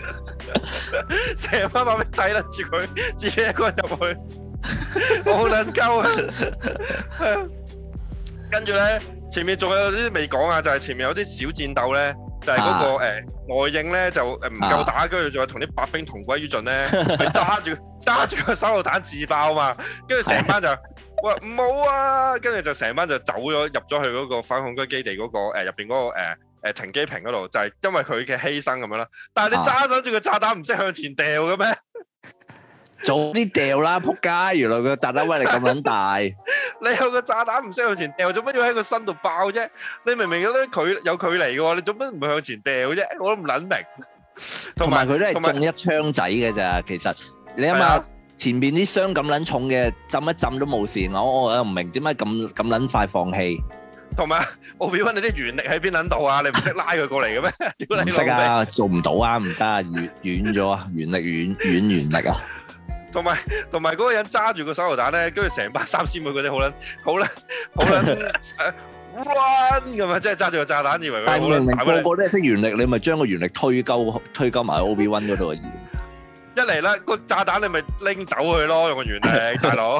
成班馬尾睇得住佢，自己一個人入去，好撚鳩啊！跟住咧，前面仲有啲未講啊，就係前面有啲小戰鬥咧。就係嗰個外應咧就唔夠打，跟住仲有同啲白兵同歸於盡咧，佢揸住個手榴彈自爆嘛，跟住成班就話唔好啊，跟住就成班就走咗入咗去嗰個反恐軍基地嗰個入邊嗰個停機坪嗰度，就係因為佢嘅犧牲咁樣啦。但係你揸緊住個炸彈唔識向前掉嘅咩？ 早啲掉啦，仆街！原來個炸彈威力咁撚大。 你有個炸彈唔識向前掉，做乜要喺個身度爆啫？你明明有距離嘅喎，你做乜唔向前掉啫？我都唔撚明。 同埋佢都係中一槍仔嘅咋，其實你諗下前邊啲傷咁撚重嘅，浸一浸都冇事。我又唔明點解咁撚快放棄。同埋奧比溫你啲原力喺邊撚度啊？你唔識拉佢過嚟嘅咩？ 唔識啊，做唔到啊，唔得啊，軟咗啊，原力啊！ 同埋嗰個人揸住個手榴彈咧，跟住成班三師妹嗰啲好撚彎咁啊！即係揸住個炸彈，以為佢好撚。但係明明個個都係識原力，你咪將個原力推鳩埋奧比溫嗰度啊！ 一嚟啦，個炸彈你咪拎走佢咯，用個原力，大佬。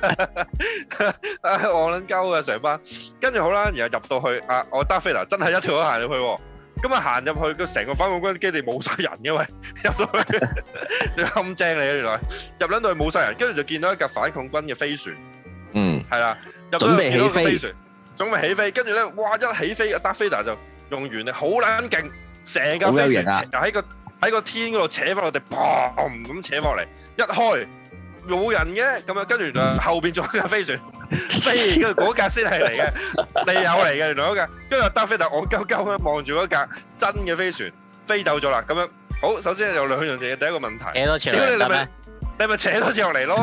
我撚鳩啊，成班。跟住好啦，然後入到去我達菲娜真係一條都行入去喎。咁啊行入去，個成個反恐軍基地冇晒人嘅喂，入到去你冚正你啊！原來入撚到去冇晒人，跟住就見到一架反恐軍嘅飛船，係啦， 準備起飛， 準備起飛，跟住咧，哇！一起飛，達菲娜就用原力好撚勁，成架飛船喺個天嗰度扯翻落地，砰咁扯翻落嚟，一開冇人嘅，咁啊跟住原來後邊仲有一架飛船。飛，跟住嗰架先係嚟嘅，利友嚟嘅，原來嗰架，跟住達菲娜戇鳩鳩咁望住嗰架真嘅飛船飛走咗啦，咁樣好，首先有兩樣嘢，第一個問題， 扯多次落嚟得咩？ 你咪扯多次落嚟咯，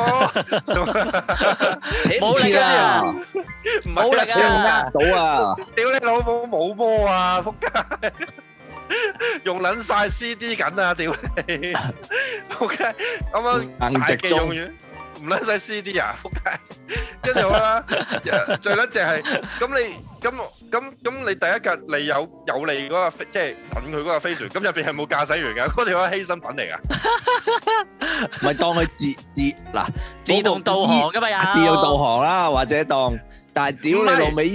冇力啊， 冇力啊， 到啊， 屌你老母冇波啊，仆街，用撚晒 CD 緊啊，屌你，仆街，啱啱大機用完。唔撚使 CD 啊，仆街！跟住好啦，最撚正係咁你第一架利有利嗰個飛，即係等佢嗰個飛船，咁入邊係冇駕駛員㗎，嗰條係犧牲品嚟㗎。 咪當佢自動導航㗎嘛，有自動導航啦，或者當，但係屌你老味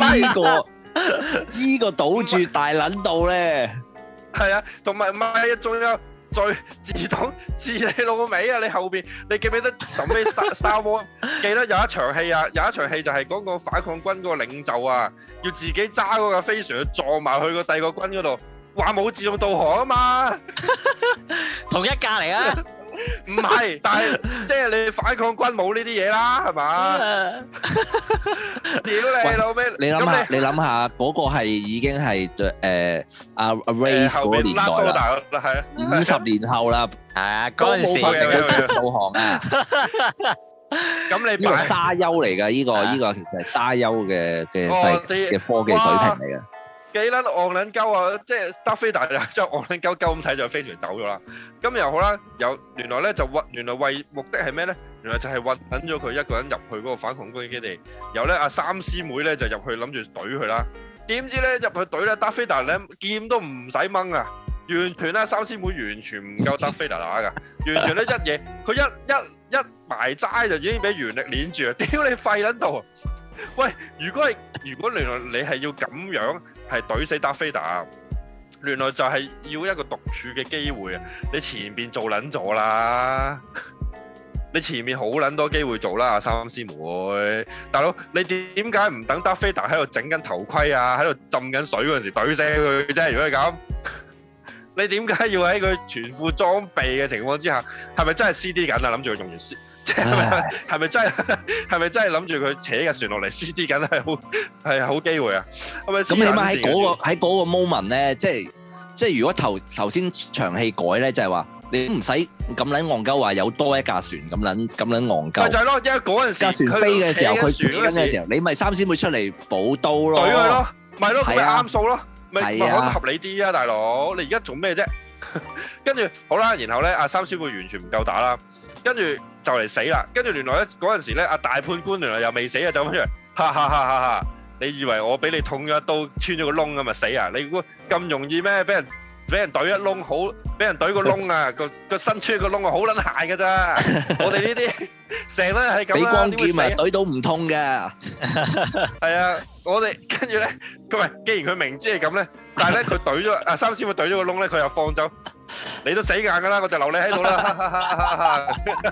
依個堵住大撚到咧， 係啊，同埋唔係啊，仲有。再自動自你老味啊！你後邊你記唔記得臨尾 Star Wars 記得有一場戲啊，有一場戲就係嗰個反抗軍嗰個領袖啊，要自己揸嗰個飛船去撞埋去個第二個軍嗰度，話冇自動導航啊嘛， 同一架嚟啊！ 唔係，但係即係你反抗軍冇呢啲嘢啦，係嘛？屌你老味！你諗下嗰個係已經係阿 Ray 嗰個年代啦， 係啊 ，50年後啦， 係啊，嗰陣時嘅導航啊。 咁你呢個沙丘嚟㗎，呢個其實係沙丘嘅科技水平嚟嘅。 幾撚戇撚鳩啊！即係達菲娜就將戇撚鳩咁睇就飛船走咗啦。咁又好啦，原來咧原來為目的係咩咧？原來就係揾咗佢一個人入去嗰個反恐軍基地。然後咧阿三師妹咧就入去諗住懟佢啦。點知咧入去懟咧達菲娜咧劍都唔使掹啊！完全咧三師妹完全唔夠達菲娜打㗎，完全咧一嘢佢一埋齋就已經俾原力攆住啊！屌你廢撚到！喂，如果原來你係要咁樣係懟死達菲娜，原來就係要一個獨處嘅機會啊！你前邊做撚咗啦，你前面好撚多機會做啦，阿三師妹，大佬你點解唔等達菲娜喺度整緊頭盔啊，喺度浸緊水嗰陣時懟死佢啫？如果係咁，你點解要喺佢全副裝備嘅情況之下，係咪真係 CD 緊啊？諗住佢用完 CD。係咪真係諗住佢扯架船落嚟 CD 緊係好機會啊？咁起碼喺嗰個 moment 咧，即係如果頭先場戲改咧，就係話你唔使咁撚戇鳩話有多一架船咁撚戇鳩。 就係咯，因為嗰陣時架船飛嘅時候，佢扯緊嘅時候，你咪三師妹出嚟補刀咯。 懟佢咯，咪咯，咪啱數咯，咪可以啊， 合理啲啊，大佬！你而家做咩啫？跟住好啦，然後咧，阿三師妹完全唔夠打啦。跟住就嚟死啦。跟住原來咧嗰陣時咧，阿大判官原來又未死啊，走翻出嚟，哈哈哈哈哈！你以為我俾你捅咗一刀穿咗個窿咁咪死啊？你估咁容易咩？俾人懟一窿好，俾人懟個窿啊！個身穿個窿啊，好撚閒㗎咋！我哋呢啲成日係咁啦， 俾光劍點會死啊？ 懟到唔痛嘅。 係啊，我哋跟住咧，佢咪既然佢明知係咁咧，但係咧佢懟咗阿三師妹懟咗個窿咧，佢又放走，你都死硬㗎啦，我就留你喺度啦！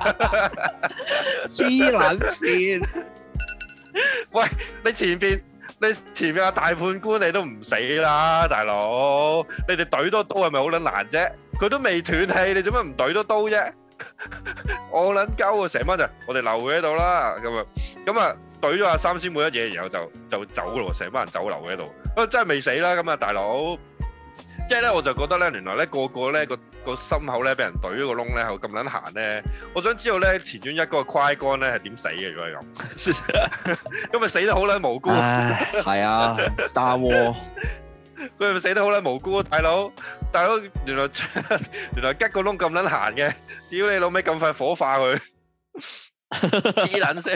黐撚線！ 喂，你前邊阿大判官你都唔死啦，大佬！你哋懟多刀係咪好撚難啫？佢都未斷氣，你做乜唔懟多刀啫？我撚鳩啊！成班就我哋留佢喺度啦，咁啊懟咗阿三師妹一嘢，然後就走咯，成班人走留喺度。真係未死啦，咁啊大佬！即係咧，我就覺得咧，原來咧個咧個心口咧俾人懟咗個窿咧，係咁撚閒咧。我想知道咧前傳一嗰個快乾咧係點死嘅？如果係咁，咁咪死得好撚無辜。 係啊 ，Star War， 佢係咪死得好撚無辜？大佬，原來吉個窿咁撚閒嘅，屌你老味咁快火化佢，黐撚死，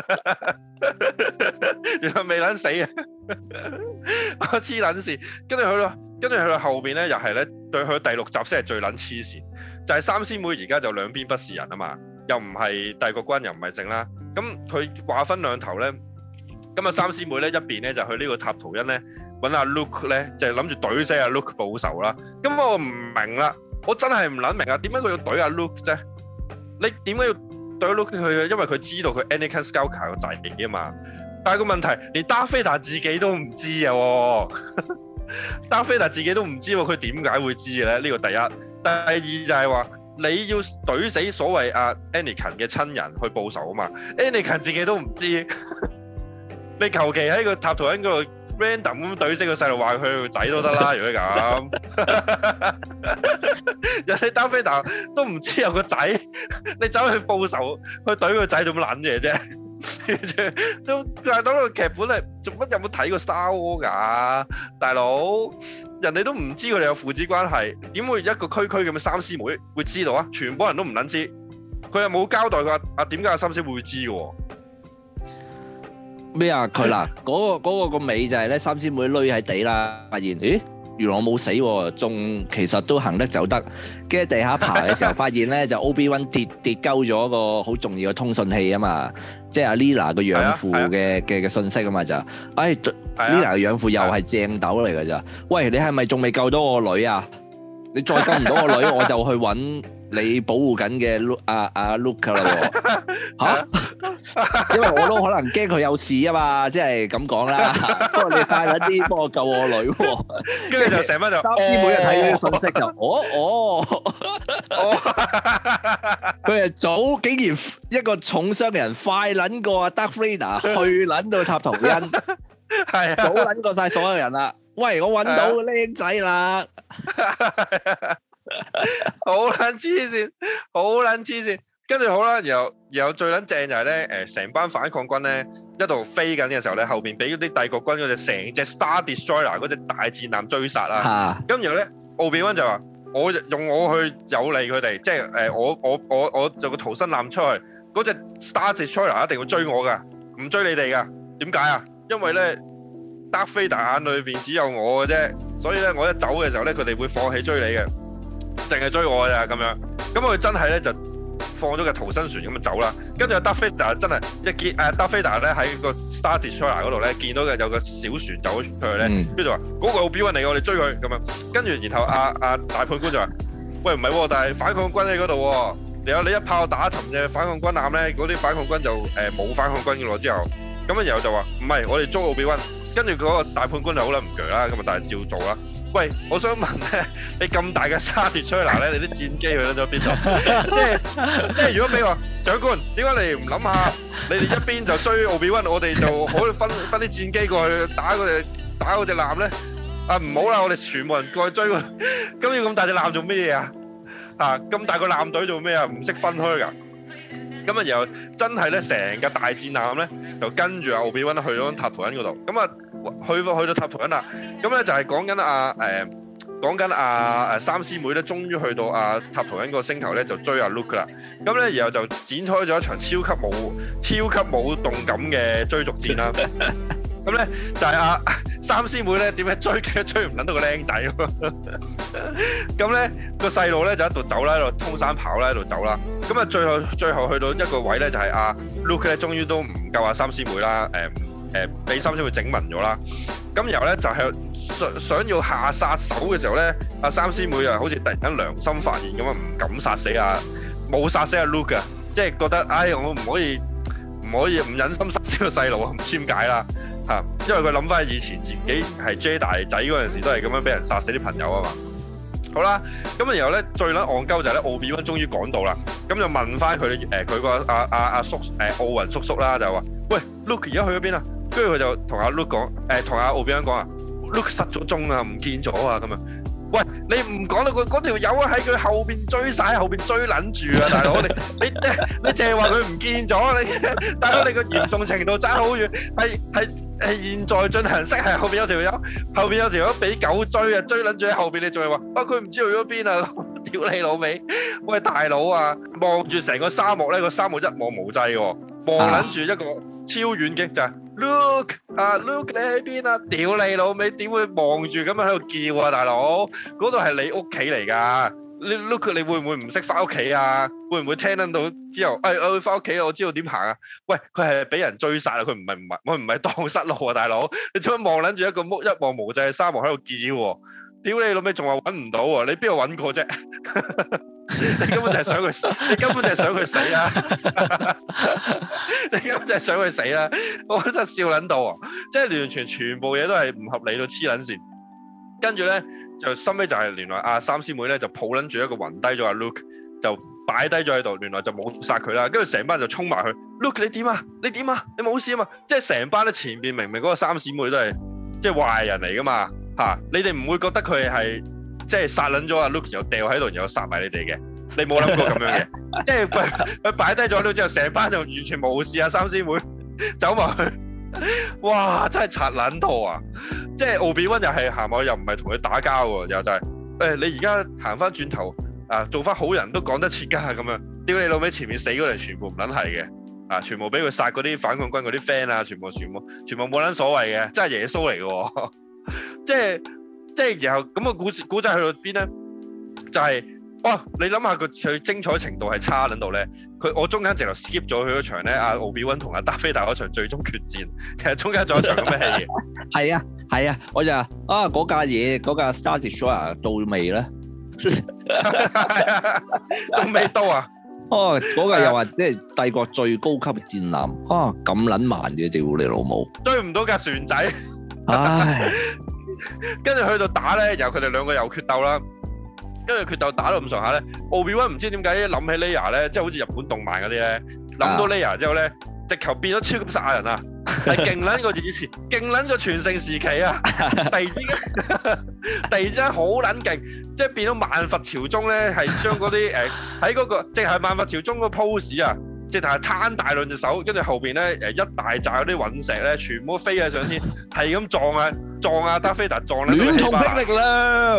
原來未撚死啊！黐撚線，跟住去到後邊咧，又係咧對佢第6集先係最撚黐線，就係三師妹而家就兩邊不是人啊嘛，又唔係帝國軍，又唔係正啦。咁佢話分兩頭咧，咁啊三師妹咧一邊咧就去呢個塔圖恩咧揾阿 Luke 咧，就係諗住懟死阿 Luke 報仇啦。咁我唔明啦，我真係唔撚明啊，點解佢要懟阿 Luke 啫？你點解要懟 Luke 佢？因為佢知道佢 Anakin Skywalker 個仔嚟啊嘛。但係個問題，連 Darth Vader 自己都唔知啊！Darth Vader 自己都唔知喎，佢點解會知嘅咧？呢個第一。第二就係話，你要懟死所謂阿 Anakin 嘅親人去報仇啊嘛。Anakin 自己都唔知，你求其喺個塔圖恩嗰度 random 咁懟死個細路，話佢個仔都得啦。如果咁，人哋 Darth Vader 都唔知有個仔，你走去報仇去懟個仔做乜撚嘢啫？都但係當個劇本係做乜？有冇睇過 Star Wars 㗎，大佬？人哋都唔知佢哋有父子關係，點會一個區咁嘅三師妹會知道啊？全部人都唔撚知，佢又冇交代過啊點解阿三師妹會知嘅？ 咩啊？佢嗱嗰個尾就係咧，三師妹匿喺地啦，發現咦？原來我冇死喎，仲其實都行得走得。跟住地下爬嘅時候，發現咧就 Obi-Wan 跌鳩咗個好重要嘅通訊器啊嘛，即係阿 Lila 個養父嘅信息啊嘛就，Lila 嘅養父又係正斗嚟㗎咋？喂，你係咪仲未救到我女啊？你再救唔到我女，我就去揾你保護緊嘅阿 Luke 啦喎嚇！因為我都可能驚佢有事啊嘛，即係咁講啦。不過你快啲幫我救我女喎， 跟住就成班就三師妹睇到啲信息就佢係早竟然一個重傷嘅人快撚過阿 Darth Vader 去撚到塔圖恩， 係啊， 早撚過曬所有人啦。喂，我揾到僆仔啦， 好撚黐線，好撚黐線。跟住好啦，然後最撚正就係咧，成班反抗軍咧一度飛緊嘅時候咧，後邊俾嗰啲帝國軍嗰隻成隻 Star Destroyer 嗰隻大戰艦追殺啦。咁然後咧，奧比溫就話：我用我去有利佢哋，即係我做個逃生艦出去，嗰隻 Star Destroyer 一定會追我㗎，唔追你哋㗎。點解啊？因為咧，Darth Vader眼裏邊只有我嘅啫，所以咧我一走嘅時候咧，佢哋會放棄追你嘅，淨係追我㗎咋咁樣。咁佢真係咧就放咗個逃生船咁就走啦，跟住阿 Darth Vader 真係一見Darth Vader 咧喺個 Star Destroyer 嗰度咧見到嘅有個小船走咗出去咧，跟住話嗰個奧比溫嚟，我哋追佢咁樣，跟住然後阿大判官就話：喂唔係喎，但係反抗軍喺嗰度喎，你一炮打沉嘅反抗軍艦咧，嗰啲反抗軍就冇反抗軍嘅咯之後，咁啊然後就話唔係，我哋捉奧比溫，跟住嗰個大判官就好撚唔鋸啦，咁啊但係照做啦。喂，我想問咧，你咁大嘅沙碟吹嗱咧，你啲戰機去咗邊度？即係如果你話長官，點解你唔諗下？你哋一邊就追奧比溫，我哋就可以分啲戰機過去打嗰隻艦咧？啊唔好啦，我哋全部人過去追佢。咁要咁大隻艦做咩嘢啊？啊咁大個艦隊做咩啊？唔識分開㗎。咁啊，然後真係咧，成個大戰艦咧就跟住阿奧比溫去咗塔圖恩嗰度。咁啊〜去到塔圖恩啦，咁咧就係講緊嗰講緊三師妹咧，終於去到塔圖恩個星球咧，就追阿 Luke 啦。咁咧，然後就展開咗一場超級冇動感嘅追逐戰啦。咁咧就係三師妹咧點解追極都追唔撚到個僆仔喎？咁咧個細路咧就喺度走啦，喺度通山跑啦，喺度走啦。咁啊最後去到一個位咧，就係Luke 咧終於都唔夠三師妹啦，俾三師妹整暈咗啦。咁然後咧就係想要下殺手嘅時候咧，三師妹啊好似突然間良心發現咁啊，唔敢殺死冇殺死Luke啊，即係覺得我唔忍心殺死個細路啊，唔知點解啦。因為佢諗翻以前自己係 J 大仔嗰陣時，都係咁樣俾人殺死啲朋友啊嘛。好啦，咁然後咧最撚戇鳩就係咧奧比溫終於趕到啦，咁就問翻佢個阿叔奧雲叔叔啦，就話：喂 ，Luke 而家去咗邊啊？跟住佢就同阿 Luke 講，同阿奧比溫講Luke 失咗蹤啊，唔見咗啊咁樣。喂，你唔講到嗰條友喺佢後邊追晒，後邊追撚住啊，大佬！你淨係話佢唔見咗，大佬你個嚴重程度爭好遠，係現在進行式，係後邊有條友俾狗追啊，追撚住喺後邊，你仲係話佢唔知去咗邊啊？屌你老味！喂，大佬啊，望住成個沙漠咧，個沙漠一望無際喎，望撚住一個超遠景就係 Luke 你喺邊啊？屌你老味，點會望住咁樣喺度叫啊，大佬？嗰度係你屋企嚟㗎，你 Luke 你會唔會唔識翻屋企啊？會唔會聽得到之後，我會翻屋企啊？我知道點行啊？喂，佢係俾人追殺啊！佢唔係蕩失路啊，大佬！你做乜望撚住一個一望無際嘅沙漠喺度叫喎？屌你老味，仲話揾唔到喎？你邊度揾過啫？你根本就係想佢死，你根本就係想佢死啦！你根本就係想佢死啦！我真係笑撚到啊！即係完全全部嘢都係唔合理到黐撚線。跟住咧就收尾就係原來三師妹咧就抱撚住一個暈低咗Luke，就擺低咗喺度，原來就冇殺佢啦。跟住成班就衝埋去 ，Luke 你點啊？你點啊？你冇事啊嘛？即係成班咧前邊明嗰個三師妹都係即係壞人嚟噶嘛嚇！你哋唔會覺得佢係即係殺撚咗Luke又掉喺度，然後殺埋你哋嘅？你冇諗過咁樣嘅？即係佢擺低咗Luke之後，成班就完全冇事啊！三師妹走埋去。哇！真係拆撚到啊！即係奧比溫又係行埋，又唔係同佢打交喎，又就係你而家行翻轉頭做翻好人都講得切㗎咁樣。屌你老味，前面死嗰啲全部唔撚係嘅全部俾佢殺嗰啲反抗軍嗰啲 friend 啊，全部冇撚所謂嘅，真係耶穌嚟嘅喎！即係然後咁個古仔去到邊咧？就係你諗下佢精彩程度係差撚到咧，我中間直頭 skip 咗佢嗰場咧，奧比溫同達菲達嗰場最終決戰，其實中間仲有一場咁嘅戲嘅。 係啊，我就嗰架嘢嗰架 Star Destroyer 到未咧？ 仲未到啊！ 嗰架又話即係帝國最高級戰艦咁撚慢嘅，屌你老母！ 追唔到架船仔， 唉！ 跟住去到打咧，由佢哋兩個又決鬥啦。跟住決鬥打到咁上下咧，奧比溫唔知點解諗起 Leia 咧，即係好似日本動漫嗰啲咧，諗到 Leia 之後咧，直頭變咗超級殺人啊！係勁撚過以前，勁撚過全盛時期啊！突然之間好撚勁，即係變咗萬佛朝宗咧，係將嗰啲喺嗰個即係萬佛朝宗嗰個 pose 啊！直頭係攤大兩隻手，跟住後邊咧一大扎嗰啲隕石咧，全部飛喺上天，係咁撞啊！達菲達撞咧， 亂同霹靂啦！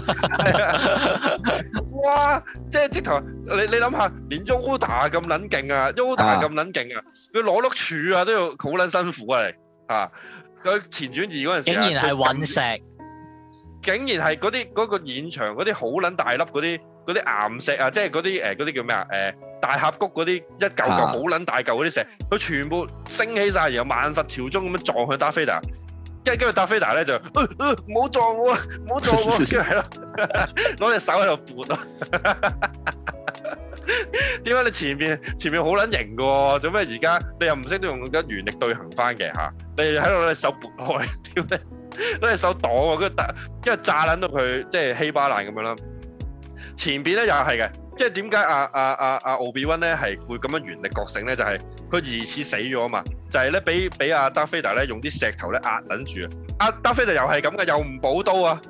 哇！即係直頭，你諗下，連 Yoda 咁撚勁啊 ，Yoda 咁撚勁啊，佢攞碌柱啊都要好撚辛苦啊！你佢前轉移嗰陣時， 竟然係隕石， 竟然係嗰個現場嗰啲好撚大粒嗰啲岩石啊，即係嗰啲叫咩啊？大峽谷嗰啲一嚿嚿好撚大嚿嗰啲石，佢全部升起晒，然後萬佛朝宗咁樣撞去達菲達。跟住達菲達咧就唔好撞我啊，唔好撞我，跟住係咯，攞隻手喺度撥咯。點解你前面好撚型嘅喎？做咩而家你又唔識得用緊原力對行翻嘅嚇？你喺度攞隻手撥開，屌你攞隻手擋喎，跟住炸撚到佢即係稀巴爛咁樣啦。前邊咧又係嘅。即係點解奧比溫咧係會咁樣原力覺醒咧？就係佢疑似死咗啊嘛！就係咧俾阿達菲達咧用啲石頭咧壓撚住啊！達菲達又係咁嘅，又唔補刀啊！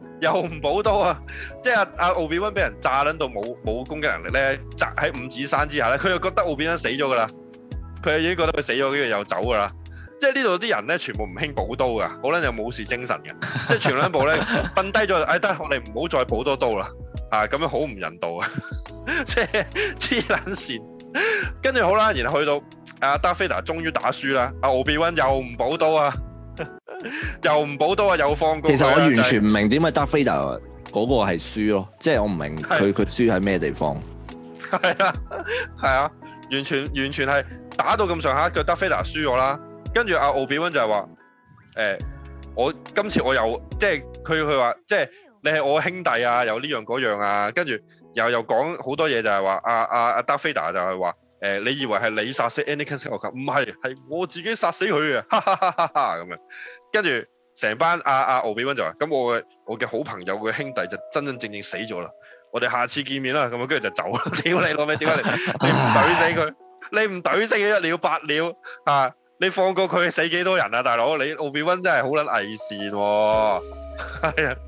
即係阿奧比溫俾人炸撚到冇攻擊能力咧，砸喺五指山之下咧，佢又覺得奧比溫死咗噶啦，佢已經覺得佢死咗，跟住又走噶啦。 即係呢度啲人咧，全部唔興補刀噶，好撚有武士精神嘅，即係全兩部咧瞓低咗，哎得，我哋唔好再補多刀啦，咁樣好唔人道啊，即係黐撚線。跟住好啦，然後去到阿達菲達終於打輸啦，阿奧比溫又唔補刀啊，又唔補刀啊，又放過。 其實我完全唔明點解達菲達嗰個係輸咯，即係我唔明佢輸喺咩地方。 係啊，完全係打到咁上下，個達菲達輸咗啦。跟住阿奧比溫就係話，我今次我又即係佢話，即係你係我兄弟啊，又呢樣嗰樣啊，跟住又講好多嘢，就係話阿達菲達就係話，你以為係你殺死 Anakin Skywalker，唔係，係我自己殺死佢嘅，哈哈哈哈哈咁樣。跟住成班阿奧比溫就話，咁我嘅好朋友嘅兄弟就真真正正死咗啦，我哋下次見面啦，咁樣跟住就走啦。屌你老味，點解你唔懟死佢？你唔懟死佢一了百了啊！你放過佢死幾多人啊，大佬？你奧比溫真係好撚偽善喎，係啊。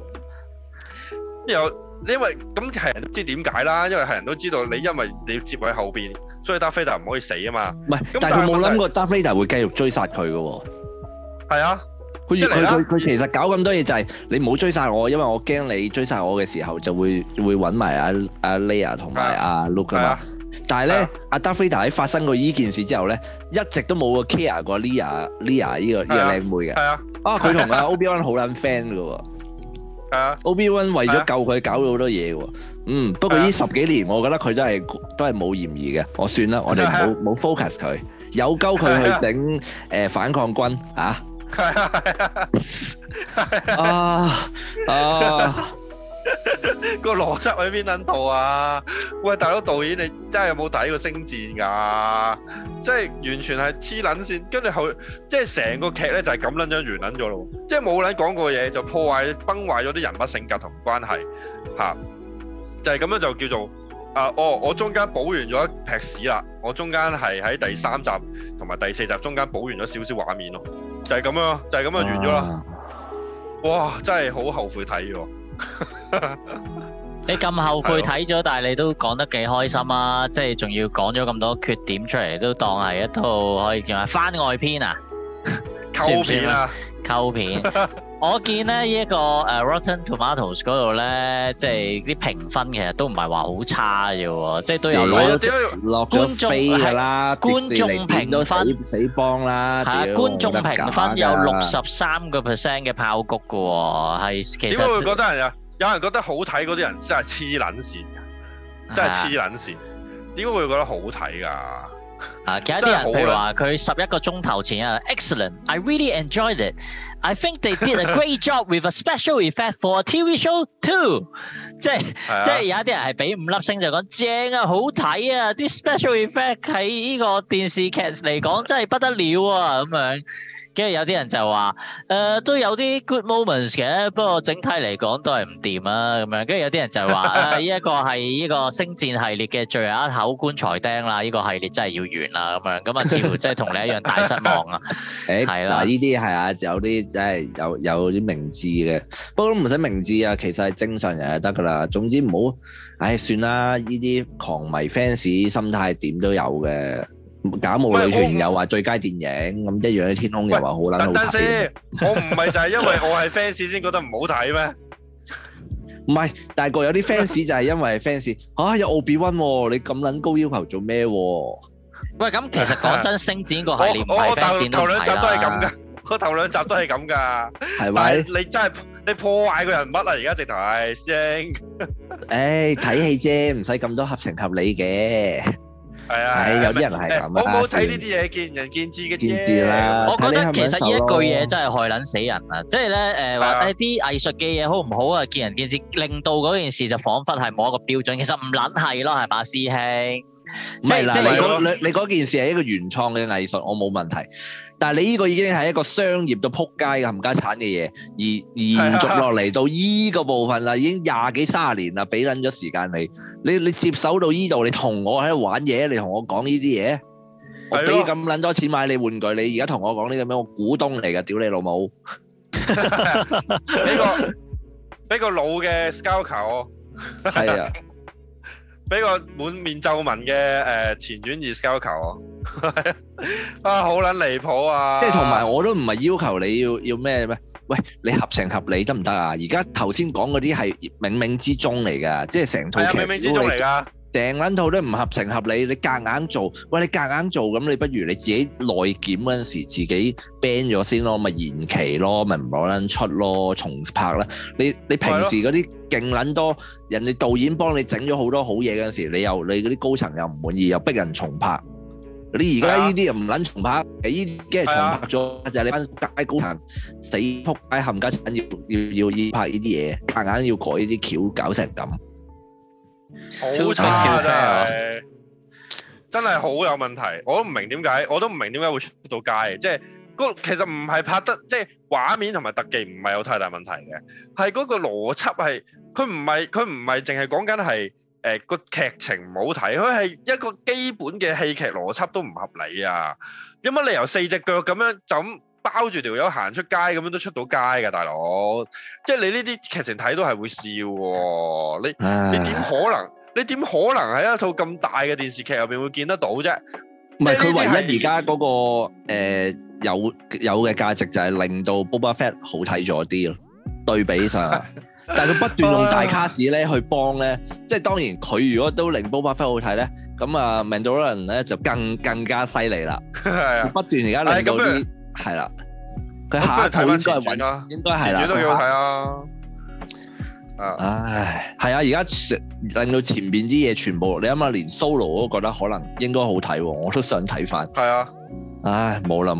因為咁係人都知點解啦，因為係人都知道你因為你要接喺後邊，所以達菲達唔可以死啊嘛。唔係，但係佢冇諗過達菲達會繼續追殺佢嘅喎。係啊，佢其實搞咁多嘢就係你唔好追殺我，因為我驚你追殺我嘅時候就會揾埋阿 Leia 同埋阿 Luke 啊嘛。但係咧，阿達菲達喺發生過依件事之後咧，一直都冇個 care 過 Leia 呢個靚妹嘅。係啊，佢同阿 Obi-Wan 好撚 friend 嘅喎。係啊 ，Obi-Wan 為咗救佢搞咗好多嘢喎。不過呢10幾年，我覺得佢都係冇嫌疑嘅。我算啦，我哋冇 focus 佢，有鳩佢去整反抗軍啊！個邏輯喺邊撚度啊？喂，大佬導演，你真係有冇睇過星戰㗎？即係完全係黐撚線，跟住後即係成個劇咧就係咁撚樣完撚咗咯，即係冇撚講過嘢就破壞崩壞咗啲人物性格同關係嚇，就係咁樣就叫做我中間補完咗一劈屎啦，我中間係喺第3集同埋第4集中間補完咗少少畫面咯，就係咁樣，就係咁樣完咗啦。哇！真係好後悔睇喎。 你咁後悔睇咗，但係你都講得幾開心啊！即係仲要講咗咁多缺點出嚟，都當係一套可以叫係番外篇啊， 溝片啊， 溝片。我見咧呢一個Rotten Tomatoes 嗰度咧，即係啲評分其實都唔係話好差嘅喎，即係都有落咗飛㗎啦，觀眾評分死幫啦， 係啊，觀眾評分有63% 嘅炮谷嘅喎，係其實點解會覺得係啊？有人覺得好睇嗰啲人真係黐撚線㗎，真係黐撚線。點解會覺得好睇㗎？ 其他啲人譬如話佢11個鐘頭前啊 ，excellent，I really enjoyed it. I think they did a great job with a special effect for a TV show too. 即係有一啲人係俾5粒星就講正啊，好睇啊，啲 special effect 喺呢個電視劇嚟講真係不得了啊咁樣。跟住有啲人就話都有啲 good moments 嘅，不過整體嚟講都係唔掂啊咁樣。跟住有啲人就話呢一個係呢個星戰系列嘅最後一口棺材釘啦，呢個系列真係要完啦咁樣。咁啊，似乎真係同你一樣大失望啊。係啦， 呢啲係啊，有啲真係有啲明智嘅，不過都唔使明智啊，其實係正常人就得噶啦。總之唔好，算啦，呢啲狂迷 fans 心態點都有嘅。假冒女團又話最佳電影，咁一樣嘅天空又話好撚好睇。 我唔係就係因為我係 fans 先覺得唔好睇咩？ 唔係，但係個有啲 fans 就係因為 fans 有奧比溫喎，你咁撚高要求做咩？ 喂，咁其實講真，星戰個系列唔係 fans 頭兩集都係咁噶，我頭兩集都係咁噶，係咪？你真係你破壞個人物啊！而家直頭係師兄。 睇戲啫，唔使咁多合情合理嘅。係啊，有啲人係咁啊。 我冇睇呢啲嘢，見仁見智嘅啫。 見智啦。 我覺得其實呢一句嘢真係害撚死人啊！即係咧話啲藝術嘅嘢好唔好啊？見仁見智，令到嗰件事就彷彿係冇一個標準。其實唔撚係咯，係嘛，師兄？ 唔係啦，你嗰件事係一個原創嘅藝術，我冇問題。但係你呢個已經係一個商業到撲街嘅冚家產嘅嘢，而延續落嚟到依個部分啦，已經20幾30年啦，俾撚咗時間你接手到依度，你同我喺度玩嘢，你同我講呢啲嘢，我俾咁撚多錢買你玩具，你而家同我講呢個咩？我股東嚟㗎，屌你老母！ 俾個老嘅 Skywalker 我， 係啊。 俾個滿面皺紋嘅前院二交球啊，好撚離譜啊！ 即係同埋我都唔係要求你要咩咩，喂，你合情合理得唔得啊？而家頭先講嗰啲係冥冥之中嚟㗎，即係成套劇冥冥之中嚟㗎。 成撚套都唔合情合理，你夾硬做，喂，你夾硬做咁，你不如你自己內檢嗰陣時自己 ban 咗先咯，咪延期咯，咪唔攞撚出咯，重拍啦。你平時嗰啲勁撚多，人哋導演幫你整咗好多好嘢嗰陣時，你嗰啲高層又唔滿意，又逼人重拍。你而家呢啲又唔撚重拍，呢啲梗係重拍咗，就係你班街高層死仆街冚家鏟要拍呢啲嘢，夾硬要改呢啲橋，搞成咁。 好差真係好有問題，我都唔明點解會出到街，即係其實唔係拍得，即係畫面同埋特技唔係有太大問題嘅，係嗰個邏輯係佢唔係淨係講緊係個劇情唔好睇，佢係一個基本嘅戲劇邏輯都唔合理啊！有乜理由4隻腳咁樣就咁包住條友行出街咁樣都出到街㗎，大佬？即係你呢啲劇情睇到係會笑喎，你點可能喺一套咁大嘅電視劇入邊會見得到啫？唔係佢唯一而家嗰個有嘅價值就係令到 Boba Fett 好睇咗啲咯，對比上。但係佢不斷用大卡士咧去幫咧，即係當然佢如果都令 Boba Fett 好睇咧，咁啊 Mandalorian 咧就更加犀利啦。不斷而家令到啲係啦，佢下一套應該係揾，應該係啦。前傳都幾好睇啊！唉，係啊！而家令到前邊啲嘢全部，你諗下，連 Solo 我都覺得可能應該好睇喎，我都想睇翻。係啊！唉，冇啦，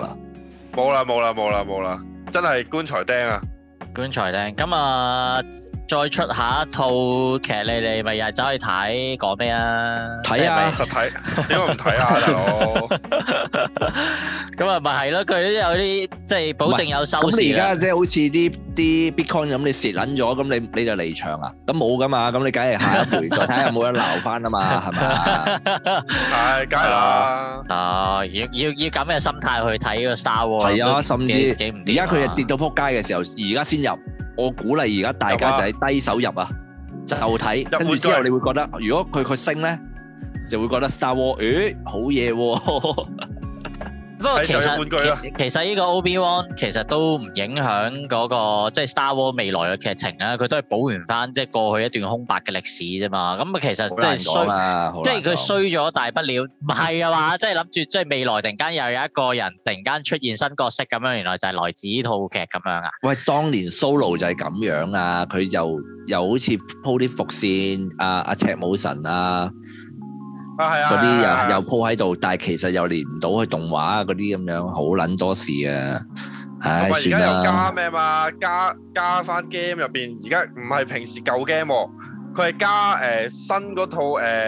真係棺材釘啊！ 棺材釘，咁啊，再出下一套劇，你咪又係走去睇，講咩啊？ 睇啊，實體，點解唔睇啊，大佬？ 咁啊，咪係咯，佢都有啲即係保證有收視。咁你而家即係好似啲 Bitcoin 咁，你蝕撚咗，咁你就離場啊？咁冇噶嘛，咁你梗係下一回再睇下有冇得撈翻啊嘛，係咪啊？係，梗係啦。啊，要咁嘅心態去睇個 Star Wars。 係啊，甚至而家佢跌到撲街嘅時候，而家先入。我鼓勵而家大家就係低手入啊，就睇，跟住之後你會覺得，如果佢升咧，就會覺得 Star Wars，好嘢喎。 不過其實呢個 Obi-Wan 其實都唔影響嗰個即係 Star Wars 未來嘅劇情啦，佢都係補完翻即係過去一段空白嘅歷史啫嘛。咁啊其實即係衰，即係佢衰咗大不了，唔係啊嘛，即係諗住即係未來突然間又有一個人突然間出現新角色咁樣，原來就係來自呢套劇咁樣啊。 喂，當年 Solo 就係咁樣啊，佢又好似鋪啲伏線，阿赤武神啊。嗰啲又鋪喺度，但係其實又連唔到去動畫嗰啲咁樣，好撚多事啊！唉，算啦。而家又加咩嘛？加翻 game 入邊，而家唔係平時舊 game 喎，佢係加新嗰套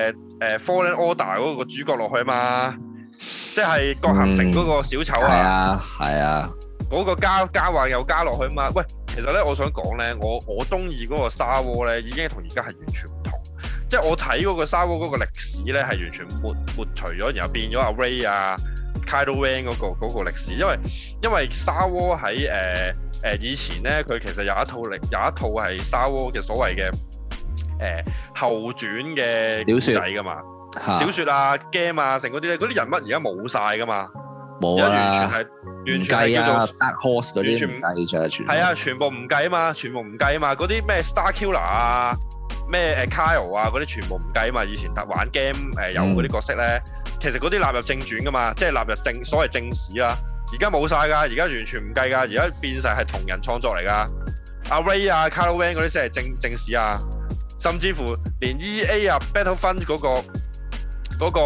Fallen Order 嗰個主角落去嘛，即係國行城嗰個小丑啊！ 係啊， 嗰個加話又加落去嘛。喂，其實咧，我想講咧，我中意嗰個 Star Wars 咧，已經同而家係完全唔同。即係我睇嗰個 Star Wars 嗰個歷史咧，係完全抹除咗，然後變咗阿 Ray 啊、Kylo Ren 嗰個歷史，因為 Star Wars 喺以前咧，佢其實有一套係 Star Wars 嘅所謂嘅後傳嘅故仔噶嘛，小説啊、game 啊，成嗰啲咧，嗰啲人物而家冇晒噶嘛， 冇啊， 完全係叫做 Dark Horse 嗰啲唔計咗， 係啊，全部唔計啊嘛，嗰啲咩 Star Killer 啊。咩Kyle 啊嗰啲全部唔計啊嘛，以前玩 game 有嗰啲角色咧，其實嗰啲納入正傳噶嘛，即係納入所謂正史啦。而家冇晒㗎，而家完全唔計㗎，而家變晒係同人創作嚟㗎。阿 Ray 啊、Kylo Ren 嗰啲先係正史啊，甚至乎連 EA 啊、Battlefront 嗰個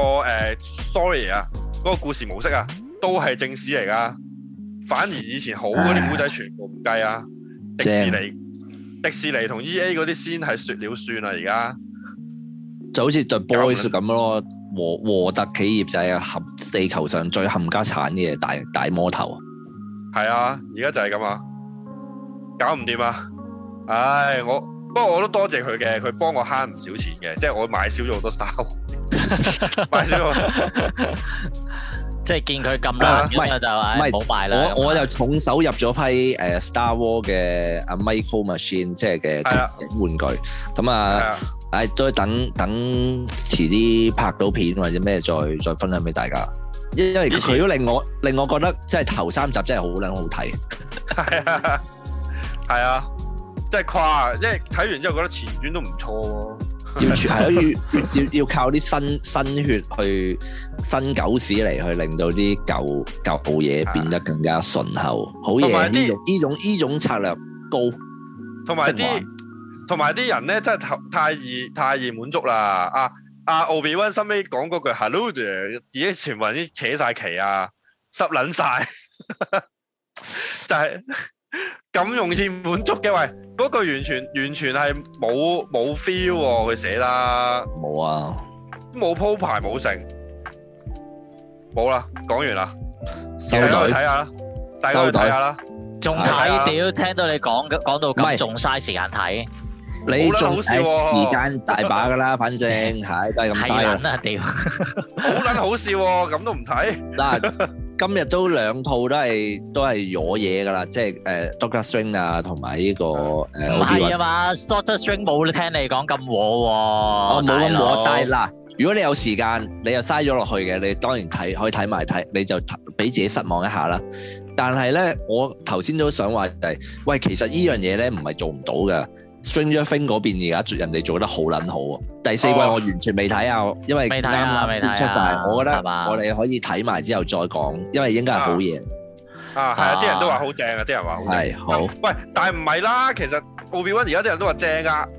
story 啊，嗰個故事模式啊，都係正史嚟㗎。反而以前好嗰啲古仔全部唔計啊，迪士尼同 EA 嗰啲先係說了算啦，而家就好似 The Boys 咁咯，和特企業就係地球上最冚家產嘅大魔頭。 係啊，而家就係咁啊，搞唔掂啊！唉，不過我都多謝佢嘅，佢幫我慳唔少錢嘅，即係我買少咗好多 Star Wars，買少咗。 即係見佢咁爛咁啊，就唔好買啦。 我就重手入咗批Star Wars 嘅阿 Micro Machine 即係嘅玩具，咁啊，都等遲啲拍到片或者咩再分享俾大家。因為佢都令我覺得即係頭3集真係好撚好睇。 係啊，真係誇，因為睇完之後覺得前傳都唔錯喎。要靠啲新血去新狗屎嚟去令到啲舊嘢變得更加順口，好嘢！呢種策略高，同埋啲人咧真係太易滿足啦！阿奧比溫收尾講嗰句 Hello 啫，已經全部人已經扯晒旗啊，濕撚晒，就係咁容易滿足嘅喂。嗰句完全係冇 feel 喎，佢寫啦， 冇啊， 冇鋪排冇成，冇啦，講完啦， 收隊睇下啦，大家去睇下啦， 仲睇屌，聽到你講到咁，仲嘥時間睇， 你仲係時間大把噶啦，反正係都係咁嘥啊，屌， 好撚好笑喎，咁都唔睇嗱。今日都2套都係攞嘢㗎啦，即係Doctor Strange 啊，同埋呢個唔係啊嘛 ，Doctor Strange 冇聽你講咁和喎， 冇咁和。但係嗱，如果你有時間，你又嘥咗落去嘅，你當然可以睇埋睇，你就俾自己失望一下啦。但係咧，我頭先都想話係，喂，其實呢樣嘢咧唔係做唔到嘅。Stranger Things 嗰邊而家人哋做得好撚好喎，第4季我完全未睇啊，因為啱啱先出晒，我覺得我哋可以睇埋之後再講，因為應該係好嘢。 係啊，啲人都話好正啊，啲人話好正。 係好。 喂，但係唔係啦，其實奧比溫而家啲人都話正啊。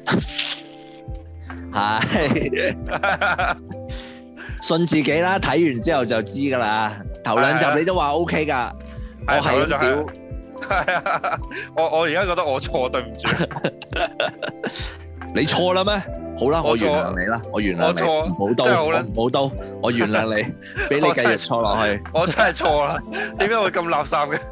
係。信自己啦，睇完之後就知㗎啦。頭2集你都話 OK 㗎，我係咁屌。 係啊，我而家覺得我錯，對唔住。 你錯啦咩？好啦，我原諒你啦，我原諒你。我錯，冇刀，我原諒你，俾你繼續錯落去。 我真係錯啦，點解會咁垃圾嘅？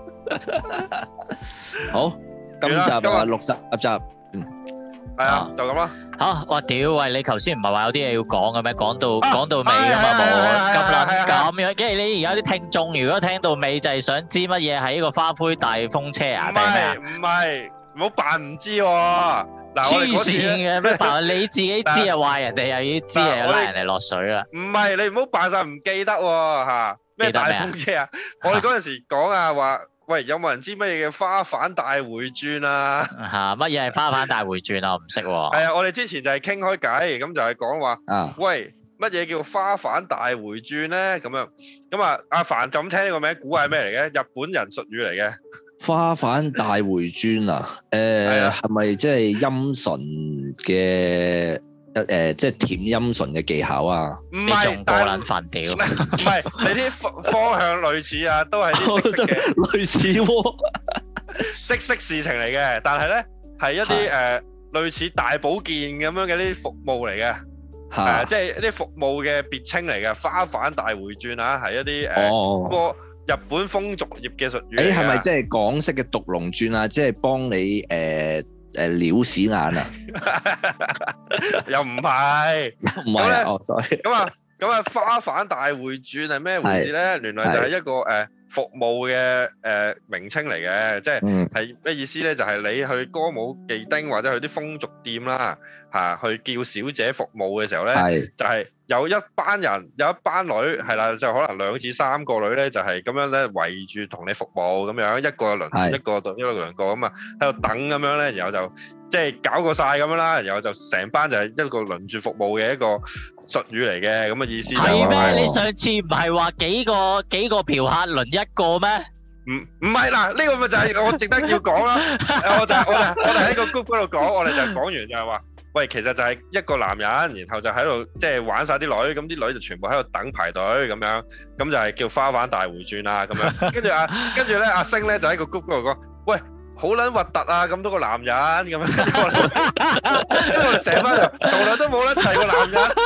好，今集60集， 係啊，就咁啦。 嚇！我屌喂，你頭先唔係話有啲嘢要講嘅咩？講到尾㗎嘛冇咁樣，跟住你而家啲聽眾如果聽到尾就係想知乜嘢係呢個花灰大風車啊？定咩啊？ 唔係，唔好扮唔知喎。 黐線嘅咩扮？你自己知啊，話人哋又要知啊，又拉人哋落水啦。 唔係，你唔好扮晒唔記得喎嚇。咩大風車啊？我哋嗰陣時講啊話。喂，有冇人知乜嘢嘅花瓣大回轉啊？ 嚇，乜嘢係花瓣大回轉啊？我唔識喎。 係啊，我哋之前就係傾開偈，咁就係講話，喂，乜嘢叫花瓣大回轉咧？咁樣，咁啊，阿凡就咁聽呢個名，估係咩嚟嘅？日本人術語嚟嘅。 花瓣大回轉啊？係咪即係陰唇嘅？即係舔陰唇嘅技巧啊！ 唔係， 仲過撚煩屌！ 唔係，你啲方向類似啊，都係啲識嘅類似喎， 識事情嚟嘅。但係咧係一啲類似大保健咁樣嘅啲服務嚟嘅，即係一啲服務嘅別稱嚟嘅。花瓣大回轉啊，係一啲個日本風俗業嘅術語。 係咪即係港式嘅獨龍轉啊？即係幫你撩屎眼啊？ 又唔係， 唔係啊！哦，sorry。 咁啊，花瓣大回轉係咩回事咧？原來就係一個服務嘅名稱嚟嘅，即係咩意思咧？就係你去歌舞伎町或者去啲風俗店啦，去叫小姐服務嘅時候咧，就係有一班人，有一班女係啦，就可能2至3個女咧，就係咁樣咧圍住同你服務咁樣，一個輪一個對一兩個咁啊，喺度等咁樣咧，然後就即係搞過晒咁樣啦，然後就成班就係一個輪住服務嘅一個術語嚟嘅，咁嘅意思。 係咩？你上次唔係話幾個嫖客輪一個咩？ 唔係嗱，呢個咪就係我值得要講啦。我哋喺個 group 嗰度講，我哋就講完就係話。喂，其實就係一個男人，然後就喺度即係玩晒啲女，咁啲女就全部喺度等排隊咁樣，咁就係叫花瓣大回轉啦咁樣。跟住咧，阿星咧就喺個 group 嗰度講，喂，好撚核突啊！咁多個男人咁樣，跟住我哋成班人從來都冇得提過男人，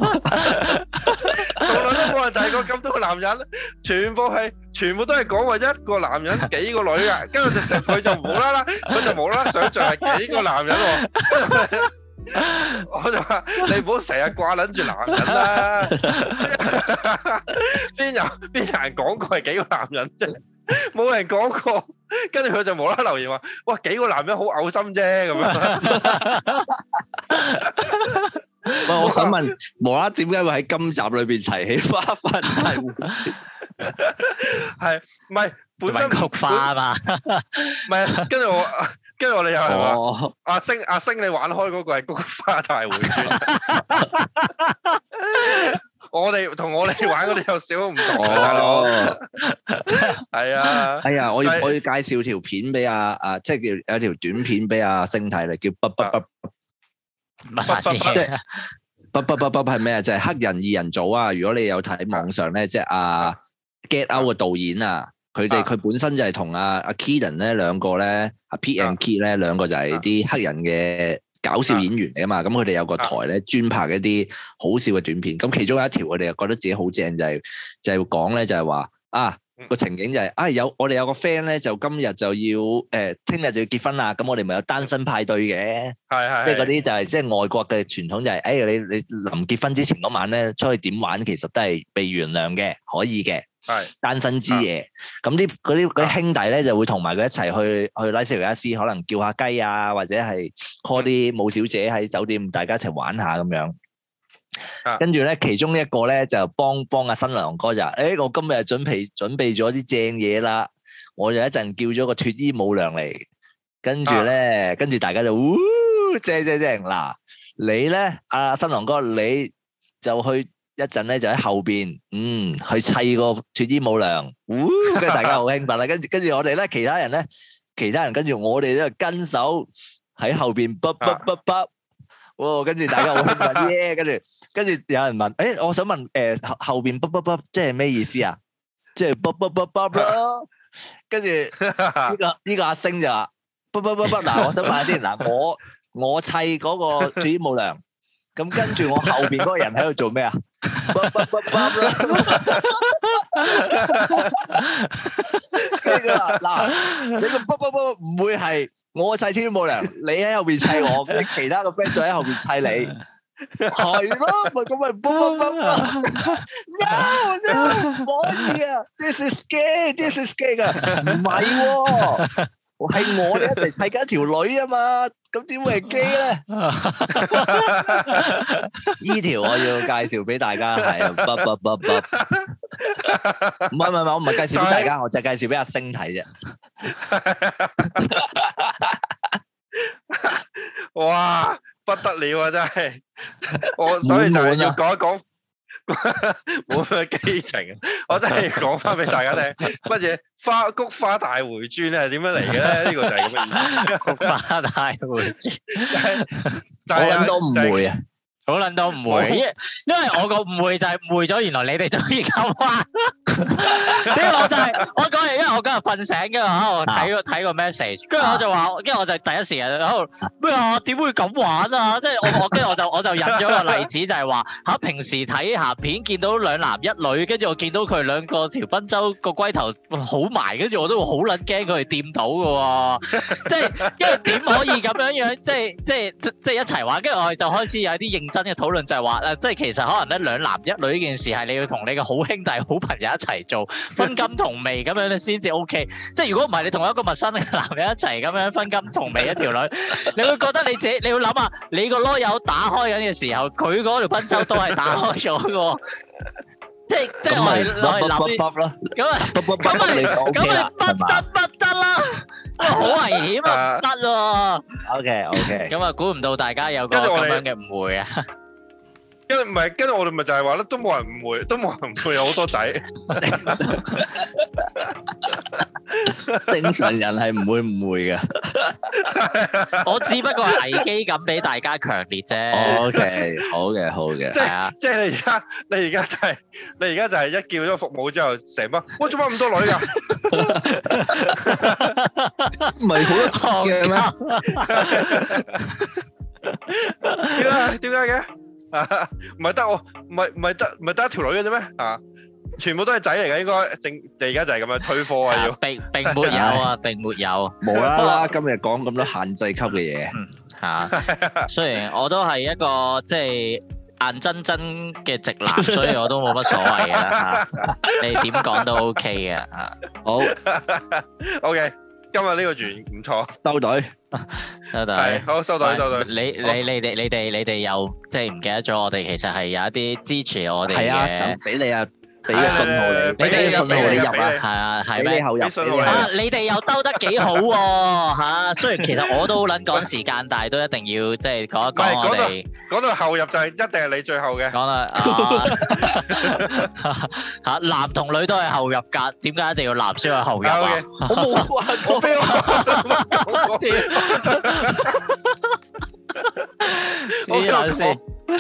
從來都冇人提過咁多個男人，全部都係講話一個男人幾個女啊，跟住佢就無啦啦想像係幾個男人喎。 我就話你唔好成日掛撚住男人啦，邊有人講過係幾個男人啫？冇人講過，跟住佢就無啦啦留言話：哇，幾個男人好嘔心啫咁樣。 喂，我想問，無啦啦點解會喺今集裏邊提起花大會轉？ 係唔係本身菊花啊嘛？ 唔係，跟住我哋又係話阿星你玩開嗰個係菊花大會轉。我哋同我哋玩嗰啲有少少唔同嘅，大佬。係啊。係啊，我要介紹條片俾即係叫有條短片俾阿星睇嚟，叫係咩啊？就係黑人二人組啊！如果你有睇網上咧，即係阿 Get Out 嘅導演啊，佢本身就係同阿 Keaton 咧兩個咧，阿 Pete and Keith 咧兩個就係啲黑人嘅搞笑演員嚟啊嘛。咁佢哋有個台咧，專拍一啲好笑嘅短片。咁其中有一條，佢哋又覺得自己好正，就係講咧，就係話個情景就係我哋有個 friend 咧，就今日就要聽日就要結婚啦。咁我哋咪有單身派對嘅，即係嗰啲就係即係外國嘅傳統，就係你臨結婚之前嗰晚咧出去點玩，其實都係被原諒嘅，可以嘅。係單身之夜，咁嗰啲兄弟咧就會同埋佢一齊去拉斯維加斯，可能叫下雞啊，或者係 call 啲舞小姐喺酒店，大家一齊玩下咁樣。跟住咧，其中一個咧就幫阿新郎哥就我今日準備咗啲正嘢啦，我就一陣叫咗個脫衣舞娘嚟，跟住大家就正嗱，你咧阿新郎哥你就去一陣咧就喺後邊去砌個脫衣舞娘，跟住大家好興奮啦，跟住我哋咧其他人跟住我哋咧跟手喺後邊跟住大家好興奮耶，跟住有人問，我想問，後邊即係咩意思啊？即係咯。跟住呢個阿星就話嗱，我想問下先，嗱，我砌嗰個脫衣舞娘，咁跟住我後邊嗰個人喺度做咩啊？跟住話嗱，你個唔會係我砌脫衣舞娘，你喺後邊砌我，跟住其他個 friend 再喺後邊砌你，係咯，咪咁咪no 唔可以啊 ，this is gay 噶，唔係喎。係我哋一齊砌緊一條女啊嘛，咁點會係基咧？呢條我要介紹俾大家，係唔係，我唔係介紹俾大家，我就係介紹俾阿星睇啫。 哇，不得了啊！真係，所以就係要講一講。冇咩激情啊！我真係講翻俾大家聽，乜嘢菊花大回轉咧係點樣嚟嘅咧？呢個就係咁嘅意思。菊花大回轉， 我諗都唔會啊！ 好撚都唔會，因為我個誤會就係誤會咗，原來你哋中意咁玩。呢個我就係我講完，因為我今日瞓醒嘅話，我睇個 message，跟住我就話，跟住我就第一時間喺度咩啊？點會咁玩啊？即係我跟住我就引咗個例子，就係話嚇平時睇鹹片見到兩男一女，跟住我見到佢兩個條賓周個龜頭好埋，跟住我都會好撚驚佢哋掂到嘅喎。即係因為點可以咁樣即係一齊玩？跟住我哋就開始有啲認真嘅討論，就係話即係其實可能咧兩男一女呢件事係你要同你嘅好兄弟、好朋友一齊做，分金同味咁樣咧先至 OK。即係如果唔係你同一個陌生嘅男人一齊咁樣分金同味一條女，你會覺得你自己你要諗下，你個囉柚打開緊嘅時候，佢嗰條賓周都係打開咗嘅。即係我係諗咁咪不得啦，好危險啊，唔得咯。 OK， 咁啊，估唔到大家有個咁樣嘅誤會啊。 跟住我哋咪就係話咧，都冇人誤會，都冇人誤會有好多仔。 正常人係唔會誤會嘅。 我只不過係危機感比大家強烈啫。 OK，好嘅。 即係你而家就係一叫咗服務之後，成班我做乜咁多女㗎？ 唔係好多錯嘅咩？點解嘅？唔係得我，唔係得一條女嘅啫咩？啊，全部都係仔嚟嘅，應該你而家就係咁樣推科啊！要並沒有啊，並沒有， 無啦啦今日講咁多限制級嘅嘢， 嚇。雖然我都係一個即係硬真真嘅直男，所以我都冇乜所謂嘅嚇。你點講都 OK 嘅嚇。 好 OK，今日呢個完唔錯， 收隊。 收隊， 係好收隊收隊。 你哋又即係唔記得咗？我哋其實係有一啲支持我哋嘅。 係啊，咁俾你啊，俾個信號你，俾個信號你入啊。 係啊，係俾咩？ 你後入。 啊！你哋又兜得幾好喎嚇！雖然其實我都好撚趕時間，但係都一定要即係講一講我哋。 講到後入就係一定係你最後嘅。講啦嚇，男同女都係後入㗎，點解一定要男先係後入啊？ 我冇話過俾我。 黐撚線。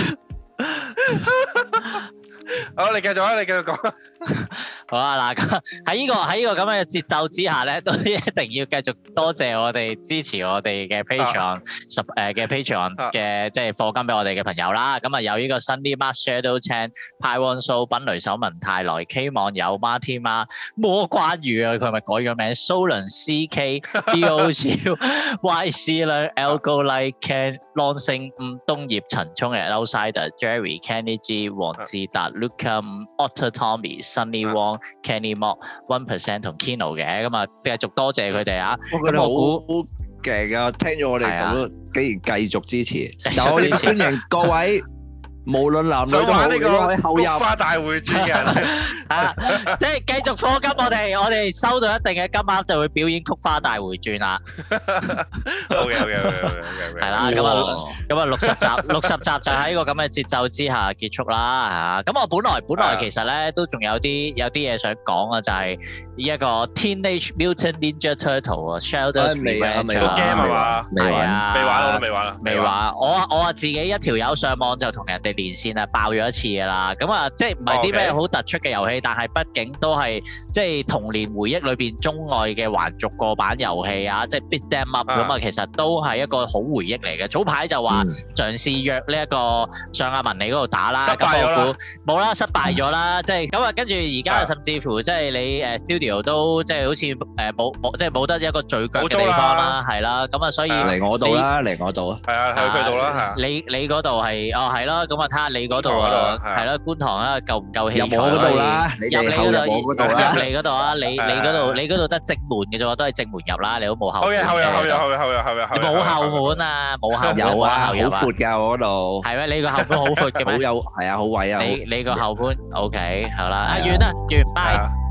好，你繼續啊！你繼續講。 好啊，嗱，喺呢個咁樣嘅節奏之下咧，都一定要繼續多謝我哋支持我哋嘅 Patreon 嘅 Patreon 嘅即係課金俾我哋嘅朋友啦。咁啊有呢個 Sunny Mark Shadow Chan、派旺素、品雷手文泰來、K 網友 Martin 媽、魔關羽啊，佢係咪改咗名？蘇倫 CK、D.O. 超、YC 啦、Algo Like Ken、Long 星、東葉陳聰嘅 Outsider、Jerry、Kenny G、黃志達、Luca、Otter Tommy、Sunny Wong、Kenny Mock、1% 同 Kino 嘅，咁啊繼續多謝佢哋啊！ 咁我估勁啊，聽咗我哋咁，竟然繼續支持，又可以歡迎各位。無論男女都好，你都可以後入。菊花大會轉嘅， 即係繼續課金，我哋收到一定嘅金額就會表演菊花大回轉啦。 OK， 係啦，咁啊60集就喺個咁嘅節奏之下結束啦嚇。咁我本來其實咧都仲有啲嘢想講啊，就係呢一個 Teenage Mutant Ninja Turtle 啊 ，Sheldon's Revenge 個 game 係嘛？ 未玩， 我都未玩。 未玩，我自己一條友上網就同人哋連線啊，爆咗一次㗎啦。咁啊，即係唔係啲咩好突出嘅遊戲，但係畢竟都係即係童年回憶裏邊鍾愛嘅橫軸過版遊戲啊，即係 beat them up 咁啊，其實都係一個好回憶嚟嘅。早排就話嘗試約呢一個上阿文你嗰度打啦，咁我估冇啦，失敗咗啦。即係咁啊，跟住而家甚至乎即係你studio 都即係好似冇即係冇得一個聚腳嘅地方啦，係啦。咁啊，所以嚟我度啦，嚟我度啊。 係啊，去佢度啦。 你嗰度係係咯，咁啊睇下你嗰度啊，係咯，觀塘啊夠唔夠器材？ 入我嗰度啦，入你嗰度啊，你嗰度得正門嘅啫喎，都係正門入啦，你都冇後門。 後入， 你冇後門啊，冇後門。 有啊，好闊㗎我嗰度。係咩？你個後門好闊嘅咩？ 好有，係啊，好位啊。 你個後門 OK，好啦，完啦，拜。